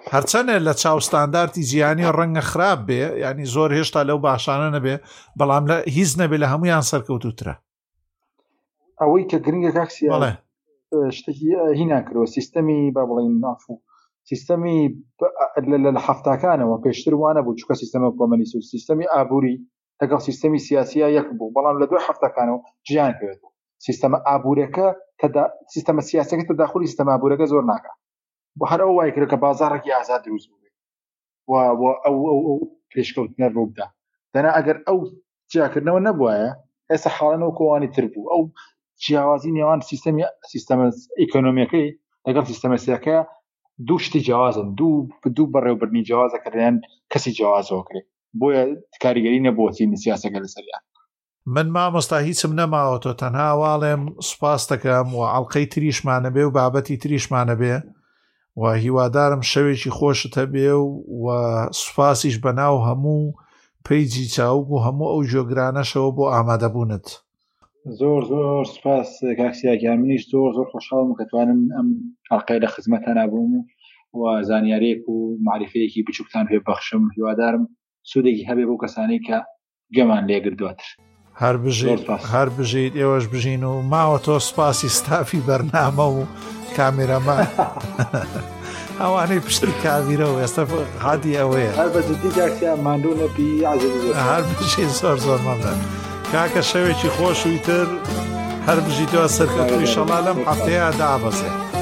هەرچەنێ لە چاوستاندارتی جیهانی ڕەنگە خراپ بێ ینی زۆر هێشتا لەو باشانە نەبێ بەڵام لە هیچ نەبێ لە هەمویان سەرکەوتوترە ئەوەی کە گرنگە کاکسیا شتێکی هی ناکرەوە سیستەمی با بڵین نافوو سیستەمی لە هەفتاکانەوە پێشتر وانە بوو چکە سیستەمە کۆمەنیست و سیستەمی ئابووری لەگەڵ سیستەمی سیاسیە یەک بوو بەڵام لە دوای هەفتاکانەوە جیان پێوێت سیستەمە ئابوورەکە سیستەمە سیاسەکە تەداخلی سیستەمە ئابوورەکە زۆر ناکە بۆ هەر ئەو وای کرد کە بازاڕێکی ئازاد دروست بوو ئەو پێشکەوتنە ڕووبدا دەنا ئەگەر ئەو جیاکردنەوە نەبووایە ئێستا حاڵەنەوە کۆوانی تر بوو ئەو جیاوازی نێوان سیستەمە ئیکۆنۆمیەکەی لەگەڵ سیستەمە سیاسەکە دوو شتی جیاوازن دوو بەڕێوەبردننی جیاوازە کە دەیان کەسی جیاوازەوە کرێت بۆیە کاریگەری نەبووەتی سیاسەکە لەسەریان من مامۆستا هیچم نەماوەتەوە تەنها واڵێم سوپاس دەکەم و ئەڵقەی تریشمانە بێ و بابەتی تریشمانە بێ و هیوادارم شەوێکی خۆشت هەبێ و سوپاسیش بەناو هەموو پەیجی چاوگ و هەموو ئەو جۆگرانەشەوە بۆ ئامادەبوونت زۆر زۆر سوپاس کاکسیاکیان منیش زۆر زۆر خۆشحاڵم کە توانم ئەم ئەڵقەی لە خزمەتە نابووم و زانیارێک و معرفەیەکی بچووکتان پێ بەخشم هیوادارم سوودێکی هەبێ بۆ کەسانەی کە گەمان لێگردووەتر هەر بژیت ئێوەش بژین و ماوە تۆ سوپاسی ستافی بەرنامە و کامێرەمان ئەوانەی پشتی کاویرەوە ئێستا هادی ئەوەیە هەر بەجددی کاکسیان ماندوو نەبی هەر بژین زۆر زۆر مەمنون کاکە شەوێکی خۆشوی تر هەر بژیتەوە سەرکەوتوی شەڵا لەم هەفتەیە دابەزێ